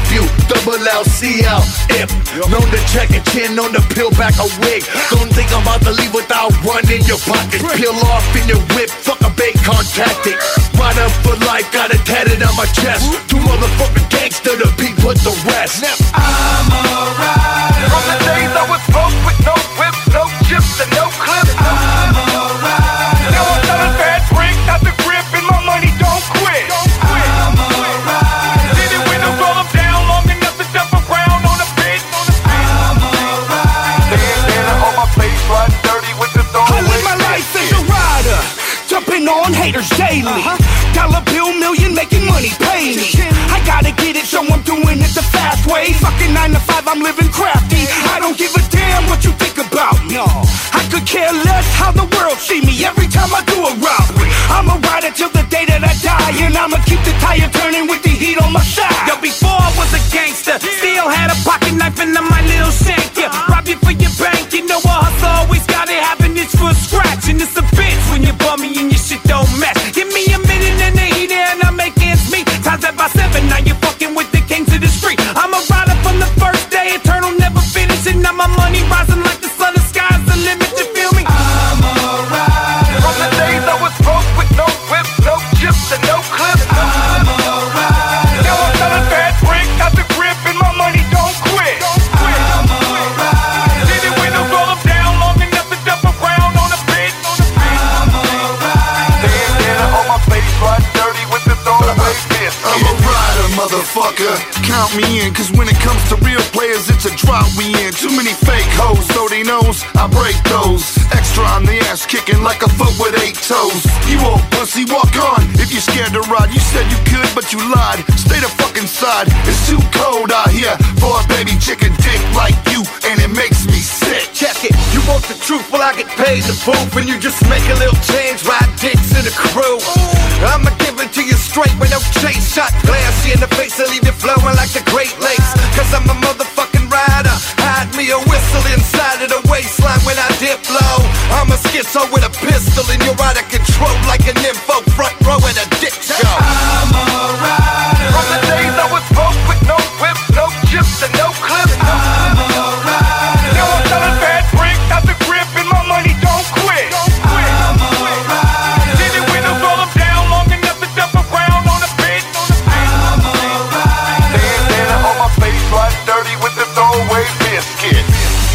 F-U-double-L-C-L, if. Known to check a chin, known to peel back a wig. Don't think I'm about to leave without one in your pocket. Peel off in your whip, fuck a bacon tactic. Rider for life, got it tatted on my chest. Two motherfucking gangster to beat with the rest. I'm a rider. From the days I was broke with no whip, no chips and no clips. I'm a rider. Now I'm selling bad drink, got the grip and my money don't quit. I'm a rider. Did it when I roll them down long enough to jump around on a bitch. I'm a rider. Bandana on my face, riding dirty with the throwaway. I live my life as a rider, jumping on haters daily. Dollar bill million, making money, pay me. I gotta get it, so I'm doing it the fast way. Fucking 9 to 5, I'm living crafty. I don't give a damn what you think about me. I could care less how the world see me every time I do a robbery. I'm a rider till the day that I die, and I'ma keep the tire turning with the heat on my side. Yo, before I was a gangster, still had a pocket knife and my little shank. Yeah, rob you for your bank, you know a hustle always got it, having this for a scratch. And it's a bitch when you bum me and your shit don't match. Give me a minute and the heat and I make ends meet. Times that by 7, now you fucking with the kings of the street. I'm a rider from the first day, eternal, never finishing. Now my money rising like the sun, the sky's the limit, you feel me? I'm a rider. From the days I was broke with no whip, no chips and no clips. I'm a rider. Now I'm selling bad drink, got the grip and my money don't quit. I'm a rider. Did it when I roll them down long enough to jump around on a bitch. I'm a rider. Bandana on my face, riding dirty with the throwaway fist. I'm a rider, motherfucker. Count me in, cause when it comes to real players, it's a drought we in. Too many fake hoes, so they knows I break those. Extra on the ass, kicking like a foot with 8 toes. You old pussy, walk on. If you're scared to ride, you said you could, but you lied. Stay the fucking side, it's too cold out here for a baby chicken dick like you, and it makes me sick. Check it, you want the truth, well I get paid to proof, and you just make a little change, ride dicks in the crew. I'ma give it to you straight with no chase. Shot glass you in the face and leave you flowing like the Great Lakes. Cause I'm a motherfucking rider. Hide me a whistle inside of the waistline when I dip low. I'm a schizo with a pistol and you're out of control like an info front row at a dick show. I'm a rider. From the days I was broke with no whip, no chips and no clips. I'm a rider. Now I'm selling bad drink, got the grip and my money don't quit. I'm a rider. Did it when I roll them down long enough to jump around on a bitch. I'm a rider. Bandana on my face, riding dirty with the throwaway biscuit.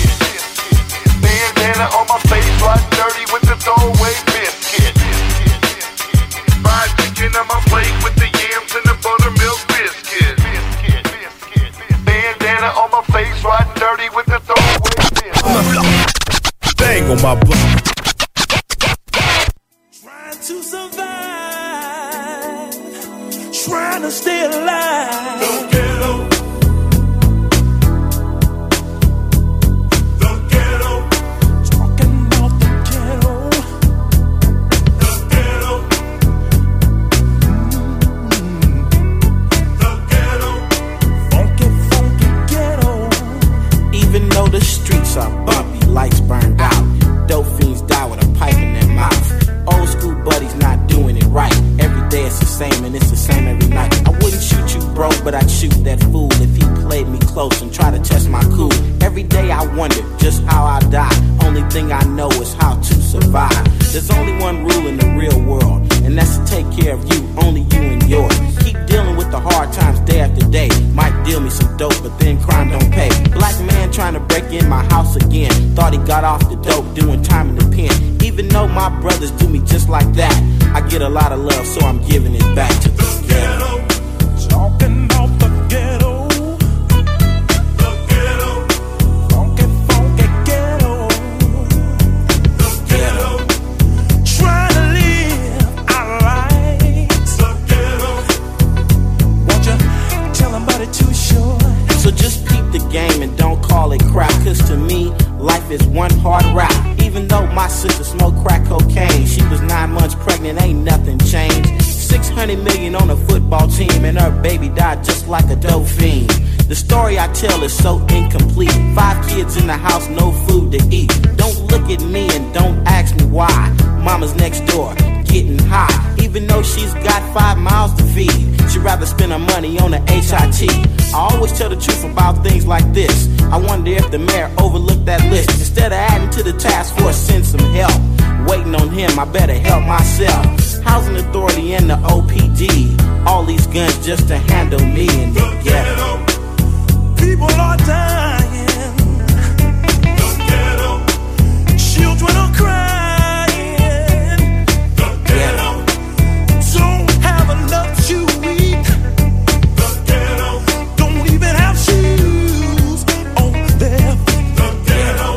Bandana on my face, riding dirty with the throwaway biscuit. Fried chicken on my plate with the yams and the buttermilk biscuit. Bandana on my face, riding dirty with the throwaway biscuit. Bang on my butt. Trying to survive, trying to stay alive. Don't get old. The ghetto. Talking about the ghetto. The ghetto. The ghetto. Funky, funky ghetto. Even though the streets are bumpy, lights burned out, dope fiends die with a pipe in their mouth. Old school buddies not doing it right. Every day it's the same and it's the same every night. I wouldn't shoot you, bro, but I'd shoot that fool if he played me close and tried to test my cool. Every day I wonder just how I die. Only thing I know is how to survive. There's only one rule in the real world, and that's to take care of you, only you and yours. Keep dealing with the hard times day after day. Might deal me some dope, but then crime don't pay. Black man trying to break in my house again. Thought he got off the dope, doing time in the pen. Even though my brothers do me just like that, I get a lot of love, so I'm giving it back to the ghetto. Talking about the ghetto. The ghetto. Funky, funky ghetto. The ghetto. Trying to live our lives. The ghetto. Won't you tell them about it too short? So just peep the game and don't call it crap, cause to me, life is one hard rap. Even though my sister smoked crack cocaine, she was 9 months pregnant, ain't nothing changed. 600 million on a football team, and her baby died just like a dope fiend. The story I tell is so incomplete. 5 kids in the house, no food to eat. Don't look at me and don't ask me why. Mama's next door, getting high. Even though she's got 5 mouths to feed, she'd rather spend her money on the HIT. I always tell the truth about things like this. I wonder if the mayor overlooked that list. Instead of adding to the task force, send some help. Waiting on him, I better help myself. Housing Authority and the OPD, all these guns just to handle me in the ghetto. People are dying. The ghetto. Children are crying. The ghetto. Don't have enough to eat. The ghetto. Don't even have shoes on their feet. The ghetto.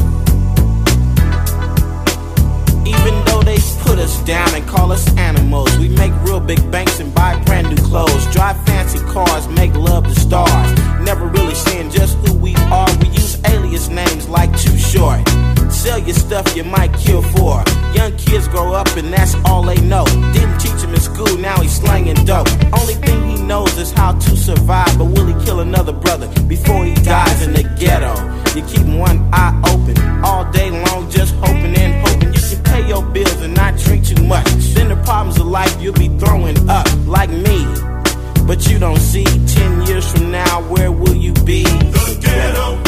Even though they put us down and call us animals, we make real big banks and buy brand new clothes, drive fancy cars, make love to stars. Never really saying just who we are. We use alias names like Too Short. Sell your stuff you might kill for. Young kids grow up and that's all they know. Didn't teach him in school, now he's slanging dope. Only thing he knows is how to survive. But will he kill another brother before he dies in the ghetto? You keep one eye open all day long, just hoping and hoping you can pay your bills and not drink too much. Then the problems of life you'll be throwing up like me. But you don't see 10 years from now, where will you be? The ghetto.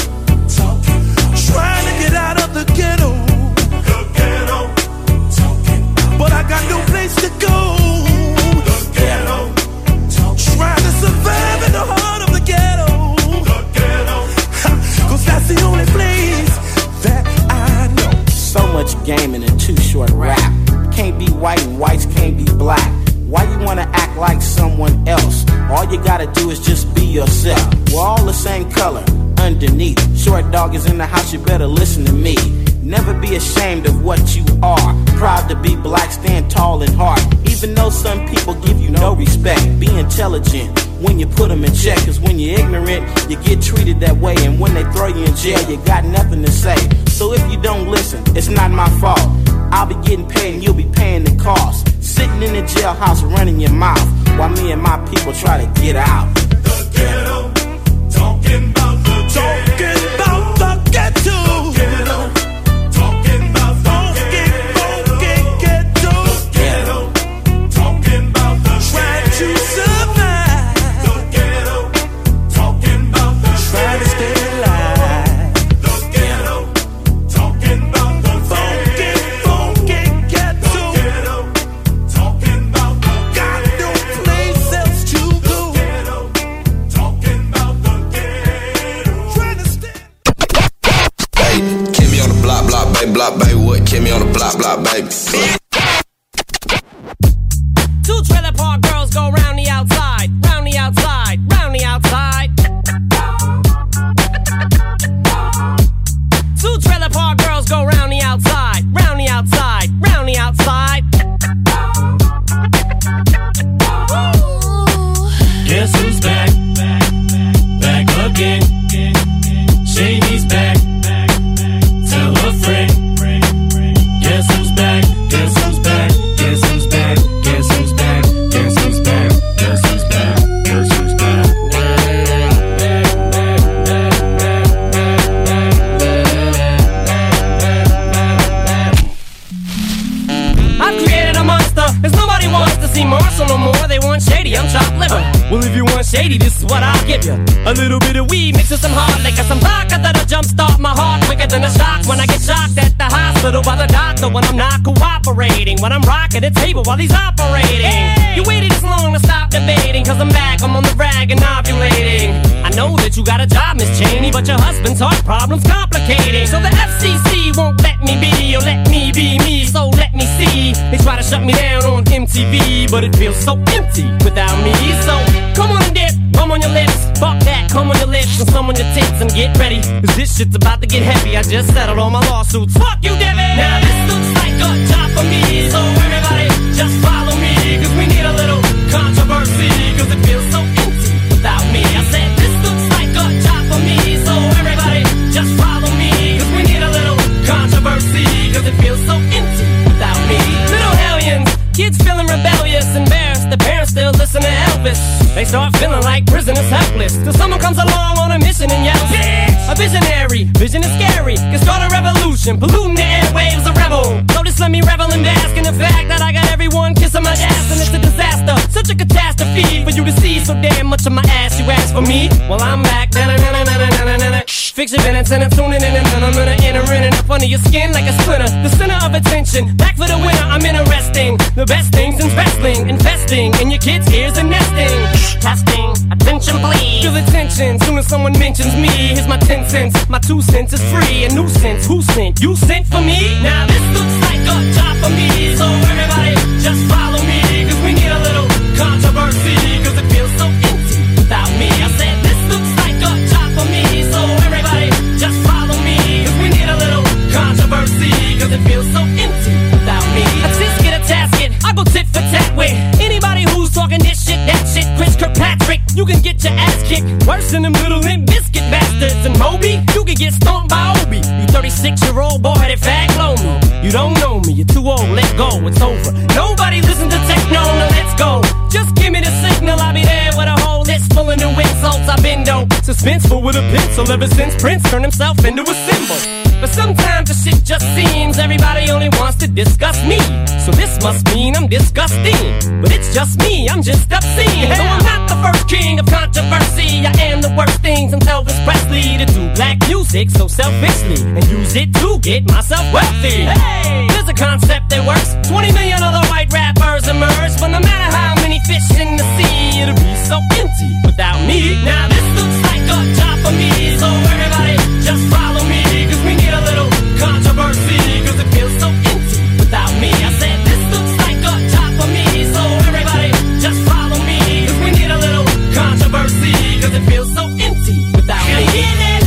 Trying to get out of the ghetto. The ghetto. But I got no place to go. The ghetto. Trying to survive in the heart of the ghetto. The ghetto. Cause that's the only place that I know. So much game in a Too Short rap. Can't be white and whites can't be black. Why you wanna act like someone else? All you gotta do is just be yourself. We're all the same color underneath. Short dog is in the house, you better listen to me. Never be ashamed of what you are. Proud to be black, stand tall and hard. Even though some people give you no respect, be intelligent when you put them in check. Cause when you're ignorant, you get treated that way. And when they throw you in jail, you got nothing to say. So if you don't listen, it's not my fault. I'll be getting paid and you'll be paying the cost. Sitting in the jailhouse running your mouth while me and my people try to get out. The ghetto. Talking about the ghetto. Talking about the ghetto. The ghetto. Talking about the ghetto. The ghetto. Talking about the trying to survive. The ghetto. Talking about the trying to stay alive. The ghetto. Talking about the funky ghetto. The ghetto. Talking about the got no place else to go. The ghetto. Talking about the ghetto. Trying to stay. Hey, Kimmy on the block, baby, what? Kimmy on the block, baby. Two trailer park girls go round the outside, round the outside, round the outside. Two trailer park girls go round the outside, round the outside, round the outside. Guess who's back? Back again. Shady's back. Tell a friend. Guess who's back? Guess who's back? Guess who's back? Guess who's back? Guess who's back? Guess who's back? Guess who's back? I've created a monster, cause nobody wants to see Marshall no more. They want Shady, I'm chopped liver. Well, if you want Shady, this is what I'll give you. A little bit of weed mixed with some hard liquor, some vodka that'll jumpstart my heart quicker than a shock when I get shocked at the hospital by the doctor when I'm not cooperating, when I'm rocking the table while he's operating. Hey! You waited this long to stop debating, cause I'm back, I'm on the rag and ovulating. I know that you got a job, Miss Cheney, but your husband's heart problem's complicating. So the FCC won't let me be, or let me be me, so let me see. They try to shut me down on MTV, but it feels so empty without me. So come on and dip, come on your lips, fuck that, come on your lips and some on your tits and get ready, cause this shit's about to get heavy. I just settled all my lawsuits, fuck you, Debbie. Now this looks like a job for me, so everybody just follow me, cause we need a little controversy, cause it feels so empty without me. I said this looks like a job for me, so everybody just follow me, cause we need a little controversy, cause it feels so empty without me. Little hellions, kids feeling rebellious, embarrassed, the parents still listen to Elvis. They start feeling like prisoners helpless till someone comes along on a mission and yells, bitch! A visionary, vision is scary, can start a revolution, polluting the airwaves, a rebel. So just let me revel and bask in the fact that I got everyone kissing my ass and it's a disaster, such a catastrophe for you to see so damn much of my ass. You ask for me? Well, I'm back. Fix your minutes and I'm tuning in and I'm gonna enter in and up under your skin like a splinter. The center of attention, back for the winner. I'm interesting. The best things in wrestling, investing in your kids' ears and nesting. Testing, attention please. Feel the tension soon as someone mentions me. Here's my 10 cents, my 2 cents is free. A nuisance, who sent? You sent for me? Now this looks like a job for me. So everybody just follow me, cause we need a little controversy, cause it feels so empty without me. I said this looks like a job for me. So everybody just follow me, cause we need a little controversy, cause it feels so empty without me. A tisket, a tasket, I go tit for tat with anybody who's talking this shit, that shit. Chris Kirkpatrick, you can get your ass kicked worse than them little Limp Biscuit bastards. And Moby, you can get stomped by Obi. You 36-year-old boy that fag blow me. You don't know me, you're too old, let go, it's over. Nobody listen to techno, now let's go. Just give me the signal, I'll be there with a whole list full of new insults. I've been though suspenseful with a pencil ever since Prince turned himself into a symbol. But sometimes the shit just seems everybody only wants to discuss me. So this must mean I'm disgusting. But it's just me, I'm just obscene. Though I'm not the first king of controversy, I am the worst things in Elvis Presley to do black music so selfishly and use it to get myself wealthy. Hey, there's a concept that works. 20 million other white rappers emerge, but no matter how many fish in the sea, it'll be so empty without me. Now this looks like a job for me, so everybody just follow me, cause we need a little controversy, cause it feels so empty without me. I said this looks like a job for me, so everybody just follow me, cause we need a little controversy, cause it feels so empty without me.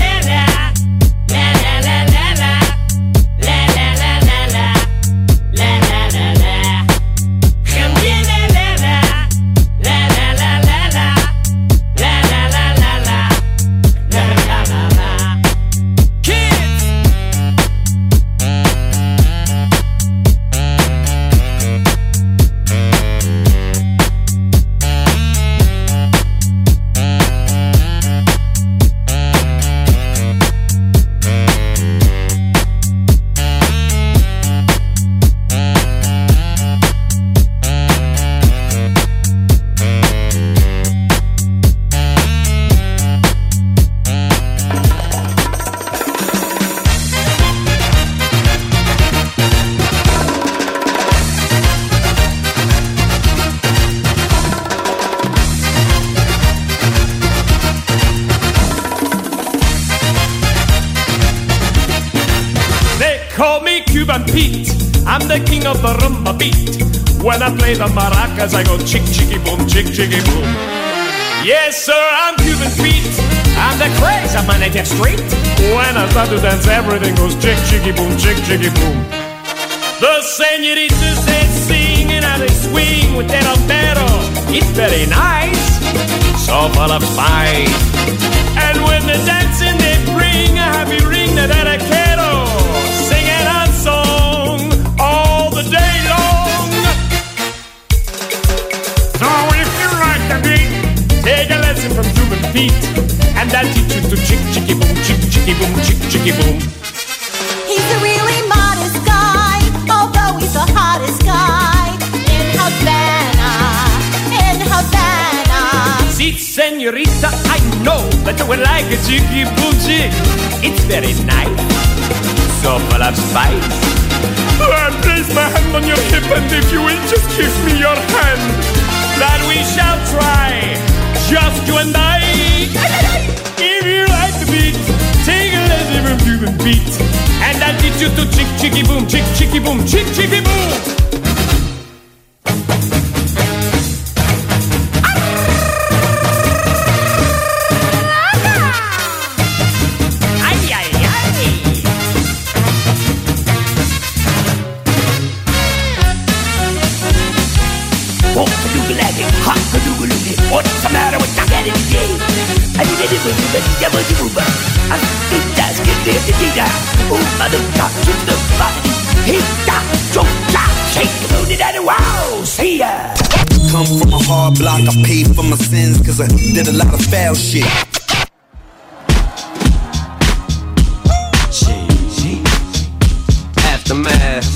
I'm the king of the rumba beat. When I play the maracas, I go chick, chicky, boom, chick, chicky, boom. Yes, sir, I'm Cuban Pete. I'm the craze of my native street. When I start to dance, everything goes chick, chicky, boom, chick, chicky, boom. The senoritas, they sing and how they swing with their albero. It's very nice, so full of spice. And when the dancing, they bring a happy ring that I quiero. Singing a song all the day long. So if you like the beat, take a lesson from Cuban Pete, and that'll teach you to chick, chicky, boom, chick, chicky, boom, chick, chicky, boom. He's a really modest guy, although he's the hottest guy in Havana, in Havana. See, senorita, I know that you will like a chicky, boom, chick. It's very nice, so full of spice. I place my hand on your hip, and if you will just give me your hand, that we shall try, just you and I. If you like the beat, take a lesson from Cuban Pete, and I'll teach you to chick, chicky, boom, chick, chicky, boom, chick, chicky, boom. What's the matter with that energy? I did it with the devil to move. I think that's get there to get out. Oh, mother, God, get the body. He got to shake the booty daddy, wow, see ya. Come from a hard block, I paid for my sins, cause I did a lot of foul shit. Aftermath.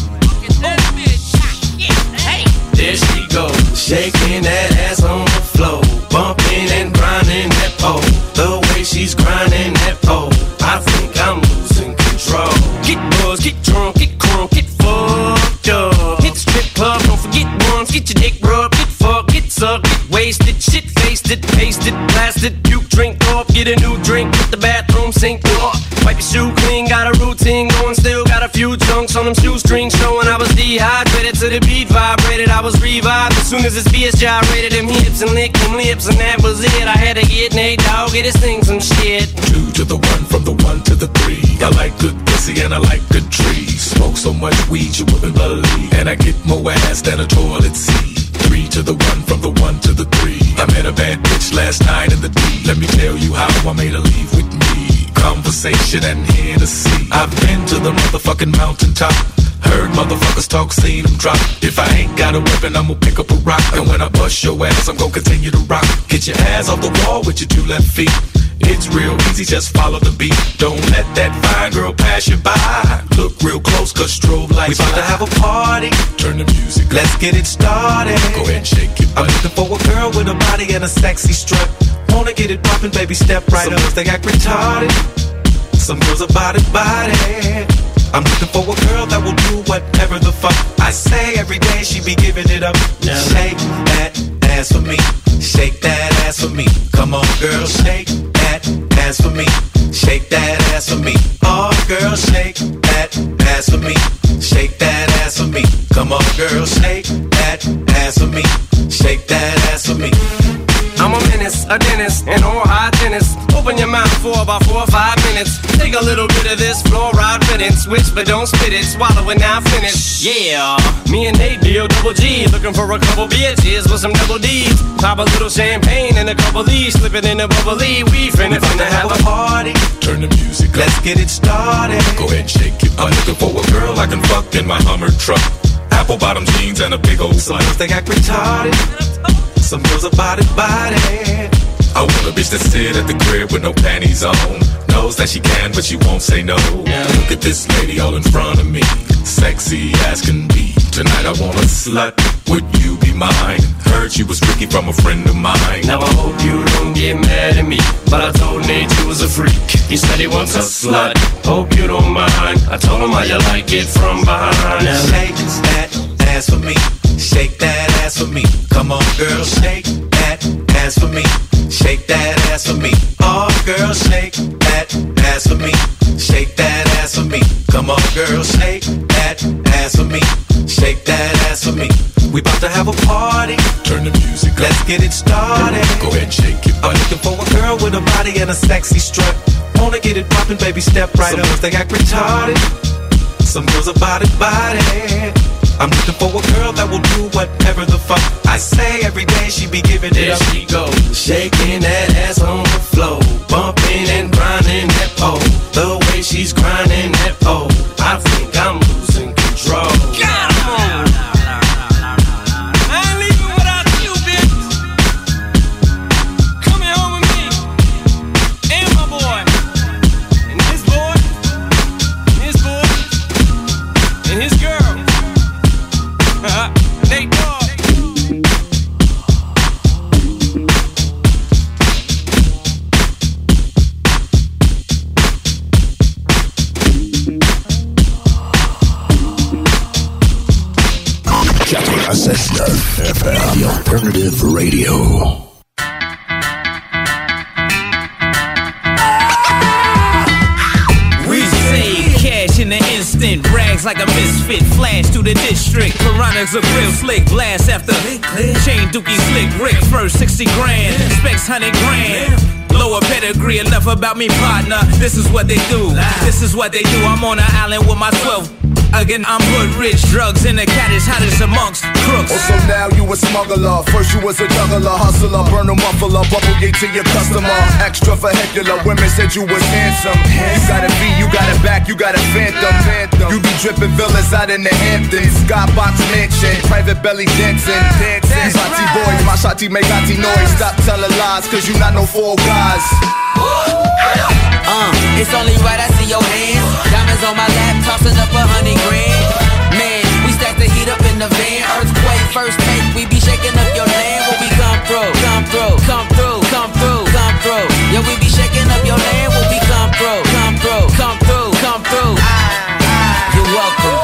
There she goes, shaking that ass on the floor, bumping and grinding that pole. The way she's grinding that pole, I think I'm losing control. Get buzzed, get drunk, get crunk, get fucked up. Hit the strip club, don't forget once, get your dick rubbed, get fucked, get sucked, get wasted, shit faced it, pasted, blasted, puke, drink off, get a new drink, hit the bathroom sink off. Wipe your shoe clean, got a routine going, still got a few chunks on them shoestrings showing I was dehydrated to the beat vibrated. I was revived as soon as his BS gyrated them hips and licked them lips, and that was it. I had to get Nate Dogg, get his thing some shit. 2 to the 1, from the 1 to the 3. I like good pussy and I like good trees. Smoke so much weed you wouldn't believe, and I get more ass than a toilet seat. 3 to the 1, from the 1 to the 3. I met a bad bitch last night in the D. Let me tell you how I made her leave with me. Conversation and Hennessy. I've been to the motherfucking mountaintop. Heard motherfuckers talk, seen them drop. If I ain't got a weapon, I'ma pick up a rock. And when I bust your ass, I'm gon' continue to rock. Get your ass off the wall with your 2 left feet. It's real easy, just follow the beat. Don't let that fine girl pass you by. Look real close, cause strobe lights. We about to have a party. Turn the music. Let's get it started. Go ahead and shake it. I'm looking for a girl with a body and a sexy strut. Wanna get it poppin', baby, step right up. Some girls, they act retarded. Some girls are body. I'm looking for a girl that will do whatever the fuck I say every day. She be giving it up. Now shake that ass for me. Shake that ass for me. Come on, girl, shake that ass for me. Shake that ass for me. Oh, girl, shake that ass for me. Shake that ass for me. Come on, girl, shake that ass for me. Shake that ass for me. I'm a menace, a dentist, an oral hygienist. Open your mouth for about 4 or 5 minutes. Take a little bit of this fluoride riddance. Switch but don't spit it, swallow it now finish. Yeah, me and Nate D-O-double-G, looking for a couple bitches with some double D's. Pop a little champagne and a couple D's, slip it in a bubbly. We finna have a party. Turn the music up. Let's get it started. Go ahead and shake it. I'm looking for a girl I can fuck in my Hummer truck. Apple bottom jeans and a big old slut. Some girls, they act retarded. Some girls are body. I want a bitch that sit at the crib with no panties on. Knows that she can, but she won't say no. Now look at this lady all in front of me. Sexy as can be. Tonight I want a slut. Would you be mine? Heard she was Ricky from a friend of mine. Now I hope you don't get mad at me, but I told Nate you was a freak. He said he wants a slut. Hope you don't mind. I told him how you like it from behind. Now shake that ass for me. Shake that ass for me. Come on, girl, shake that ass for me. Shake that ass for me. Oh, girl, shake that ass for me. Shake that ass for me. Come on, girl, shake that ass for me. Shake that ass for me. We about to have a party. Turn the music up. Let's get it started. Go ahead and shake it. I'm looking for a girl with a body and a sexy strut. Wanna get it poppin', baby, step right up. Some girls, they act retarded. Some girls are body. I'm looking for a girl that will do whatever the fuck I say every day. She be giving it up. There she goes, shaking that ass on the floor, bumping and grinding that pole. The way she's grinding that pole, I think I'm losing control. Come on. I ain't leaving without you, bitch. Come here home with me, and my boy, and his boy, and his boy, and his girl. Nate Dogg. FM, the alternative radio. In the instant, rags like a misfit, flash through the district. Piranhas a real slick, blast after chain dookie slick, Rick first 60 grand, specs 100 grand. Lower pedigree, enough about me, partner. This is what they do. This is what they do. I'm on an island with my 12. Again, I'm hood rich, drugs in the cottage, hottest amongst crooks. Oh, so now you a smuggler. First you was a juggler, hustler, burn a muffler, bubble yay to your customer. Extra vehicular, women said you was handsome. You got a V, you got a back, you got a phantom. You be dripping villas out in the Hamptons. Skybox mansion, private belly dancing. Shotty boys, my shotty make shotty noise. Stop telling lies, cause you not no fool guys. It's only right I see your hands. Diamonds on my lap, tossing up 100 grand. Man, we stack the heat up in the van. Earthquake, first take, we be shaking up your land. When we come through, come through, come through, come through, come through. Yeah, we be shaking up your land. When we come through, come through, come through, come through. You're welcome.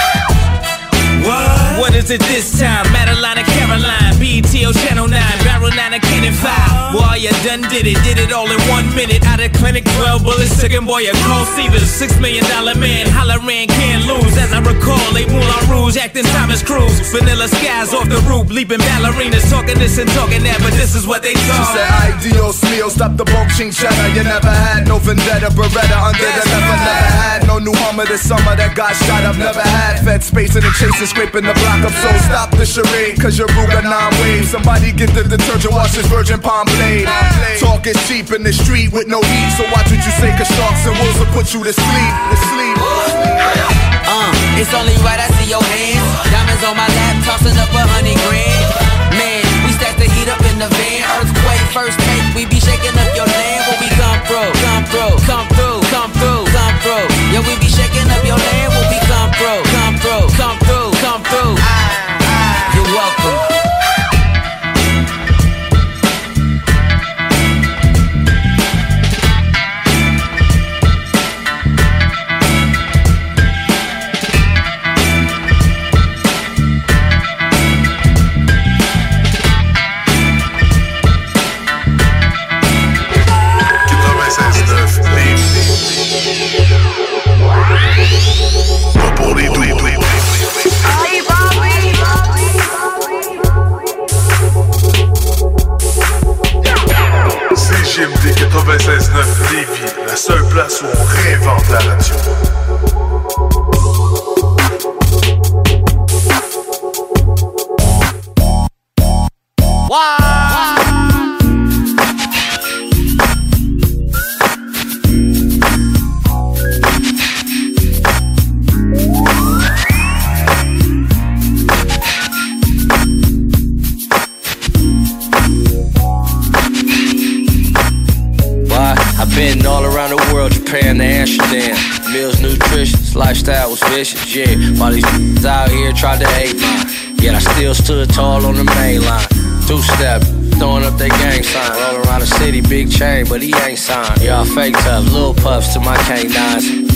What is it this time? Madeline and Caroline, BTO Channel 9, Barrel 9 and Cannon 5. Boy, you done did it all in 1 minute. Out of clinic, 12 bullets, second boy, a cold Caesars. $6 million man, Holleran can't lose. As I recall, they Moulin Rouge, acting Thomas Cruise. Vanilla skies off the roof, leaping ballerinas, talking this and talking that, but this is what they talk. She said, ay Dios mío, stop the bulging cheddar. You never had no vendetta, Beretta under the never had no new Hummer this summer that got shot up. Never had fed space in the chasing, scraping the block up. So stop the charade, cause you're Ruger 9 waves. Somebody get the detergent, wash this virgin palm blade. Talk is cheap in the street with no heat, so watch what you say, cause sharks and wolves will put you to sleep. It's only right I see your hands. Diamonds on my lap, tossing up 100 grand. Man, we stack the heat up in the van. Earthquake, first take, we be shaking up your land. When we come through, come through, come through, come through, come through. Yeah, we be shaking up your land. When we come through, come through, come through, come through. You're welcome. CJMD 96.9 Lévis, la seule place où on réinvente la radio. Been all around the world, Japan to Amsterdam. Meals nutritious, lifestyle was vicious, yeah. While these out here tried to hate mine, yet I still stood tall on the main line. Two-step, throwing up their gang sign. Rolling around the city, big chain, but he ain't signed. Y'all fake tough, little puffs to my canines.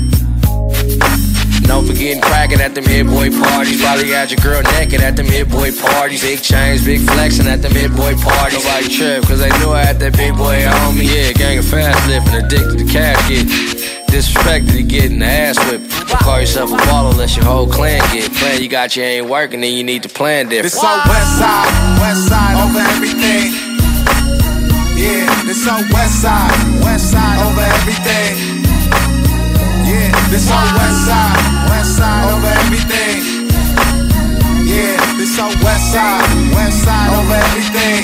Don't forget cracking at them hit boy parties. Probably had your girl naked at them hit boy parties. Big chains, big flexing at them hit boy parties. Nobody trip, cause they knew I had that big boy on me. Yeah, gang of fast living, addicted to cash get. Disrespected to getting the ass whipped. Don't call yourself a baller unless your whole clan get. Plan you got you ain't working, then you need to plan different. This on west side over everything. Yeah, this on west side over everything. Yeah, this on west side over everything. Yeah, this on west side over everything.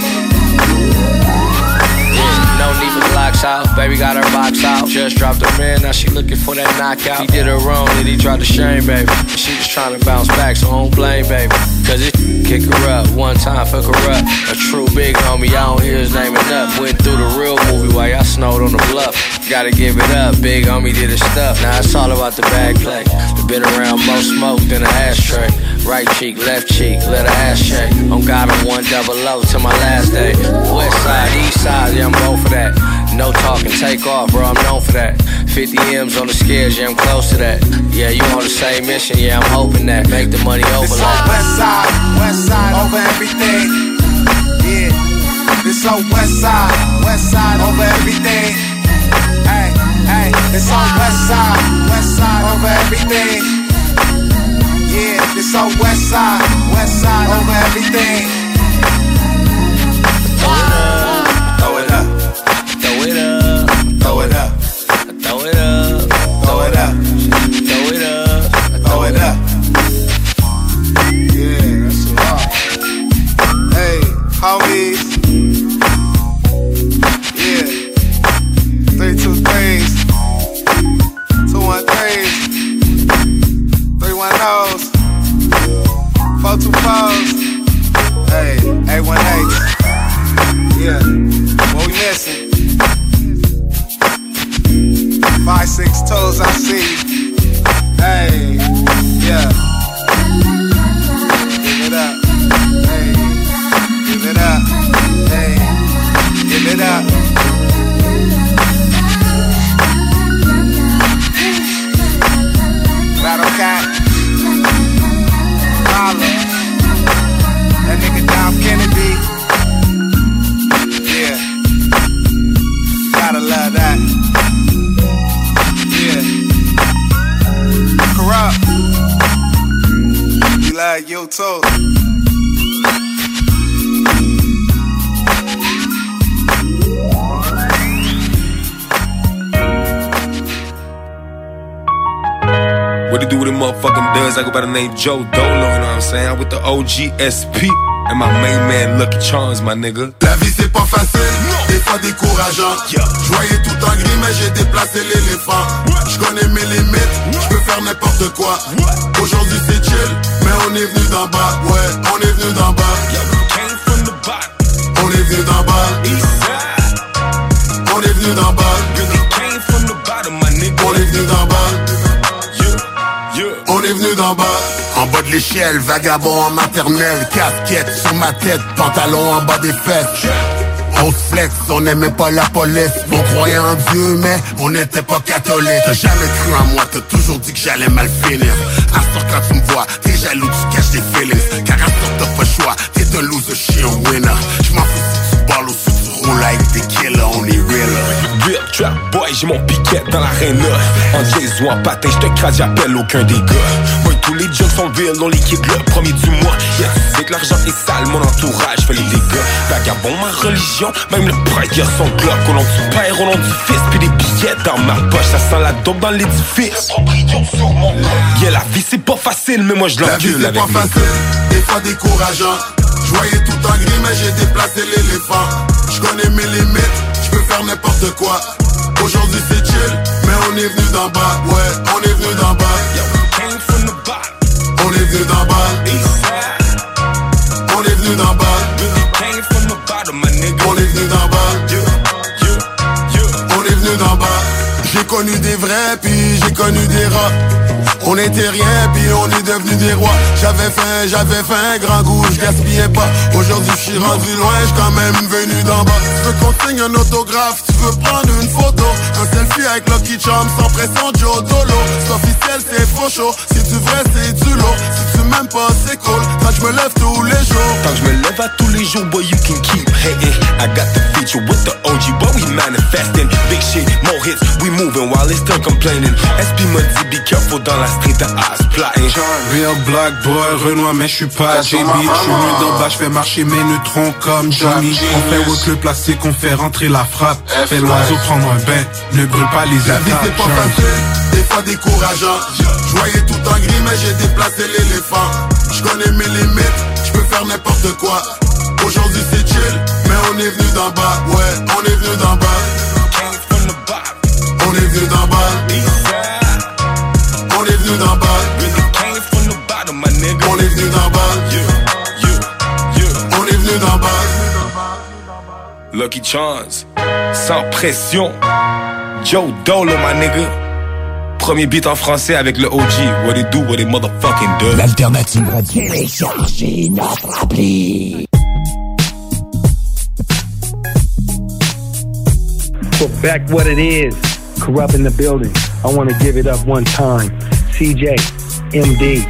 Yeah, no need for blocks out, baby got her box out. Just dropped her man, now she looking for that knockout. He did her wrong, then he tried to shame, baby. She just trying to bounce back, so I don't blame, baby. Cause it kick her up, one time fuck her up. A true big homie, I don't hear his name enough. Went through the real movie while y'all snowed on the bluff. Gotta give it up, big homie did his stuff. Now it's all about the bag play. Been around more smoke than an ashtray. Right cheek, left cheek, let her ass shake. On God, I'm 100 to my last day. West side, east side, yeah, I'm both for that. No talking, take off, bro, I'm known for that. 50 M's on the scales, yeah, I'm close to that. Yeah, you on the same mission, yeah, I'm hoping that. Make the money over this like west side over everything. Yeah, this on west side over everything. Hey, hey, this on west side over everything. Yeah, this on west side over everything. Throw it up, throw it up, throw it up, throw it up, throw it up, throw it up, throw it up. Yeah, that's a lot. Hey, homies, Listen. 5, 6 toes, I see. Hey, yeah. Give it up. Hey, give it up. Hey, give it up. Battle Cat. Holla. That nigga Dom Kennedy. Yeah. Gotta love that. Yeah. Corrupt. We love you too. What it do with them motherfucking duds? I go by the name Joe Dolo, you know what I'm saying? I'm with the OGSP and my main man Lucky Charms, my nigga. La vie c'est pas facile, des fois décourageant. J'voyais tout en gris mais j'ai déplacé l'éléphant. J'connais mes limites, j'peux faire n'importe quoi. Aujourd'hui c'est chill, mais on est venu d'en bas. Ouais, on est venu d'en bas. On est venu d'en bas. On est venu d'en bas. On est venu d'en bas. On est venu d'en bas. En bas de l'échelle, vagabond en maternelle. Casquette sur ma tête, pantalon en bas des fesses. On se flex, on n'aimait pas la police. On croyait en Dieu, mais on n'était pas catholique. T'as jamais cru en moi, t'as toujours dit que j'allais mal finir. À ce quand tu me vois, t'es jaloux, tu caches tes feelings. Car à ce t'as pas le choix, t'es un loser, j'suis un winner. J'm'en fous si tu balles ou si tu roules like des killers, on est realer. Real trap boy, j'ai mon piquet dans l'arène. En jazz ou en patin, j'te crase, j'appelle aucun des gars. Moi tous les jokes sont real, on liquide le premier du mois. Yeah, tu sais que l'argent est sale, mon entourage fait les dégâts. Vagabond, ma religion, même le prêtre son glock. Au nom du père, au nom du fils, puis des billets dans ma poche. Ça sent la dope dans l'édifice. Yeah, la vie c'est pas facile, mais moi je l'encule avec pas facile, des fois décourageant. J'voyais tout en gris mais j'ai déplacé l'éléphant. J'connais mes limites, j'peux faire n'importe quoi. Aujourd'hui c'est chill, mais on est venu d'en bas. Ouais, on est venu d'en bas. On est venu d'en bas. On est venu d'en bas. On est venu d'en bas. On est venu d'en bas. J'ai connu des vrais puis j'ai connu des rats. On était rien puis on est devenu des rois. J'avais faim, grand goût, je gaspillais pas. Aujourd'hui je suis rendu loin, je quand même venu d'en bas. Tu veux qu'on signe un autographe, tu veux prendre une photo, un selfie avec Lucky Charms sans pression Joe Dolo. C'est officiel, c'est faux chaud, si tu vrai c'est du lourd. Si tu m'aimes pas c'est cool, quand je me lève tous les jours. Quand je me lève à tous les jours, boy you can keep hating. I got the feature with the OG, boy we manifesting. Big shit, more hits, we moving while they still complaining. SP me dit be careful dans la street de ass plotting. Real black boy, Renoir mais j'suis pas JB. J'suis venu d'en bas, j'fais marcher mes neutrons comme Johnny. On fait work le plastique, on fait rentrer la frappe. Fais l'oiseau prendre un bain, ne brûle pas les étapes. La vie c'est pas facile, des fois décourageant. J'voyais tout en gris mais j'ai déplacé l'éléphant. J'connais mes limites, j'peux faire n'importe quoi. Aujourd'hui c'est chill, mais on est venu d'en bas. Ouais, on est venu d'en bas. On est venu d'en bas. On est venu d'en bas. On est venu d'en bas. On est venu d'en bas. Lucky Charms, sans pression. Joe Dolo, my nigga. Premier beat en français avec le OG. What it do, what it motherfucking does. L'alternative radio. Téléchargez notre appli. So back what it is. Corrupt in the building. I want to give it up one time. CJ, MD,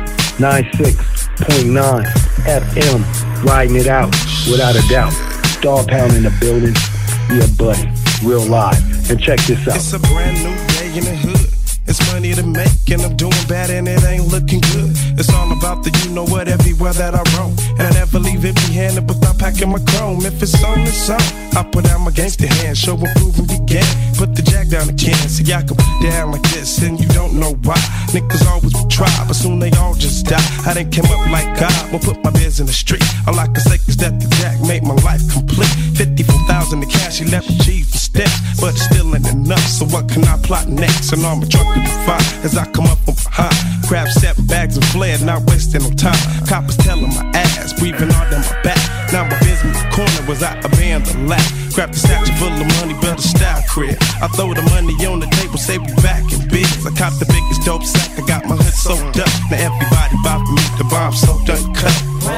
96.9 FM, riding it out without a doubt. Star Pound in the building. Yeah, buddy, real live. And check this out. It's a brand new day in the hood. It's money to make and I'm doing bad and it ain't looking good. It's all about the you know what everywhere that I roam. And I never leave empty-handed without packing my chrome. If it's on, it's on. I put out my gangster hand, show and prove and begin. Put the jack down again, so y'all come down like this and you don't know why. Niggas always would try, but soon they all just die. I done came up like God, won't put my biz in the street. All I can say is that the jack made my life complete. 54,000 in cash, he left G's and steps, but it's still ain't enough. So what can I plot next? And I'm a truck to the fire as I come up from behind. Grab 7 bags and fled, not wasting no time. Coppers telling my ass, breathing hard down my back. Now my business in the corner was I abandoned the lap. Grab the statue full of money, build a style crib. I throw the money on the table, say we back in biz. I cop the biggest dope sack, I got my hood soaked up. Now everybody bout me, the bomb soaked uncut.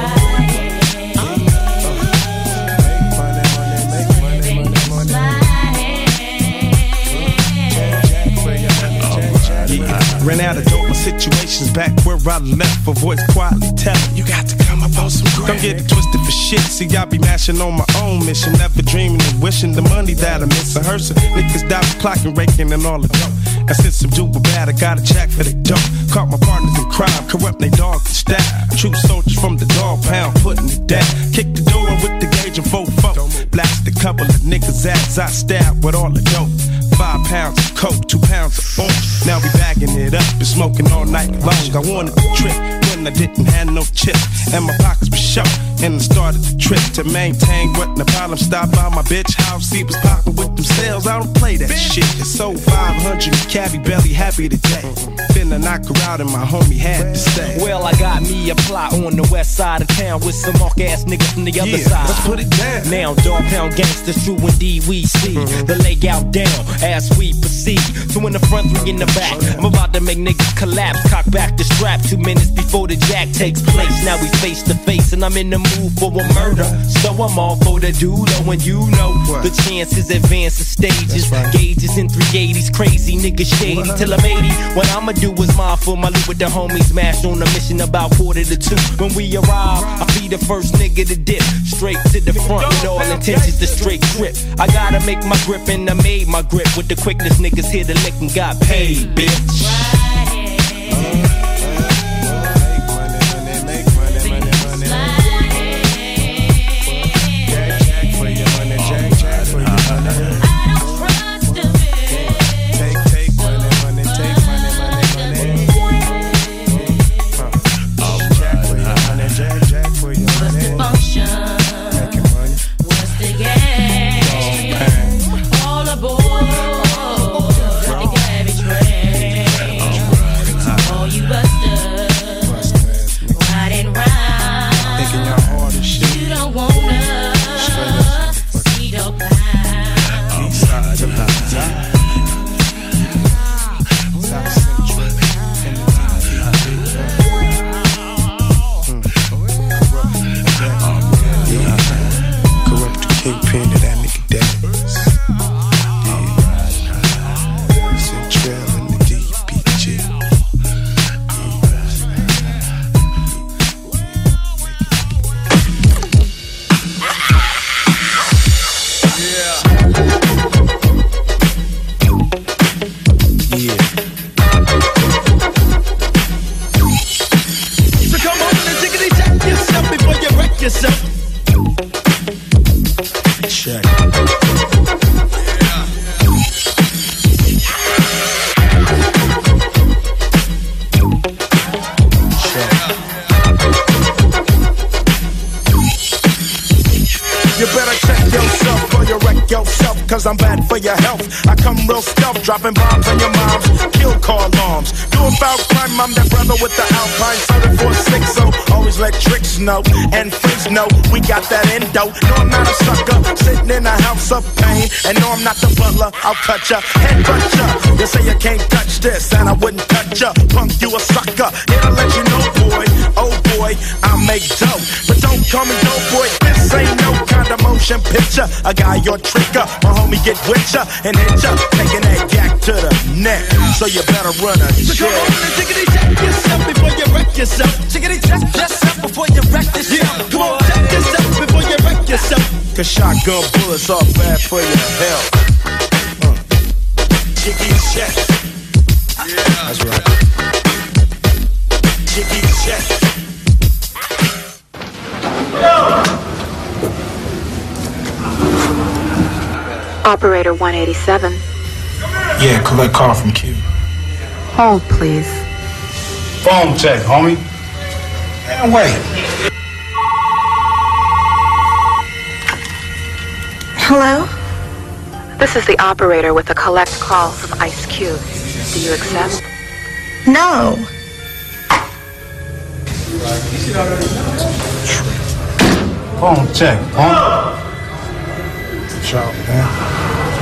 Ran out of dope, my situation's back where I left. For voice quietly telling, you got to come up on some ground. Don't get it twisted for shit. See, I be mashing on my own mission. Never dreaming and wishing the money that I miss. I heard some niggas die clocking, raking, and all the dope. And since I'm doing bad, I got a check for they dope. Caught my partners in crime, corrupt they dog and staff. True soldiers from the dog pound, putting it down. Kick the door in with the gauge and 4-4. Blast a couple of niggas' ass, I stab with all the dope. 5 pounds of coke, 2 pounds of orange. Now we bagging it up and smoking all night long. I wanted to trip when I didn't have no chips, and my pockets were short. And I started the trip to maintain wasn't a problem. Stop by my bitch house, he was popping with them sales. I don't play that shit. It's sold 500, cabby belly happy today. Finna knock her out and my homie had to stay. Well, I got me a plot on the west side of town with some mark ass niggas from the other side. Let's put it down. Now dog pound gangsters, true indeed we see the layout down as we proceed. 2 in the front, 3 in the back. I'm about to make niggas collapse. Cock back the strap 2 minutes before the jack takes place. Now we face to face and I'm in the mood for a murder. So I'm all for the doodle and you know the chances advance the stages. Gauges in 380s, crazy niggas shady till I'm 80. What I'ma do is mindful my loot with the homies. Smash on a mission about 1:45. When we arrive, I'll be the first nigga to dip straight to the front with all intentions to straight trip. I gotta make my grip and I made my grip with the quickness niggas here to lick and got paid, bitch. I'm bad for your health. I come real stealth, dropping bombs on your moms, kill car alarms. Do a foul crime, I'm that brother with the Alpine 746, so always let tricks know and freaks know we got that endo. No, I'm not a sucker, sitting in a house of pain, and no, I'm not the butler. I'll cut ya, head cut ya. You say you can't touch this, and I wouldn't touch ya. Punk, you a sucker. Here to let you know, boy, oh boy, I make dope, but don't call me dope boy. This ain't no kind of motion picture. A guy your tricker, my homie get with ya and hit ya, taking that yak to the neck. So you better run a check. So come on and tickety check yourself before you wreck yourself. Tickety check yourself before you wreck yourself. Yeah. Come on, check yourself before you wreck yourself. Cause shotgun bullets are bad for your health. Tickety check. Yeah, that's right. Tickety check. Operator 187. Yeah, collect call from Q. Hold, please. Phone check, homie. Man, wait. Hello? This is the operator with the collect calls of Ice Cube. Do you accept? No. Phone check, huh? Shout, man.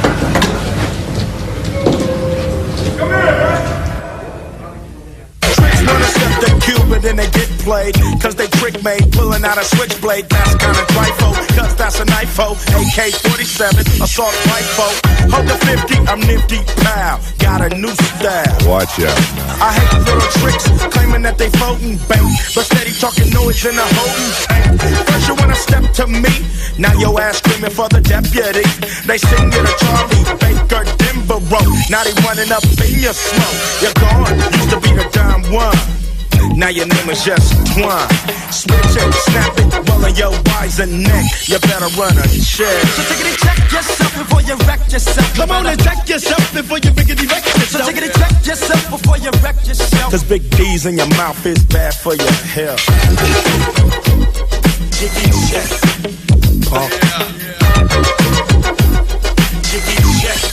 Wanna step the cube and then they get played. Cause they trick made, pulling out a switchblade. That's kinda trifle, cause that's a knifo. AK-47, assault rifle. Hold the 50, I'm nifty, pow. Got a new style. Watch out. I hate little tricks, claiming that they floating bank. But steady talking noise in the holding tank. First you wanna step to me, now your ass screaming for the deputy. They sing you to Charlie Baker, Denver Road. Now they running up in your smoke. You're gone, used to be the dime one. Now your name is just Twine. Switch it, snap it, rolling your wiser neck. You better run a check. So take it and check yourself before you wreck yourself. Come on and check yourself before you riggedy wreck yourself. So take it and check yourself before you wreck yourself. Cause big D's in your mouth is bad for your health. Jiggy check. Jiggy check.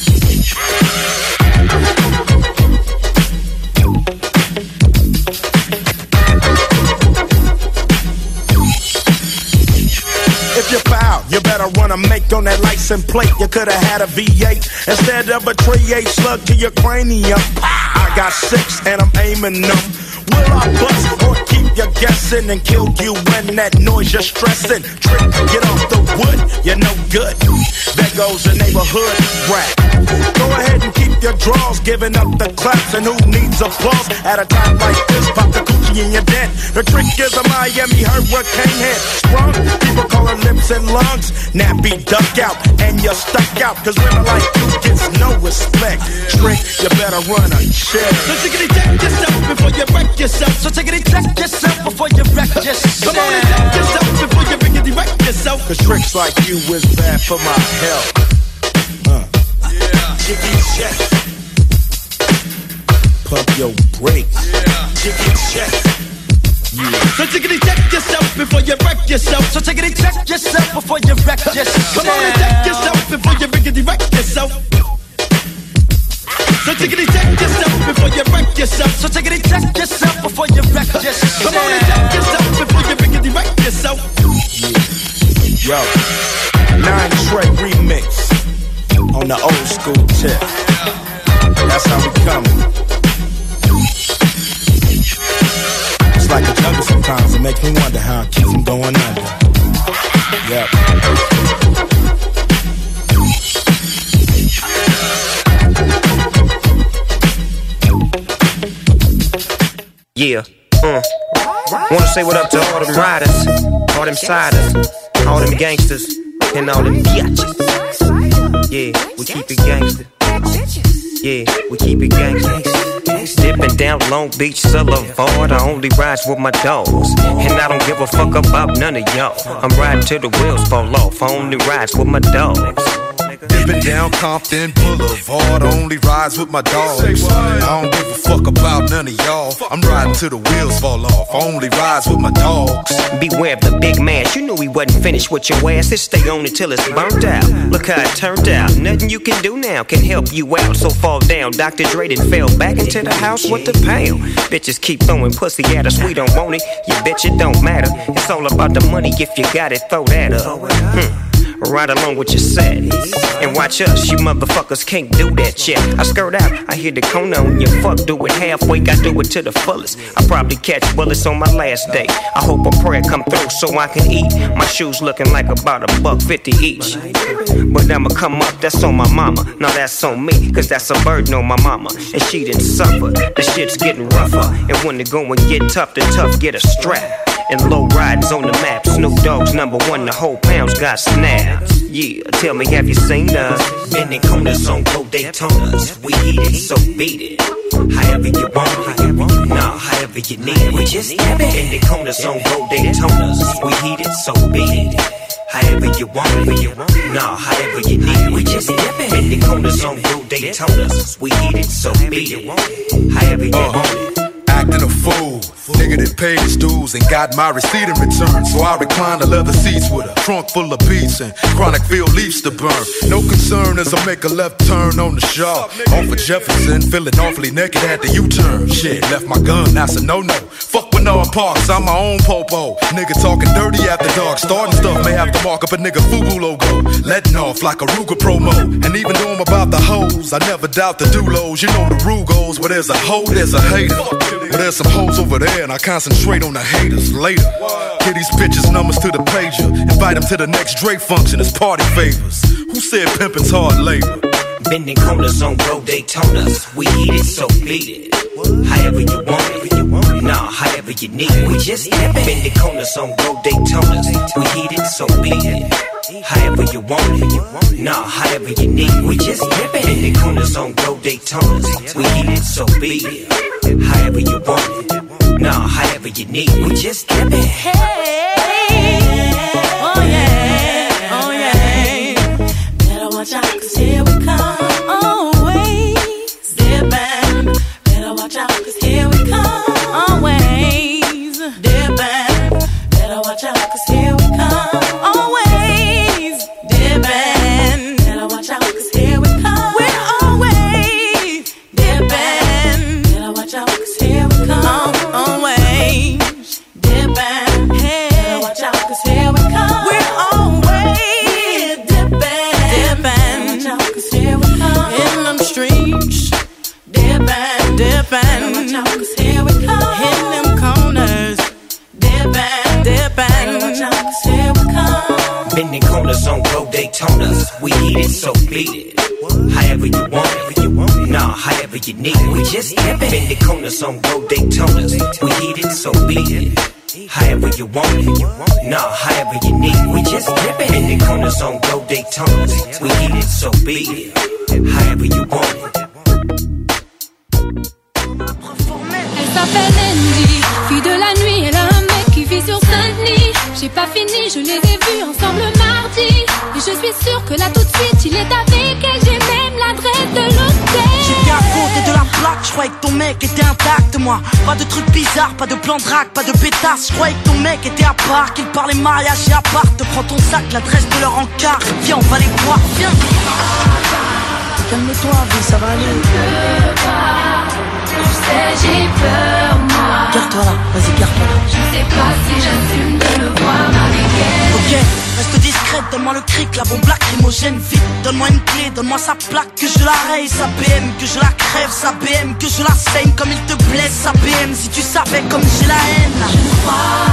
If you foul, you better run a make on that license plate. You could've had a V8 instead of a .38 slug to your cranium. I got 6 and I'm aiming them. Will I bust or keep you guessing and kill you when that noise you're stressing? Trick, get off the wood, you're no good. There goes the neighborhood rap. Go ahead and keep your draws, giving up the claps. And who needs applause at a time like this? Pop the coochie in your dent. The trick is a Miami hurricane head. Sprung, people call her lips and lungs. Nappy duck out, and you're stuck out. Cause women like you gets no respect. Trick, you better run a check. So take it and check yourself before you wreck yourself. So take it and check yourself before you wreck yourself. Come on and check yourself before you riggedy wreck yourself. Cause tricks like you is bad for my health. Jiggy check. Pump your brakes. Jiggy check. Yeah. So take it and check yourself before you wreck yourself. So take it and check yourself before you wreck yourself. Come on and check yourself before you riggedy wreck yourself. So take it and check yourself before you wreck yourself. So take it and check yourself before you wreck yourself. Come on and check yourself before you riggedy wreck yourself. Yo, 9 Trey remix on the old school tip. That's how we coming. It's like a jungle sometimes. It makes me wonder how I keep from going under. Yep. Yeah, wanna say what up to all them riders, all them siders, all them gangsters, and all them biatches. Yeah, we keep it gangster. Yeah, we keep it gangster. Dipping down Long Beach Boulevard, I only ride with my dogs. And I don't give a fuck about none of y'all. I'm riding till the wheels fall off, I only ride with my dogs. Dipping down Compton Boulevard, only rides with my dogs. I don't give a fuck about none of y'all. I'm riding till the wheels fall off, only rides with my dogs. Beware of the big man, you knew he wasn't finished with your ass. It stay on it till it's burnt out. Look how it turned out, nothing you can do now can help you out. So fall down, Dr. Dre done fell back into the house with the pound. Bitches keep throwing pussy at us, we don't want it. You bitch, it don't matter. It's all about the money, if you got it, throw that up. Right along with your set. And watch us, you motherfuckers can't do that shit. I skirt out, I hear the cone on your fuck, do it halfway, I do it to the fullest. I probably catch bullets on my last day. I hope a prayer come through so I can eat. My shoes looking like about $1.50 each. But I'ma come up, that's on my mama. No, that's on me, cause that's a burden on my mama. And she didn't suffer, the shit's getting rougher. And when the going get tough, the tough get a strap. And low riders on the map, Snoop Dogg's #1, the whole pound's got snaps. Yeah, tell me, have you seen us? Bending corners on Gold Daytonas. We eat it, so beat it. However you want it, nah, however you need it. We just bending corners on Gold Daytonas. We eat it, so beat it. However you want it, nah, however you need it. We just bending corners on Gold Daytonas. We eat it, so beat it. However you want it. acting a fool. Nigga that paid his dues and got my receipt in return. So I reclined the leather seats with a trunk full of beats and chronic field leaves to burn. No concern as I make a left turn on the Shaw. Off of Jefferson, feeling awfully naked at the U-turn. Shit, left my gun, that's a no-no. Fuck Bernard Parks, I'm my own popo. Nigga talking dirty after dark. Starting stuff may have to mark up a nigga FUBU logo. Letting off like a Ruger promo. And even though I'm about the hoes, I never doubt the dulos. You know the rule goes, where there's a hoe, there's a hater. But there's some hoes over there and I concentrate on the haters later. Get these bitches numbers to the pager. Invite them to the next Drake function as party favors. Who said pimpin's hard labor? Bending corners on road Daytonas. We eat it, so beat it. However you want it. Nah, however you need it. We just bending corners on road Daytonas. We eat it, so beat it. However you want it. Nah, however you need it. We just bending corners on road Daytonas. We eat it, so beat it. However you want it. Nah, however you need it. We just dip it. Hey, oh yeah, oh yeah. Better watch out, 'cause here we come. Always dipping. Better watch out, 'cause here we come. Always dipping. Better watch out, 'cause here we come. Always dipping. Better watch out, 'cause here we come. We're always dipping. Better watch out, 'cause here we come. Always dipping. Hey, better watch out, 'cause here we come. We're always dipping. Dipping. Watch out, 'cause here we come. In them streets, dipping. Dipping. Watch out, 'cause here we come. In them corners, dipping. Dipping. Watch out, 'cause here we come. Bending corners on road Daytonas. We eat it, so beat it. However you want it. Nah, however you need it. We just bending corners on road Daytonas. We eat it, so beat it. However you want it. Nah, however you need it. We just bending corners on road Daytonas. We eat it, so beat it. However you want it. Elle s'appelle Andy, fille de la nuit, elle a un mec qui vit sur Saint-Denis. J'ai pas fini, je les ai vus ensemble mardi. Et je suis sûre que là tout de suite il est avec elle. J'ai même l'adresse de l'hôtel. J'étais à côté de la plaque, je croyais que ton mec était intact, moi. Pas de trucs bizarres, pas de plan de drague, pas de pétasse. Je croyais que ton mec était à part, qu'il parlait mariage et à part. Te prends ton sac, l'adresse de leur encart. Viens, on va les voir, viens. Calme-toi, vie, ça va aller. Je peux pas, tu sais j'ai peur moi. Garde-toi là, vas-y, garde-toi là. Je sais pas si j'assume de le voir avec elle. Ok, reste discrète, donne-moi le cric, la bombe lacrymogène, vite. Donne-moi une clé, donne-moi sa plaque, que je la raye, sa BM, que je la crève, sa BM, que je la saigne comme il te blesse, sa BM, si tu savais comme j'ai la haine. Je ne crois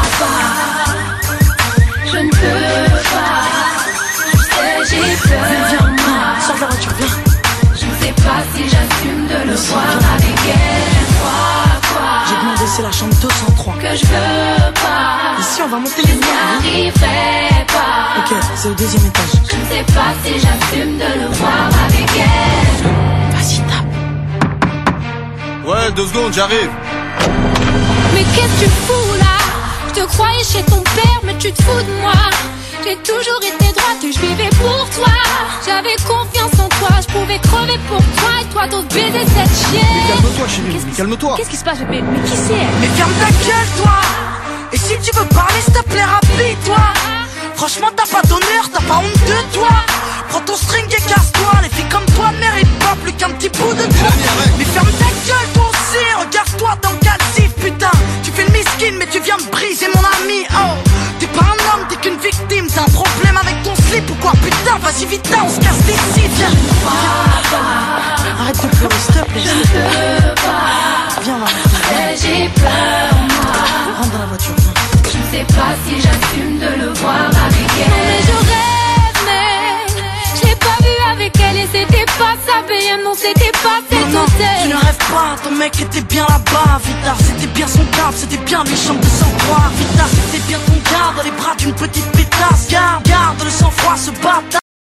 pas, je ne peux pas, tu sais j'ai peur. Viens, sors de la voiture, viens. Je ne sais pas si j'assume de le voir avec elle. Quoi j'ai demandé, c'est la chambre 203. Que je veux pas. Ici, on va monter les liens. Je n'y arriverai pas. Ok, c'est au deuxième étage. Je ne sais pas si j'assume de le voir avec elle. Vas-y, tape. Ouais, 2 secondes, j'arrive. Mais qu'est-ce que tu fous là? Je te croyais chez ton père, mais tu te fous de moi. J'ai toujours été droite et je vivais pour toi. J'avais confiance en toi, je pouvais crever pour toi. Et toi t'oses baiser cette chienne. Mais calme-toi chérie, calme-toi. Qu'est-ce qui se passe? Mais qui c'est elle? Mais ferme ta gueule toi. Et si tu veux parler s'il te plaît rapide-toi. Franchement t'as pas d'honneur, t'as pas honte de toi. Prends ton string et casse-toi. Les filles comme toi ne méritent pas plus qu'un petit bout de toi. Mais ferme ta gueule toi aussi. Regarde-toi dans le calcif putain. Tu fais le miskin mais tu viens me briser mon ami. Oh, t'es pas un homme, t'es qu'une victime. T'as un problème avec ton slip ou quoi? Putain vas-y vite on se casse d'ici. Viens. Arrête de pleurer s'il te plaît. Je ne peux pas. Viens là. J'ai peur moi. Rentre dans la voiture, viens. Je ne sais pas si j'assume de le voir avec elle. Non mais je rêve mais je l'ai pas vu avec elle. Et c'était pas sa BM, non c'était pas cet hôtel. Tu ne rêves pas, ton mec était bien là-bas. Vita, c'était bien son taf, c'était bien les chambres de sang-froid. Vita, c'était bien ton gars dans les bras d'une petite pétasse. Garde le sang-froid, ce bâtard.